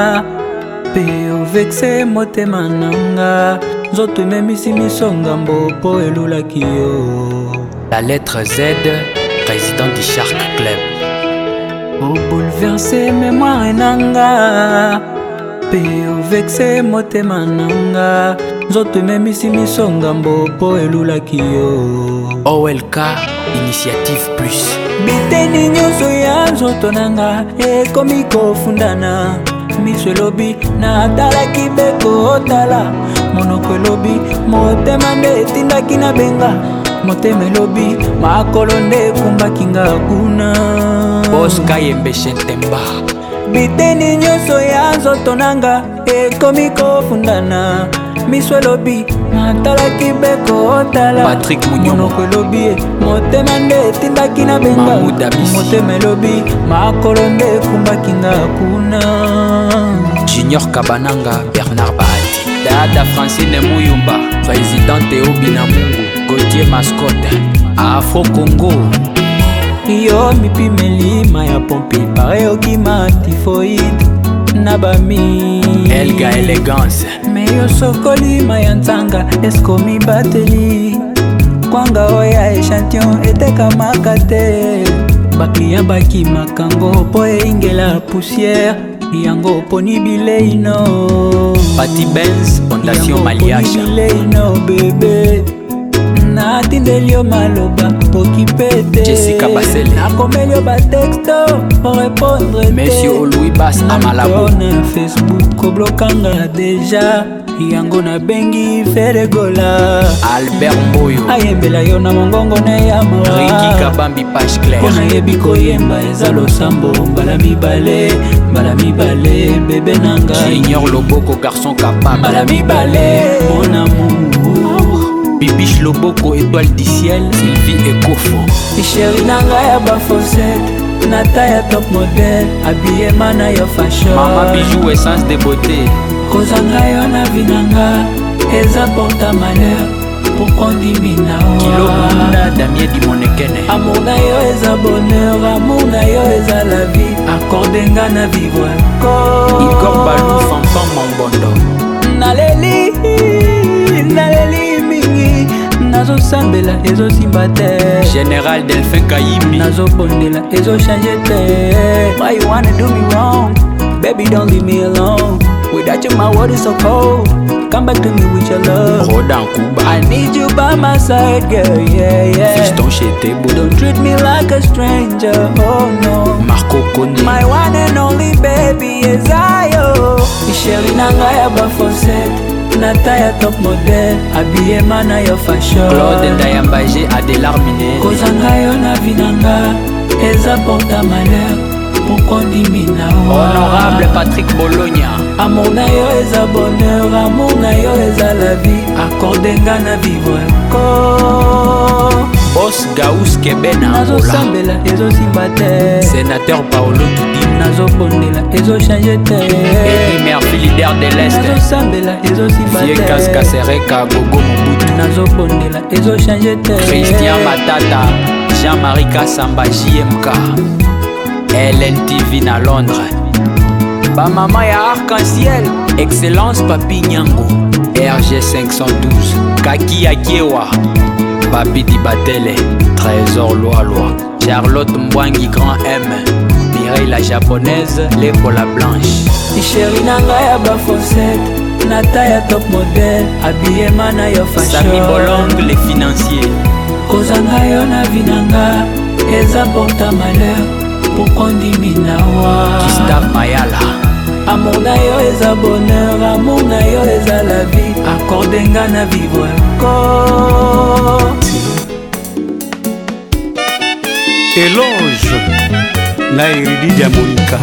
Speaker 14: pe ovexe motema nanga nzoto ememisi miso ngambo po elulaki yo.
Speaker 21: La lettre Z, président du Shark Club.
Speaker 14: obouleverse mémoire nanga pe ovexe motema nanga nzoto ememisi miso ngambo po elulaki yo.
Speaker 21: OLK, Initiative Plus.
Speaker 14: biteni nyonso ya nzoto nanga ekomi kofundana miso elobi natalaki beko otala monoko elobi motema nde etindaki na benga motema elobi makolo nde ekumbaki nga kuna
Speaker 21: Oscar Yembeshe Ntemba.
Speaker 14: biteni nyonso ya nzoto nanga ekomi kofundana miso elobi natalaki beko otala
Speaker 21: Patrick Munyoma.
Speaker 14: monoko elobi motema nde etindaki na benga
Speaker 21: Mahmoud Abissi.
Speaker 14: motema elobi makolo nde ekumbaki nga kuna
Speaker 21: Junior Kabananga, Bernard Bahati. Dada Francine Mouyumba, présidente Obina Mungu. Gauthier Mascotte, Afro Congo.
Speaker 14: yo mipimelima ya pompi pare okima tifoide na bami
Speaker 21: Elga Elegance.
Speaker 14: me yo sokolima ya nzanga eskomi bateli kwanga oya echantillon etekamaka te bakliya bakimakango mpo eingela poussière yango poni bileino
Speaker 21: Pati Benz, Fondation Maliacha.
Speaker 14: bileino bebe natindeli yo maloba okipete
Speaker 21: Jessica Basele.
Speaker 14: nakomeli yo batexto orepondre
Speaker 21: Monsieur Louis Bass Amalabo.
Speaker 14: na Facebook oblokanga deja yango nabengi feregola
Speaker 21: Albert Mboyo.
Speaker 14: ayembela yo na mongongo ne ya mawa
Speaker 21: Ricky Kabambi Page Claire.
Speaker 14: mpo nayebi koyemba eza losambo mbala mibale bebe nanga
Speaker 21: Junior Loboko, garçon capable.
Speaker 14: mbala mibale mon amour
Speaker 21: Bibiche Loboko, étoile du ciel. Sylvie Ekofo.
Speaker 14: isheri nanga ya bafosete nata ya top model abiyema na yo fashion
Speaker 21: Mama Bijou, essence de beauté.
Speaker 14: kozanga yo na vi nanga eza porta malheur pourquoi ondimi na
Speaker 21: Kilo Munda, Damien Dimonekene.
Speaker 14: amour na yo eza bonheur amour na yo eza la vie accordenga na vivre
Speaker 21: Igor Balou Fanfan Mambondo
Speaker 14: naleli mingi nazosambela ezosimba te
Speaker 21: Général Delphin Kayimbi
Speaker 14: nazobondela ezochange te. Why you wanna do me wrong? Baby don't leave me alone. Without you my world is so cold. Come back to me with your love.
Speaker 21: Rodan Kuba
Speaker 14: I need you by my side, girl, yeah.
Speaker 21: Fiston Chetebo
Speaker 14: Don't treat me like a stranger, oh no.
Speaker 21: Marco Kone
Speaker 14: My one and only baby is I, oh. Chérie nanga ya bafosette Nata ya top model Habillé mana yo fashion
Speaker 21: Claude Ndayambaje Adélar Miné
Speaker 14: Kozanga yo na vinanga Eza porta malheur Mokondimi na wa
Speaker 21: Honorable Patrick Bologna
Speaker 14: Amour na yo eza bonheur Amour na yo eza la vie Accordenga na vivre
Speaker 21: Boss Gaous Kebena
Speaker 14: nazosambela ezosimba te.
Speaker 21: Sénateur Paolo Tudim
Speaker 14: nazobondela ezochange te.
Speaker 21: Edimer leader de l'Est
Speaker 14: nazosambela ezosimba te.
Speaker 21: Fiekas Kasereka Gogo Mobutu
Speaker 14: nazobondela ezochange te.
Speaker 21: Christian Matata Jean-Marie Kassamba JMK LNTV na Londres Bamama ya Arc-en-Ciel Excellence Papi Nyango RG 512 Kaki Akiewa Papi Dibatele Trésor Loa Charlotte Mbwangi Grand M Mireille la japonaise L'épaule blanche
Speaker 14: Chérie nanga ya bafosette Nata ya top model Habillé mana yo fashion
Speaker 21: Sami Bolong les financiers
Speaker 14: Kozanga yo na vinanga Eza porta malheur Pokondimi na wa
Speaker 21: Gustave Mayala
Speaker 14: Amour na yo eza bonheur Amour na yo eza la vie Accordenga na vivre
Speaker 3: Éloge na Eridi Diamonika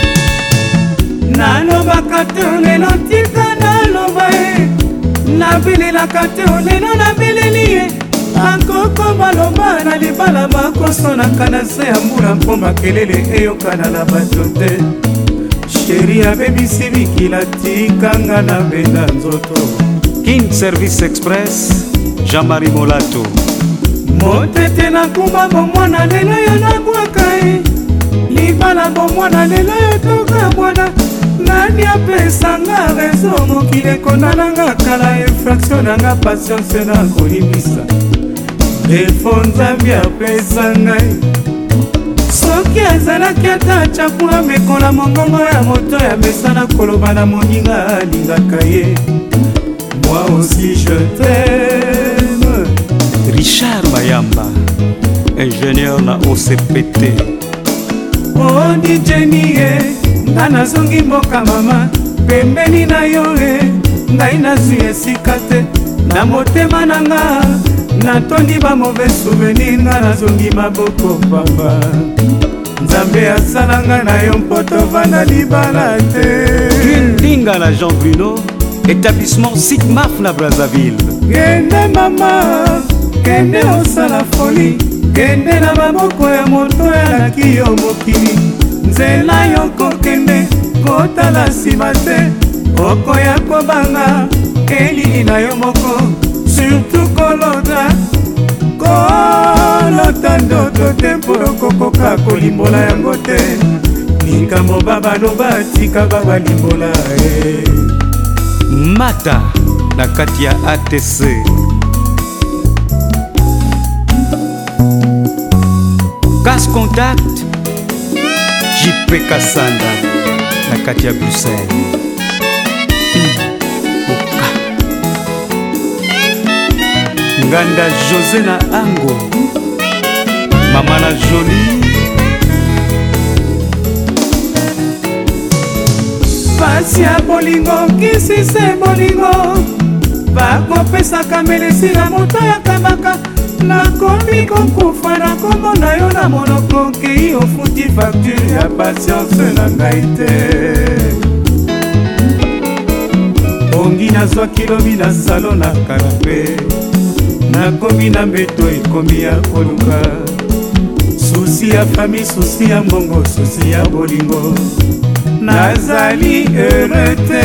Speaker 17: nalobaka te lelo tika naloba ye nabelelaka te lelo nabeleli ye akoko baloba na libala bakosonaka na se ya mbula mpo makelele eyokana na bato te sheri abebisi bikila tikanga na benda nzoto
Speaker 3: King Service Express Jean-Marie Molato
Speaker 17: motete nakumba bomwana lelo yo nabwaka ye libala bomwana lelo yo toka bwana nani apesanga rezo mokili ekondalanga kala infraction nanga patience na kolibisa defo nzambi apesa ngai soki azalaki ata chakula mekola mongongo ya moto ya mesana koloba na moninga alingaka ye moi aussi je t'aime.
Speaker 3: Richard Mayamba ingénieur na OCPT
Speaker 17: oh dijeni ye nga nazongi mboka mama pembeni na yo e ngai nazwi esika te na motema na nga natondi ba mauvais souvenir nga nazongi maboko papa nzambe asalanga na yo mpo tovanda libala te
Speaker 3: Ndinga na Jean Bruno établissement Sigmaf na Brazzaville
Speaker 17: kende mama kende osala foli kende na maboko ya moto yalaki yo mokili nzela yo kokende kotala nsima te okoya kobanga elili na yo moko surtout kolota ndoto te mpo okokoka kolimbola yango te likambo babaloba tika babalimbola
Speaker 3: Mata na kati ya ATC Gas Contact JP Kassanda na kati ya Bruxelles Nganda José na Ango Mama na Jolie
Speaker 17: pasi ya bolingo kisi se bolingo bakopesaka melesi na moto ya kabaka nakomi kokufa na kombo na yo na monoko kei ofuti facture ya patience na ngai te bongi nazwaki lobi na salo na kanape nakomi na mbeto ekomi ya koluka susi ya fami susi ya mbongo susi ya bolingo nazali heureux te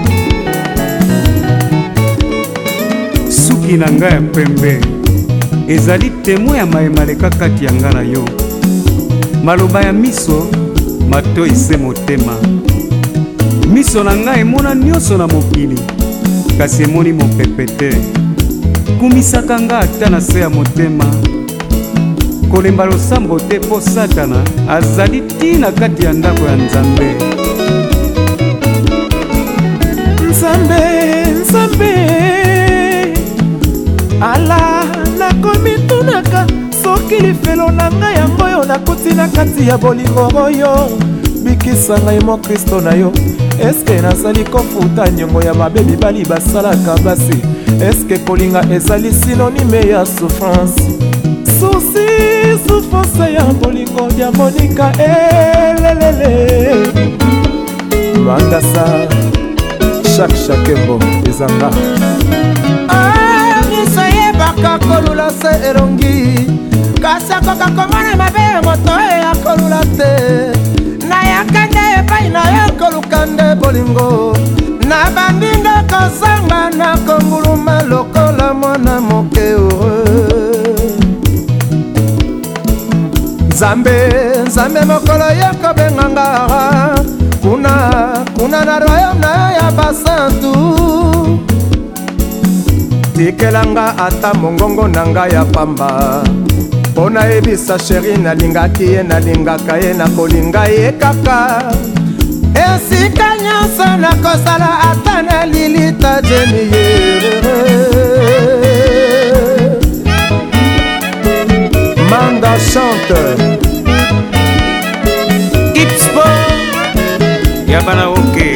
Speaker 3: suki na ngai ya pembe ezali témoin ya mayemaleka kati ya nga na yo. Maloba ya miso mato ese motema. Miso na ngai emona nyonso na mokili, kasi emoni mopepe te. Kumisaka nga ata na se ya motema. Kolemba losambo te mpo Satana azali tina kati ya ndako ya Nzambe.
Speaker 5: Nzambe, Nzambe, ala nakomi tunaka soki lifelo na ngai yango oyo nakuti na kati ya bolingo oyo. Bikisa ngai mo Kristo na yo. Eske nazali kofuta nyongo ya mabe mibali basalaka basi? Eske kolinga ezali synonyme ya souffrance? Souci, souffrance ya bolingo ya Monika elelele. Mandasa Shakembo ezanga. Miso yebaka kolula se erongi, kasi akoka komona mabe moto ya kolula te. Nayakande epai na yo koluka nde bolingo, na bandinga kozanga na konguluma lokola mwana moke heureux. Nzambe, Nzambe mokolo yekobenganga kuna na royaume na ya basantu. Tikelanga ata mongongo na ngai ya pamba, mpo nayebisa sheri nalingaki ye nalingaka ye nakolinga ye kaka. Esika nyonso nakosala ata na lilita jeni ye. Manda chante
Speaker 3: Ipspo Yabana oke.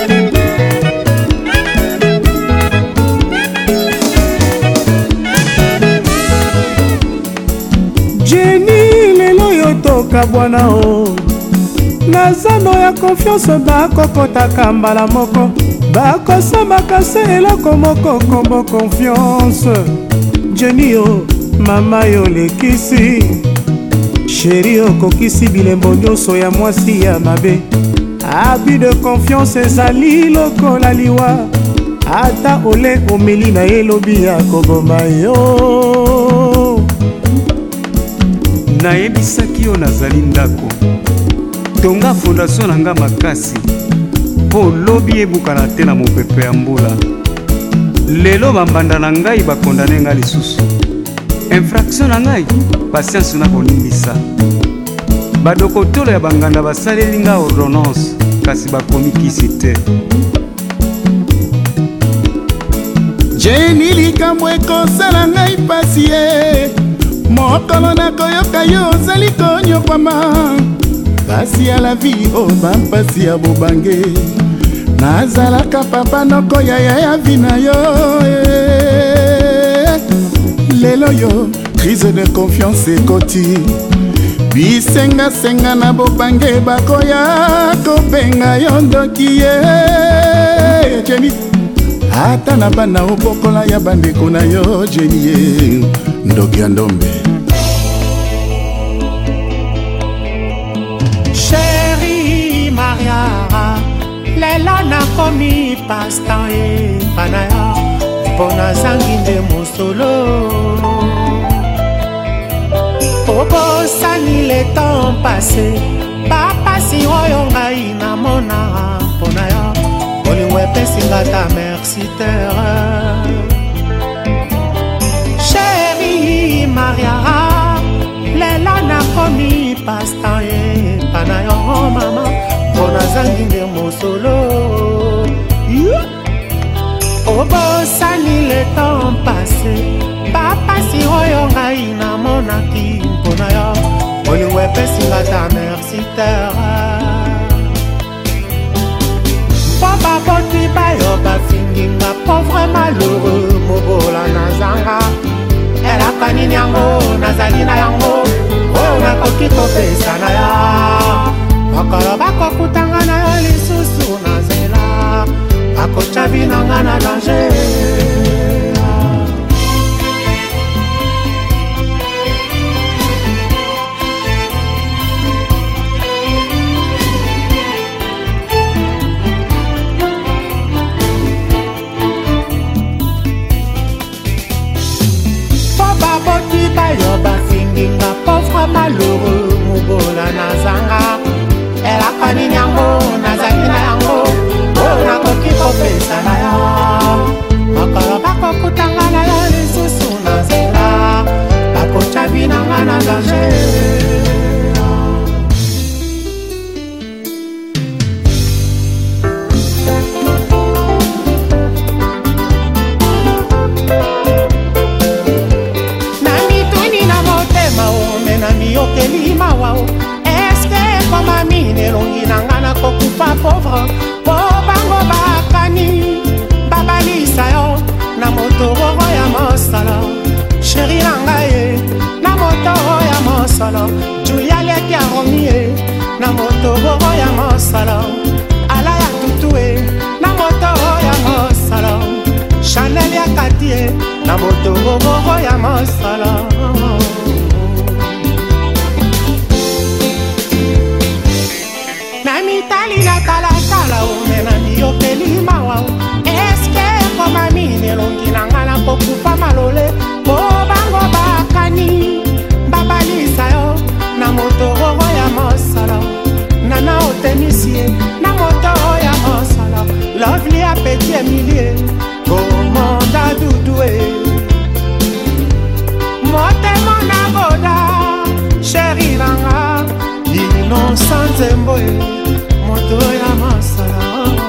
Speaker 17: Jenny lelo yo toka bwana o. Nazano ya confiance bakokotaka mbala moko, bakosambaka se eloko moko kombo confiance. Jenny o, mama yo lekisi, sheri okokisi bilembo nyonso ya mwasi ya mabe. Abus de confiance ezali lokola liwa, ata ole omeli na elobi ya koboma yo.
Speaker 3: Nayebisaki yo nazali ndako, tonga fondation na nga makasi, mpo lobi ebukana te na mopepe ya mbula. Lelo bambanda na ngai bakondane nga lisusu. Infraction na ngai patience na kolimbisa. Badokotolo ya banganda basaleli nga ordonnance, kasi bakomi kisi te.
Speaker 7: Jenny likambo ekosala ngai pasi ye, mokolo nakoyoka yo ozali konyokwama. Pasi ya la vie o bampasi ya bobange, nazalaka papa noko yaya ya vi na yo. Lelo yo crise de confiance ekoti, bisenga na bobange bakoya kobenga yo ndoki ye. Jenny ata na bana obokola ya bandeko na yo Jenny ye ndoki ya ndombe.
Speaker 5: Chérie Maria, lelo nakomi pasta epa na yo, mpo nazangi nde mosolo. Obosani le temps passé, bapasi oyo ngai namona mpo na yo, bolingo epesinga ta merci terre. Chérie Maria, lelo nakomi pasta epa na yo mama, mpo nazangi nde mosolo. Obosani le temps passé, bapasi oyo ngai namonaki mpo na yo, bolingo epesinga ta merci terre. Mpo baboti bayo bafinginga pauvre malheureux mobola nazanga. Elaka nini yango nazali na yango, oyo nakoki kopesa na yo. Mokolo bakokutanga na yo lisusu na nzela, bakotya binanga na danger.
Speaker 15: malheureux mobola nazanga elaka nini yango nazali na yango oyo nakoki kopesa na yo makolo bakokutanga na yo lisusu na nzela bakotya binanga na danger. Yokeli mawao eske koma mine longi nanga na kokufa pauvre po bango bakani babalisa yo na motoro ya mosala sheri nanga ye na motoro ya mosala Julia leki ya romie na motoro ya mosala ala ya tutue na motoro ya mosala Chanel ya katie na motoro ya mosala mitali na talatala omena miyokeli mawao eske koma mine longi nanga na kokufa malole po bango bakani babalisa yo na motoro ya mosala nana otemisie na motoro ya mosala lovely a petit emilie komanda dudue motemo na boda sheri nanga innocent zemboe moto ya masala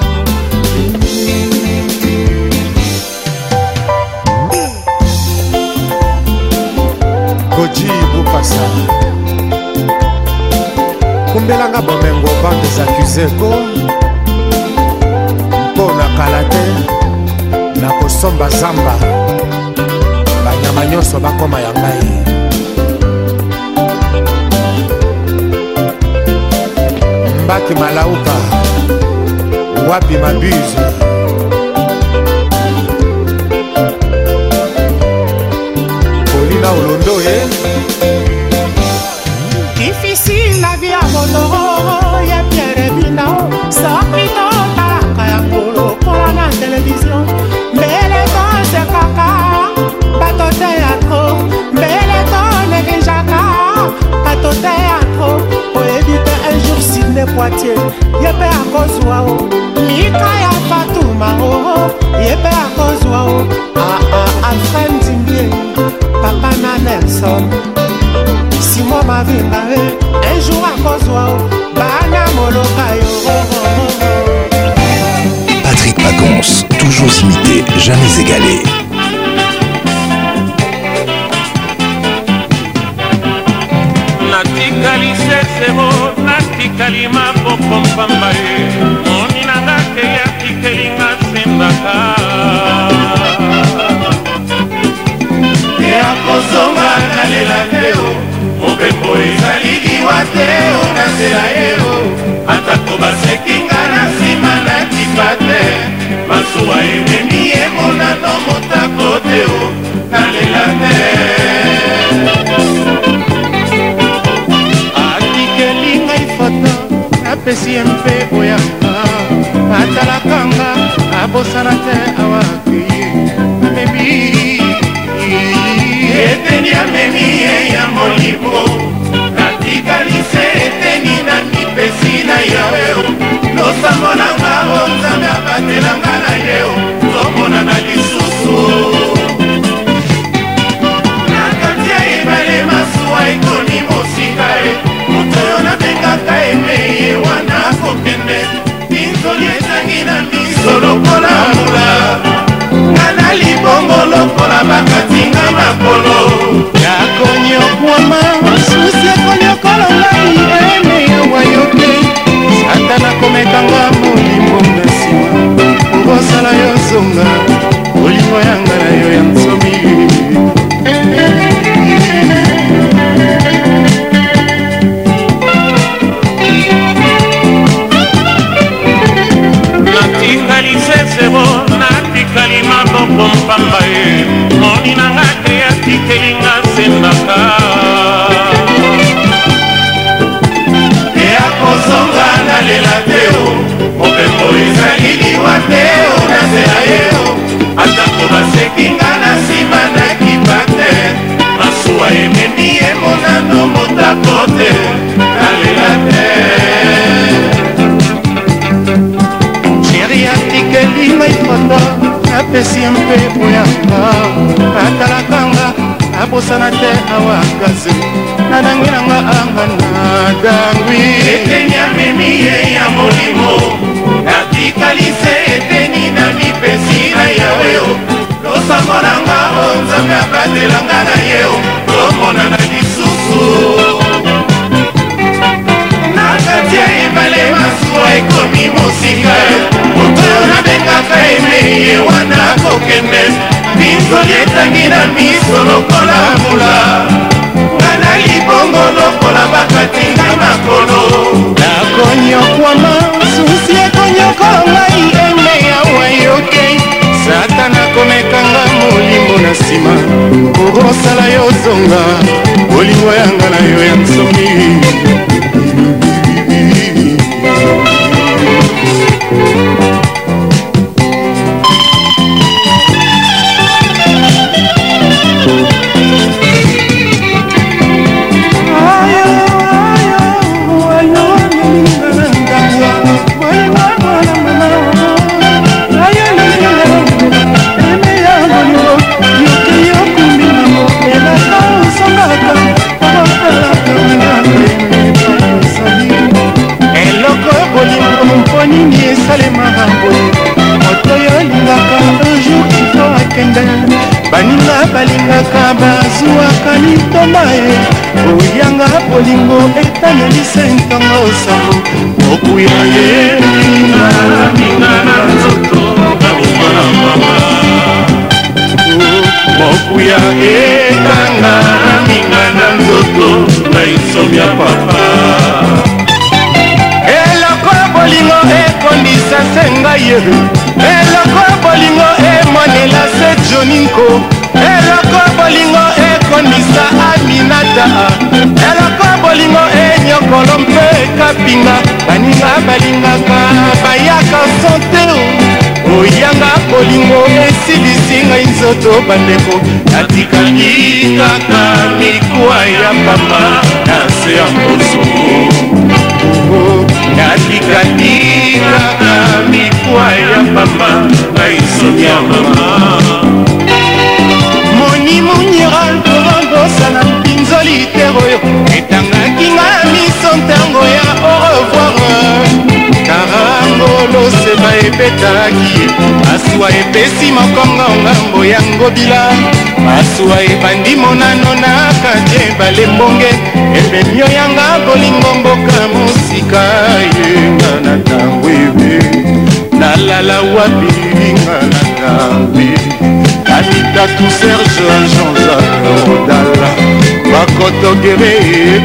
Speaker 5: Koji Bukasa kumbelanga bomengo bande zakuzeko mpo na kala te na kosomba zamba banyama nyonso bakoma ya ngai Mbaki malauka wapi mabuse Polina Olondo
Speaker 15: difficile la vie à Bonoro ya Pierre Binao sorprito talaka ya ngolo kwa na télévision mbele to se kaka bato théâtre mbele to negejaka bato théâtre pour éviter un jour Sidney Poitier yepe akozwa o Mika ya Fatuma o yepe akozwa o Alfred Ndimbie papa na Nelson Simon Mavinga un jour akozwa o bana moloka yo
Speaker 1: Patrick Pacons, toujours imité, jamais égalé.
Speaker 16: Natikali sesebo, natikali mapopompamba ye moni nanga ke ya tikelinga sembaka
Speaker 6: ya kozonga nalela te o mobembo ezali liwa te o na nzela ye o atako basekinga na nsima nakipa te masuwa ememi emonano motako te o nalela te
Speaker 15: apesi ye mpe oyanga atalakanga abosana te awakeye amebi
Speaker 6: eteni amemi ye ya molimo natikalise eteni na mipesi na yawe losambo nanga o nzambe abatelanga na ye o tomonana lisusu na kati ya ebale masuwa ekoni mosika e moto oyo nabengaka emeye wana kokende minzoli ezangi na miso lokola mula nga na libongo lokola bakatinga makolo
Speaker 15: yakonyokwama susi ekonyokolo ngai emeya wayo te satana komekanga molimo na nsima okosala yo zonga olingo yanga na yo ya nsomi
Speaker 16: natikali sesebo natikali mapopompamba ye moni nanga te ya tikelinga sembaka
Speaker 6: ya kozonga nalela te o mobembo ezali liwa te o na nzela ye o
Speaker 8: mondo apesi mpepo yanga atalakanga abosana te awakaze nadangwi nanga anga nadangwi eteni amemi ye ya molimo natikalise eteni na mipesi na yaweo losango nanga o nzambe abatelanga na yeo tomonana lisusu nakati ya ebale masuwa ekomi mosika moto oyo nabengaka emeye wana kokende minzoli etangi na miso lokola mbula nga na libongo lokola bakati na makolo nakonyokwama susi ekonyokola ngai eme yawa yoke satana komekanga molimo na nsima kokosala yo zonga bolingo yanga na yo ya nsomi nini esalemaka boye moto oyo alingaka unjour kifo akende baninga balingaka bazwaka litoma ye oyanga bolingo etalelisa ntongo osango mokuya ye minga na nzoto babomana mama mokuya ekanga minga na nzoto na insomia papa bolingo ekondisa se ngai ye eloko bolingo emonela se joninko eloko bolingo ekondisa aminata eloko bolingo enyokolo mpe kapinga baninga balingaka bayaka sante oyanga bolingo esilisi ngai nzoto bandeko natikaki kaka mikuwa ya pamba na se ya mposo natikaki kaka mikuwa ya pamba na isomi ya mama moni muniral korondosana mpinzoli te oyo etangaki nga miso ntango ya au revoir karangolo seba ebetaki masuwa epesi mokongo ngambo ya ngobila masuwa ebandi monano na kati ebale mbonge ebemio yanga bolingo mboka mosika yenga na ntango ebe nalala wapi nga na ntambi anitatu serge jean-jacques rodala bakotogere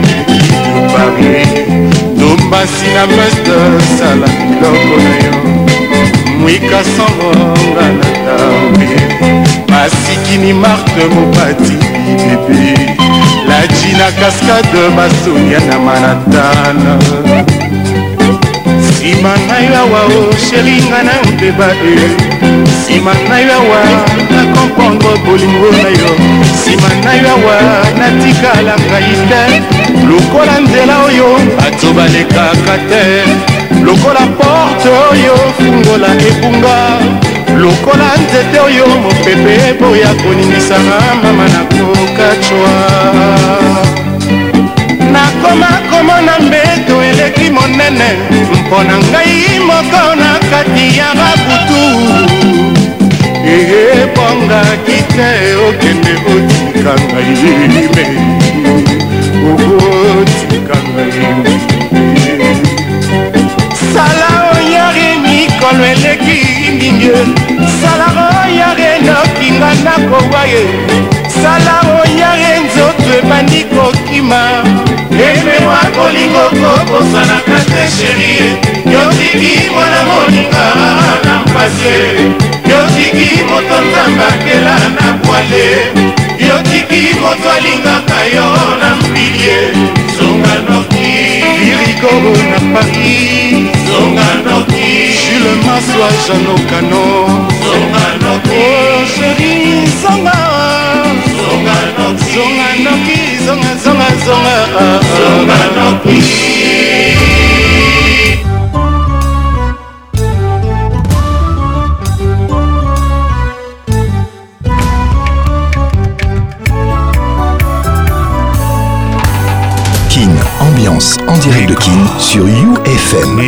Speaker 8: paris dombasi na meste sala biloko na yo mwika sangonga na ntambi masikini marte mopati bebe laji na cascade basonia na manatana nsima na yo awa o sheringa na mpeba e nsima na yo awa nakomprendre bolingo na yo nsima na yo awa natikala ngai te lokola nzela oyo bato balekaka te lokola porte oyo fungola ebunga lokola nzete oyo mopepe boya koningisaka mama nakokacwa nakoma komona mbeto eleki monene mpo na ngai moko na kati ya babutu ebongaki te okende otika ngai me okotika ngai sala oyari mikolo eleki mingi sala oyari nokinga nakowa ye sala oyari nzoto ebandi kokima emewa kolingo kokosanaka te sherie yotiki mwana moninga na mpase yotiki moto nzambe akela na bwale yotiki moto alingaka yo na mpilie zonga noki irikoro na paris zonga noki jules maswa janokano zonga noki oh sheri zonga zonga noki zonga noki zonga zonga zonga zonga noki
Speaker 1: Vacances en direct de Kin sur UFM.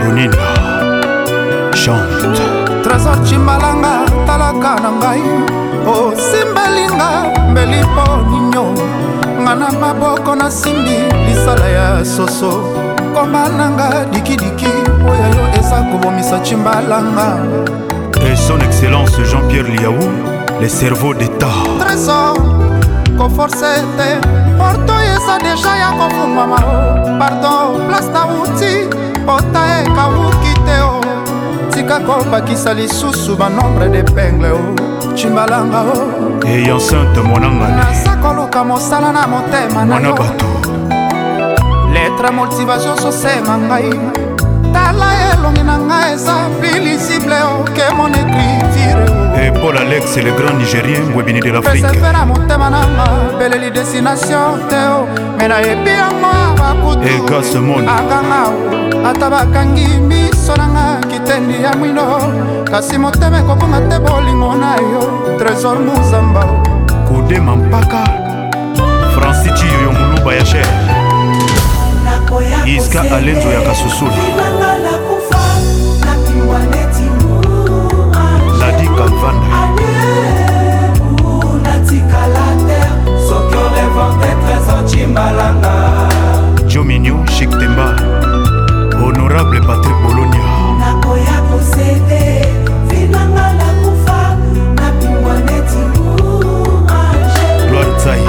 Speaker 7: Chante. Trésor Chimbalanga, talaka na ngai. O simbalinga, mbelipo ninyo. Ngana maboko na simbi, lisala ya soso. Komananga, diki diki, oyayo esa kobomisa Chimbalanga.
Speaker 22: Et son excellence Jean-Pierre Liaou, les cerveaux d'État.
Speaker 7: Trésor, koforcete, porto esa deja ya kofumama. Pardon, place na uti, pota e kawukite o. Tika kopakisa lisusu banombre d'épingle o. Chimbalanga o.
Speaker 22: Et enceinte monangane.
Speaker 7: Nasakoluka mosala na motema na yo. Lettre motivation sosema ngai. Tala elongi na ngai eza plus lisible o que mon écriture.
Speaker 22: Et Paul Alex, le grand Nigérien, webini de l'Afrique.
Speaker 7: Persevera motema nanga, beleli destination teo. Mena ebi yango abakutu.
Speaker 22: Et Gas Monde.
Speaker 7: Akanga o, ata bakangi miso nanga kitendi ya mwino. Kasi motema ekokonga te bolingo na yo. Trésor Muzamba o.
Speaker 22: Kode Mampaka, Francis Chiyo Muluba ya Cher. Iska Alenzo ya Kasusula. Ladi Kalvanda. Joe Mignon, Chic Temba. Honorable Patrick Bologna. Gloire Tsaï.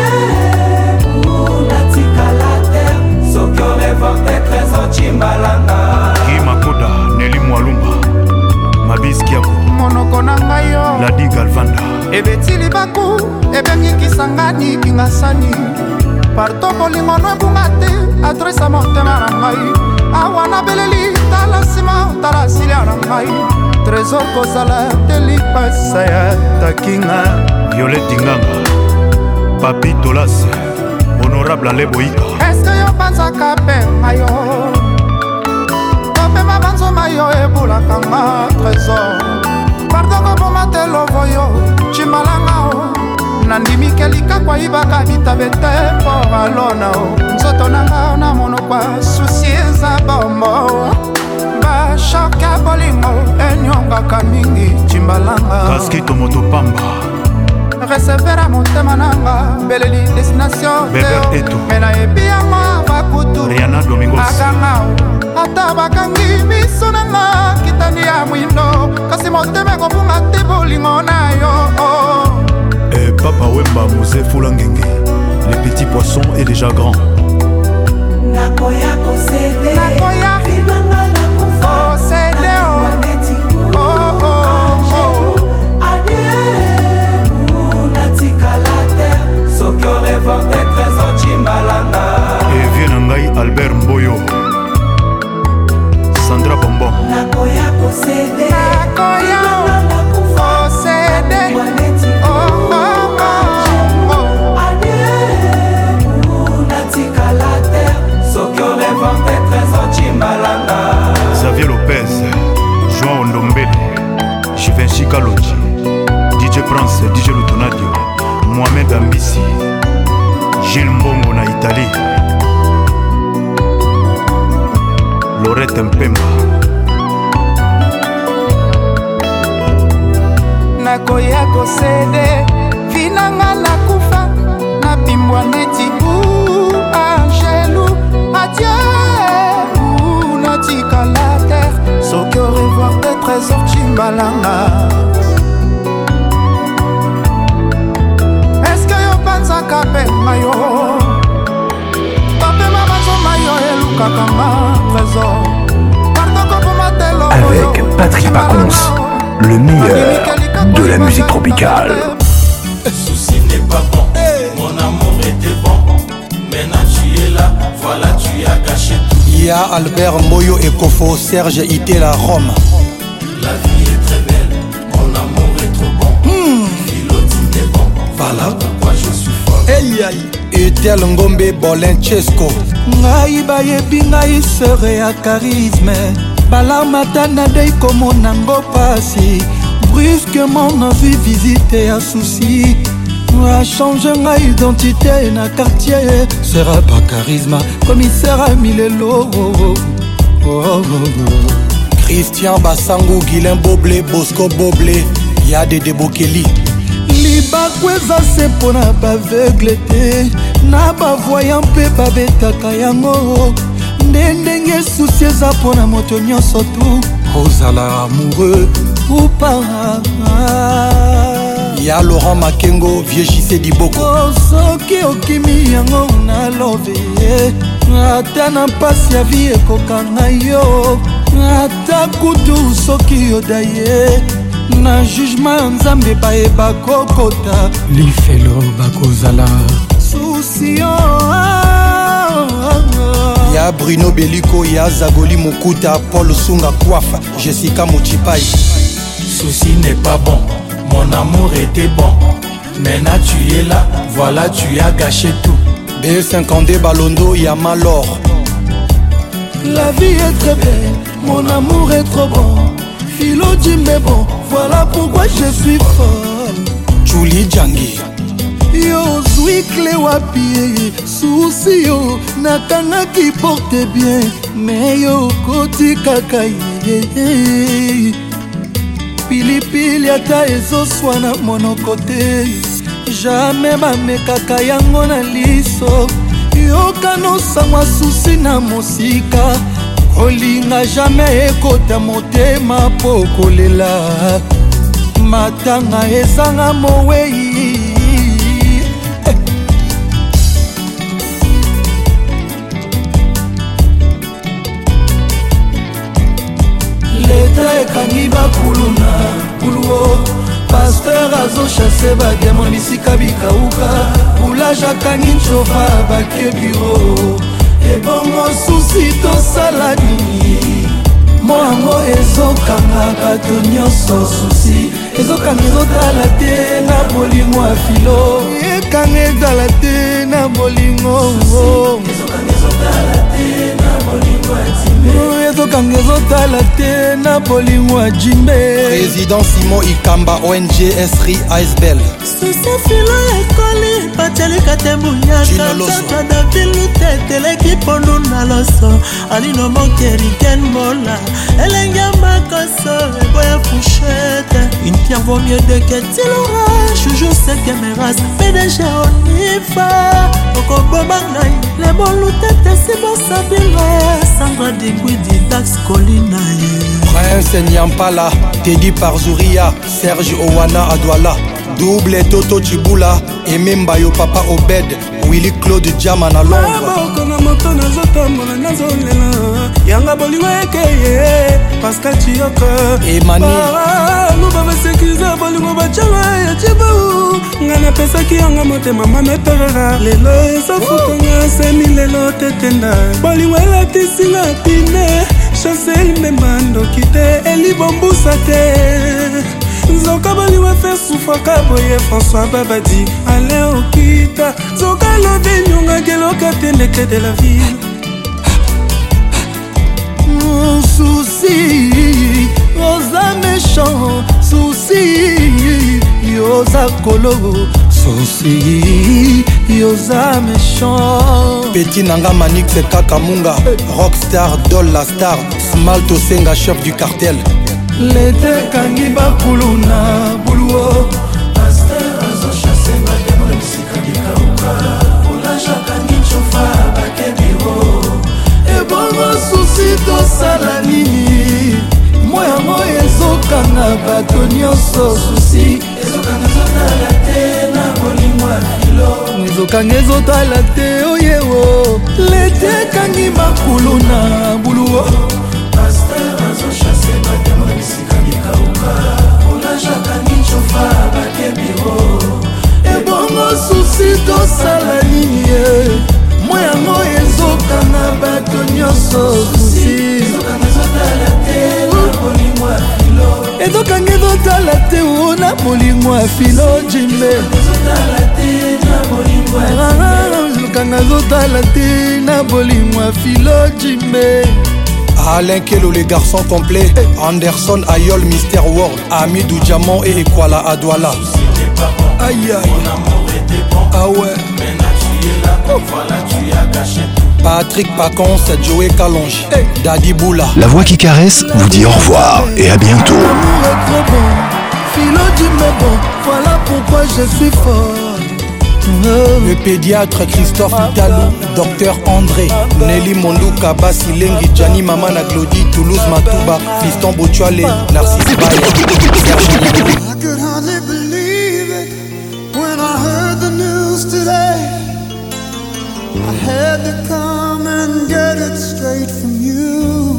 Speaker 22: Guy Makoda, Nelly Mwalumba, Mabis Kiako,
Speaker 7: monoko na ngai yo
Speaker 22: Ladi Galvanda.
Speaker 7: Ebetili baku, ebengi kisangani kingasani. Parto bolingo no ebunga te, adresa motema na ngai. Awa na beleli, tala sima, tala silia na ngai. Trésor kozala, telipasa ya takinga.
Speaker 22: Violette Dinganga, Papi Tolas, Honorable Aleboika.
Speaker 7: Est-ce que yo panzaka penga yo? Kopema banzoma yo ebulaka nga trésor. Pardon kopoma te lovo yo, Chimbalanga o. Nandimike likakwa ibaka bitabe te mpo alona o. Nzoto nanga na mono kwa susi eza bombo. Bashoka bolingo enyongaka mingi Chimbalanga.
Speaker 22: Kaskito Motopamba.
Speaker 7: Recevera motema nanga, beleli destination
Speaker 22: Beber Eto.
Speaker 7: Mena ebi yango bakutu.
Speaker 22: Rihanna Domingos.
Speaker 7: Akanga o, ata bakangi miso nanga kitani ya mwindo. Kasi motema kopunga te bolingo na yo.
Speaker 22: Et Papa Wemba Mouzé Foulangenge. Les petits poissons est déjà grand.
Speaker 7: Nakoya kosede. Nakoya kosede o. Oh oh oh.
Speaker 22: Et vient Nangai Albert Mboyo, Sandra Bombon.
Speaker 7: Nakoya kosede. Nakoya kosede. Oh oh oh.
Speaker 22: Xavier Lopez, João Ndombele, Givenchy Kalonji, DJ Prince, DJ Lutonadio, Mohamed Ambissi, Gilles Mbongo na Italie, Lorette Mpemba.
Speaker 7: Nakoya kosede, vinanga nakufa, napimbwa neti u angelu, adieu ou natika la terre, soki au revoir des trésors Chimbalanga. Est-ce que yo panzaka penga yo? Papema bazoma yo elukaka nga trésor. Pardon kopoma telo
Speaker 1: Avec Patrick Pacons, le meilleur de la musique tropicale.
Speaker 6: Souci n'est pas bon, mon amour était bon. Maintenant tu es là, voilà tu as gâché tout.
Speaker 10: Il y a Albert Moyo et Kofo, Serge Itela Rome.
Speaker 6: La vie est très belle, mon amour est trop bon. Philotine est bon, voilà pourquoi je suis fort.
Speaker 10: Hey aïe, Etel Ngombe Bolenchesco.
Speaker 20: Ngai bayebi ngai sere ya charisme. Balamata na dei komona ngo pasi. Brusquement na vie visite ya souci. Change ma identité na quartier. Sera pas charisme, commissaire à Milelo.
Speaker 10: Christian Basango, Guilain Boblé, Bosco Boblé, Yade Debokeli.
Speaker 20: Libakweza se pona baveugle te, na bavoyant mpe babetaka yango. Ndenge susi eza pona moto nyonso tu, ozala amoureux ou pas.
Speaker 10: Ya Laurent Makengo, vieux JC Diboko.
Speaker 20: Soki okimi yango na love ata na mpasi ya vie ekokanga yo, ata kutu soki yoda ye na jugement ya nzambe bayeba kokota lifelo bakozala susio.
Speaker 10: Ya Bruno Beliko, ya Zagoli Mokuta, Paul Sunga Kouafa, Jessica Mochipai.
Speaker 22: Souci n'est pas bon, mon amour était bon. Maintenant tu es là, voilà tu as gâché tout.
Speaker 10: B52 Balondo, ya Malor.
Speaker 20: La vie est très belle, mon amour est trop bon. Philo Jimbe bon, voilà pourquoi je suis folle.
Speaker 10: Julie Djangi.
Speaker 20: Yo zwi clé wapi, souci yo nakanga qui porte bien, mais yo koti kaka ye. Pilipili ata ezoswa na monoko te, jamais bamekaka yango na liso. Yokanosangwa susi na mosika, kolinga jamais ekota motema po kolela. Matanga ezanga mowei. Leta ekangi bakuluna kuluo, pasteur azo chasse bademo bisika bikauka, boulage akangi nchova bake biro. Ebongo susi tosala nini, moango ezokanga bato nyonso susi, ezokanga ezotala te na bolingo ya filo, ekanga ezala te na bolingo, ezokanga ezotala te na bolingo ya timbe, ezokanga ezotala te na bolingo ya jimbe.
Speaker 10: Président Simon Ikamba, ONG Esri Icebell.
Speaker 4: susi filo ekoli batialika te bunyaka tata davilu te teleki pondu na loso alino mokeriken mola elenge makoso eboya fushete une pierre vaut mieux de que tilora chouchou sekemeras PDG onifa okoboma ngai lebolu tete sibosabile Sandra Digwidi Dax Colina ye
Speaker 10: Prince Nyampala, Teddy Parzouria, Serge Owana Adwala, Double Toto Chibula, Emembayo Papa Obed, Willy Claude Diama na Londres.
Speaker 17: Kona moto nazotambola nazolela yanga bolingo ekeye Pascal Chiyoko
Speaker 10: Emani
Speaker 17: luba basekiza bolingo bachala ya chibu nga napesaki yanga motema mama eperera lelo ezofutonga semi lelo tetenda bolingo elatisinga pine chancel memba ndoki te elibombusa te Zoka baliwa fe soufaka boye François Babadi Ale okita Zoka love nyonga geloka tendeke de la ville
Speaker 20: Souci, osa méchant Souci, yosa kolo Souci, yosa méchant
Speaker 10: Petit Nanga Manix Kakamunga, Rockstar, Doll la star, Smalto Senga, chef du cartel.
Speaker 20: Lete kangi bakuluna buluo, pasteur azo chasse bademo bisika bikauka, boulaja kangi chofa bakebiro. Ebongo susi tosala nini, moya moya ezokanga bato nyonso susi, ezokanga ezotala te na bolingo ya filo, ezokanga ezotala te oyewo. Lete kangi bakuluna buluo, pasteur azo chasse bademo bisika bikauka, boulaja kangi chofa bakebiro. Ebongo susi tosala nini ye, moya moya ezokanga bato nyonso susi, ezokanga ezotala te na bolingo ya filo, ezokanga ezotala te na bolingo ya filo jimbe, ezotala te na bolingo ya filo, ezokanga ezotala te na bolingo ya filo jimbe.
Speaker 10: Alain Kelo, les garçons complets, Anderson Ayol, Mister World, Amidou Diamant et Ekwala Adwala.
Speaker 20: Aïe aïe.
Speaker 10: Ah ouais.
Speaker 22: Voilà, tu as gâché.
Speaker 10: Patrick Pacons, Joey Kalonji, Daddy Boula.
Speaker 1: La voix qui caresse vous dit au revoir et à bientôt.
Speaker 15: Philo dit mais bon, voilà pourquoi je suis fort.
Speaker 10: Le pédiatre Christophe Italou, Docteur André, Nelly Mondouka, Basilengi, Gianni Mamana Glody, Toulouse Matouba, Fiston Botuale, Narcisse Baye,
Speaker 11: I could hardly believe it when I heard the news today. I had to come and get it straight from you.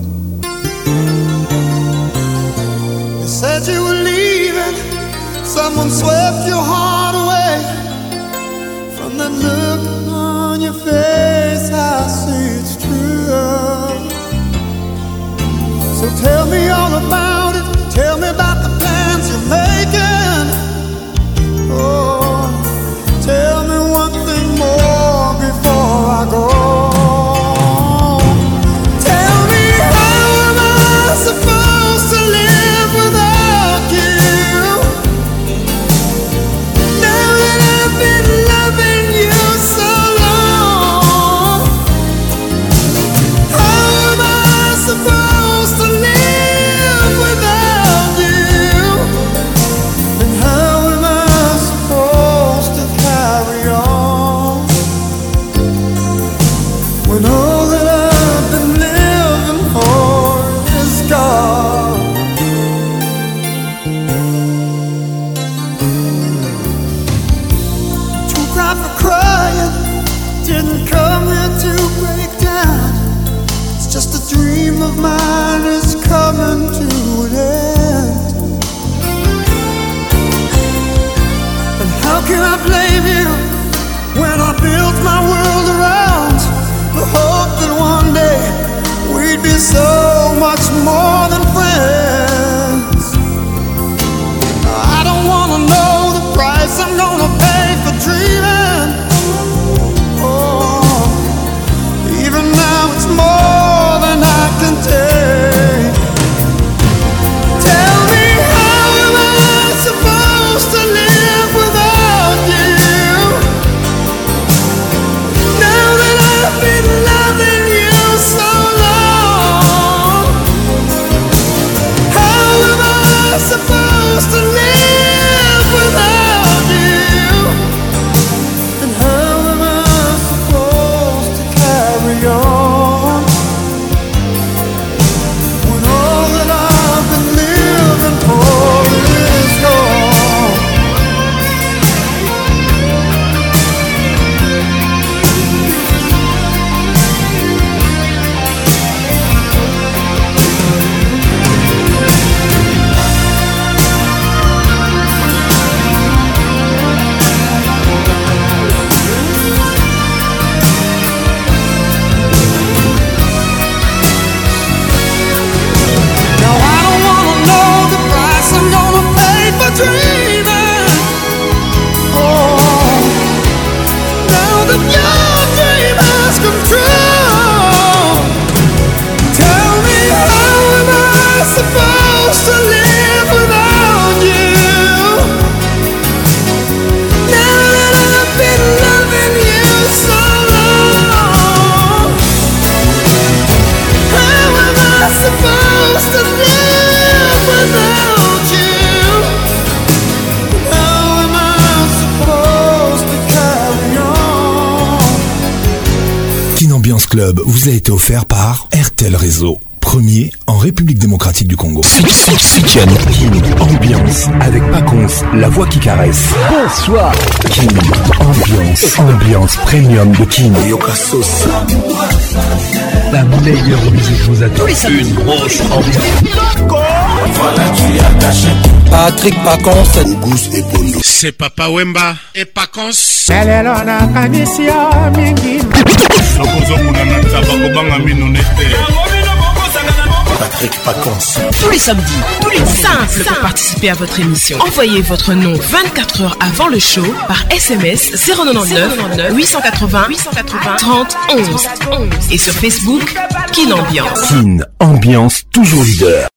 Speaker 11: They said you were leaving, someone swept your heart away. From that look on your face, I see it's true. So tell me all about it, tell me about the plans you're making. Oh, tell me one thing more before I go. Tell me, how am I supposed to live without you? Now that I've been loving you so long, how am I supposed to live without you? And how am I supposed to carry on when all that I've been living for is gone? Too cry for crying, didn't come here to break down. It's just a dream of mine is coming to an end. And how can I blame you when I built my world around the hope that one day we'd be so much more than friends? I don't wanna know the price I'm gonna pay for dreaming. Oh, even now it's more than I can take. Tell me, how am I supposed to live without you? Now that I've been loving you so long, how am I supposed to live without you? And how am I supposed to carry on when all that I've been living for is gone? Now I don't wanna know the price I'm gonna pay for dreaming. Oh, now that your dream has come true, tell me, how am I supposed to live without you? Now that I've been loving you so long, how am I supposed to live without you? How am I supposed to carry on?
Speaker 1: Kin Ambiance Club vous a été offert par RTL Réseau, premier en République démocratique du Congo. Kin Ambiance avec Pacons, la voix qui caresse. Bonsoir. Kin Ambiance premium de Kin. Yokasos. La meilleure musique vous attend. Une grosse ambiance.
Speaker 22: Voilà, tu as gâché.
Speaker 10: Patrick Pacons,
Speaker 22: Auguste et Bondo.
Speaker 18: C'est Papa Wemba et Pacons.
Speaker 17: lelo nakanisi ya mingi
Speaker 18: nakozokuna na taba kobanga mino nete.
Speaker 22: Patrick Pacons.
Speaker 23: Tous les samedis, tous les simples pour participer à votre émission. Envoyez votre nom 24 heures avant le show par SMS 099 880 30 11 et sur Facebook Kin Ambiance.
Speaker 1: Kin Ambiance toujours leader.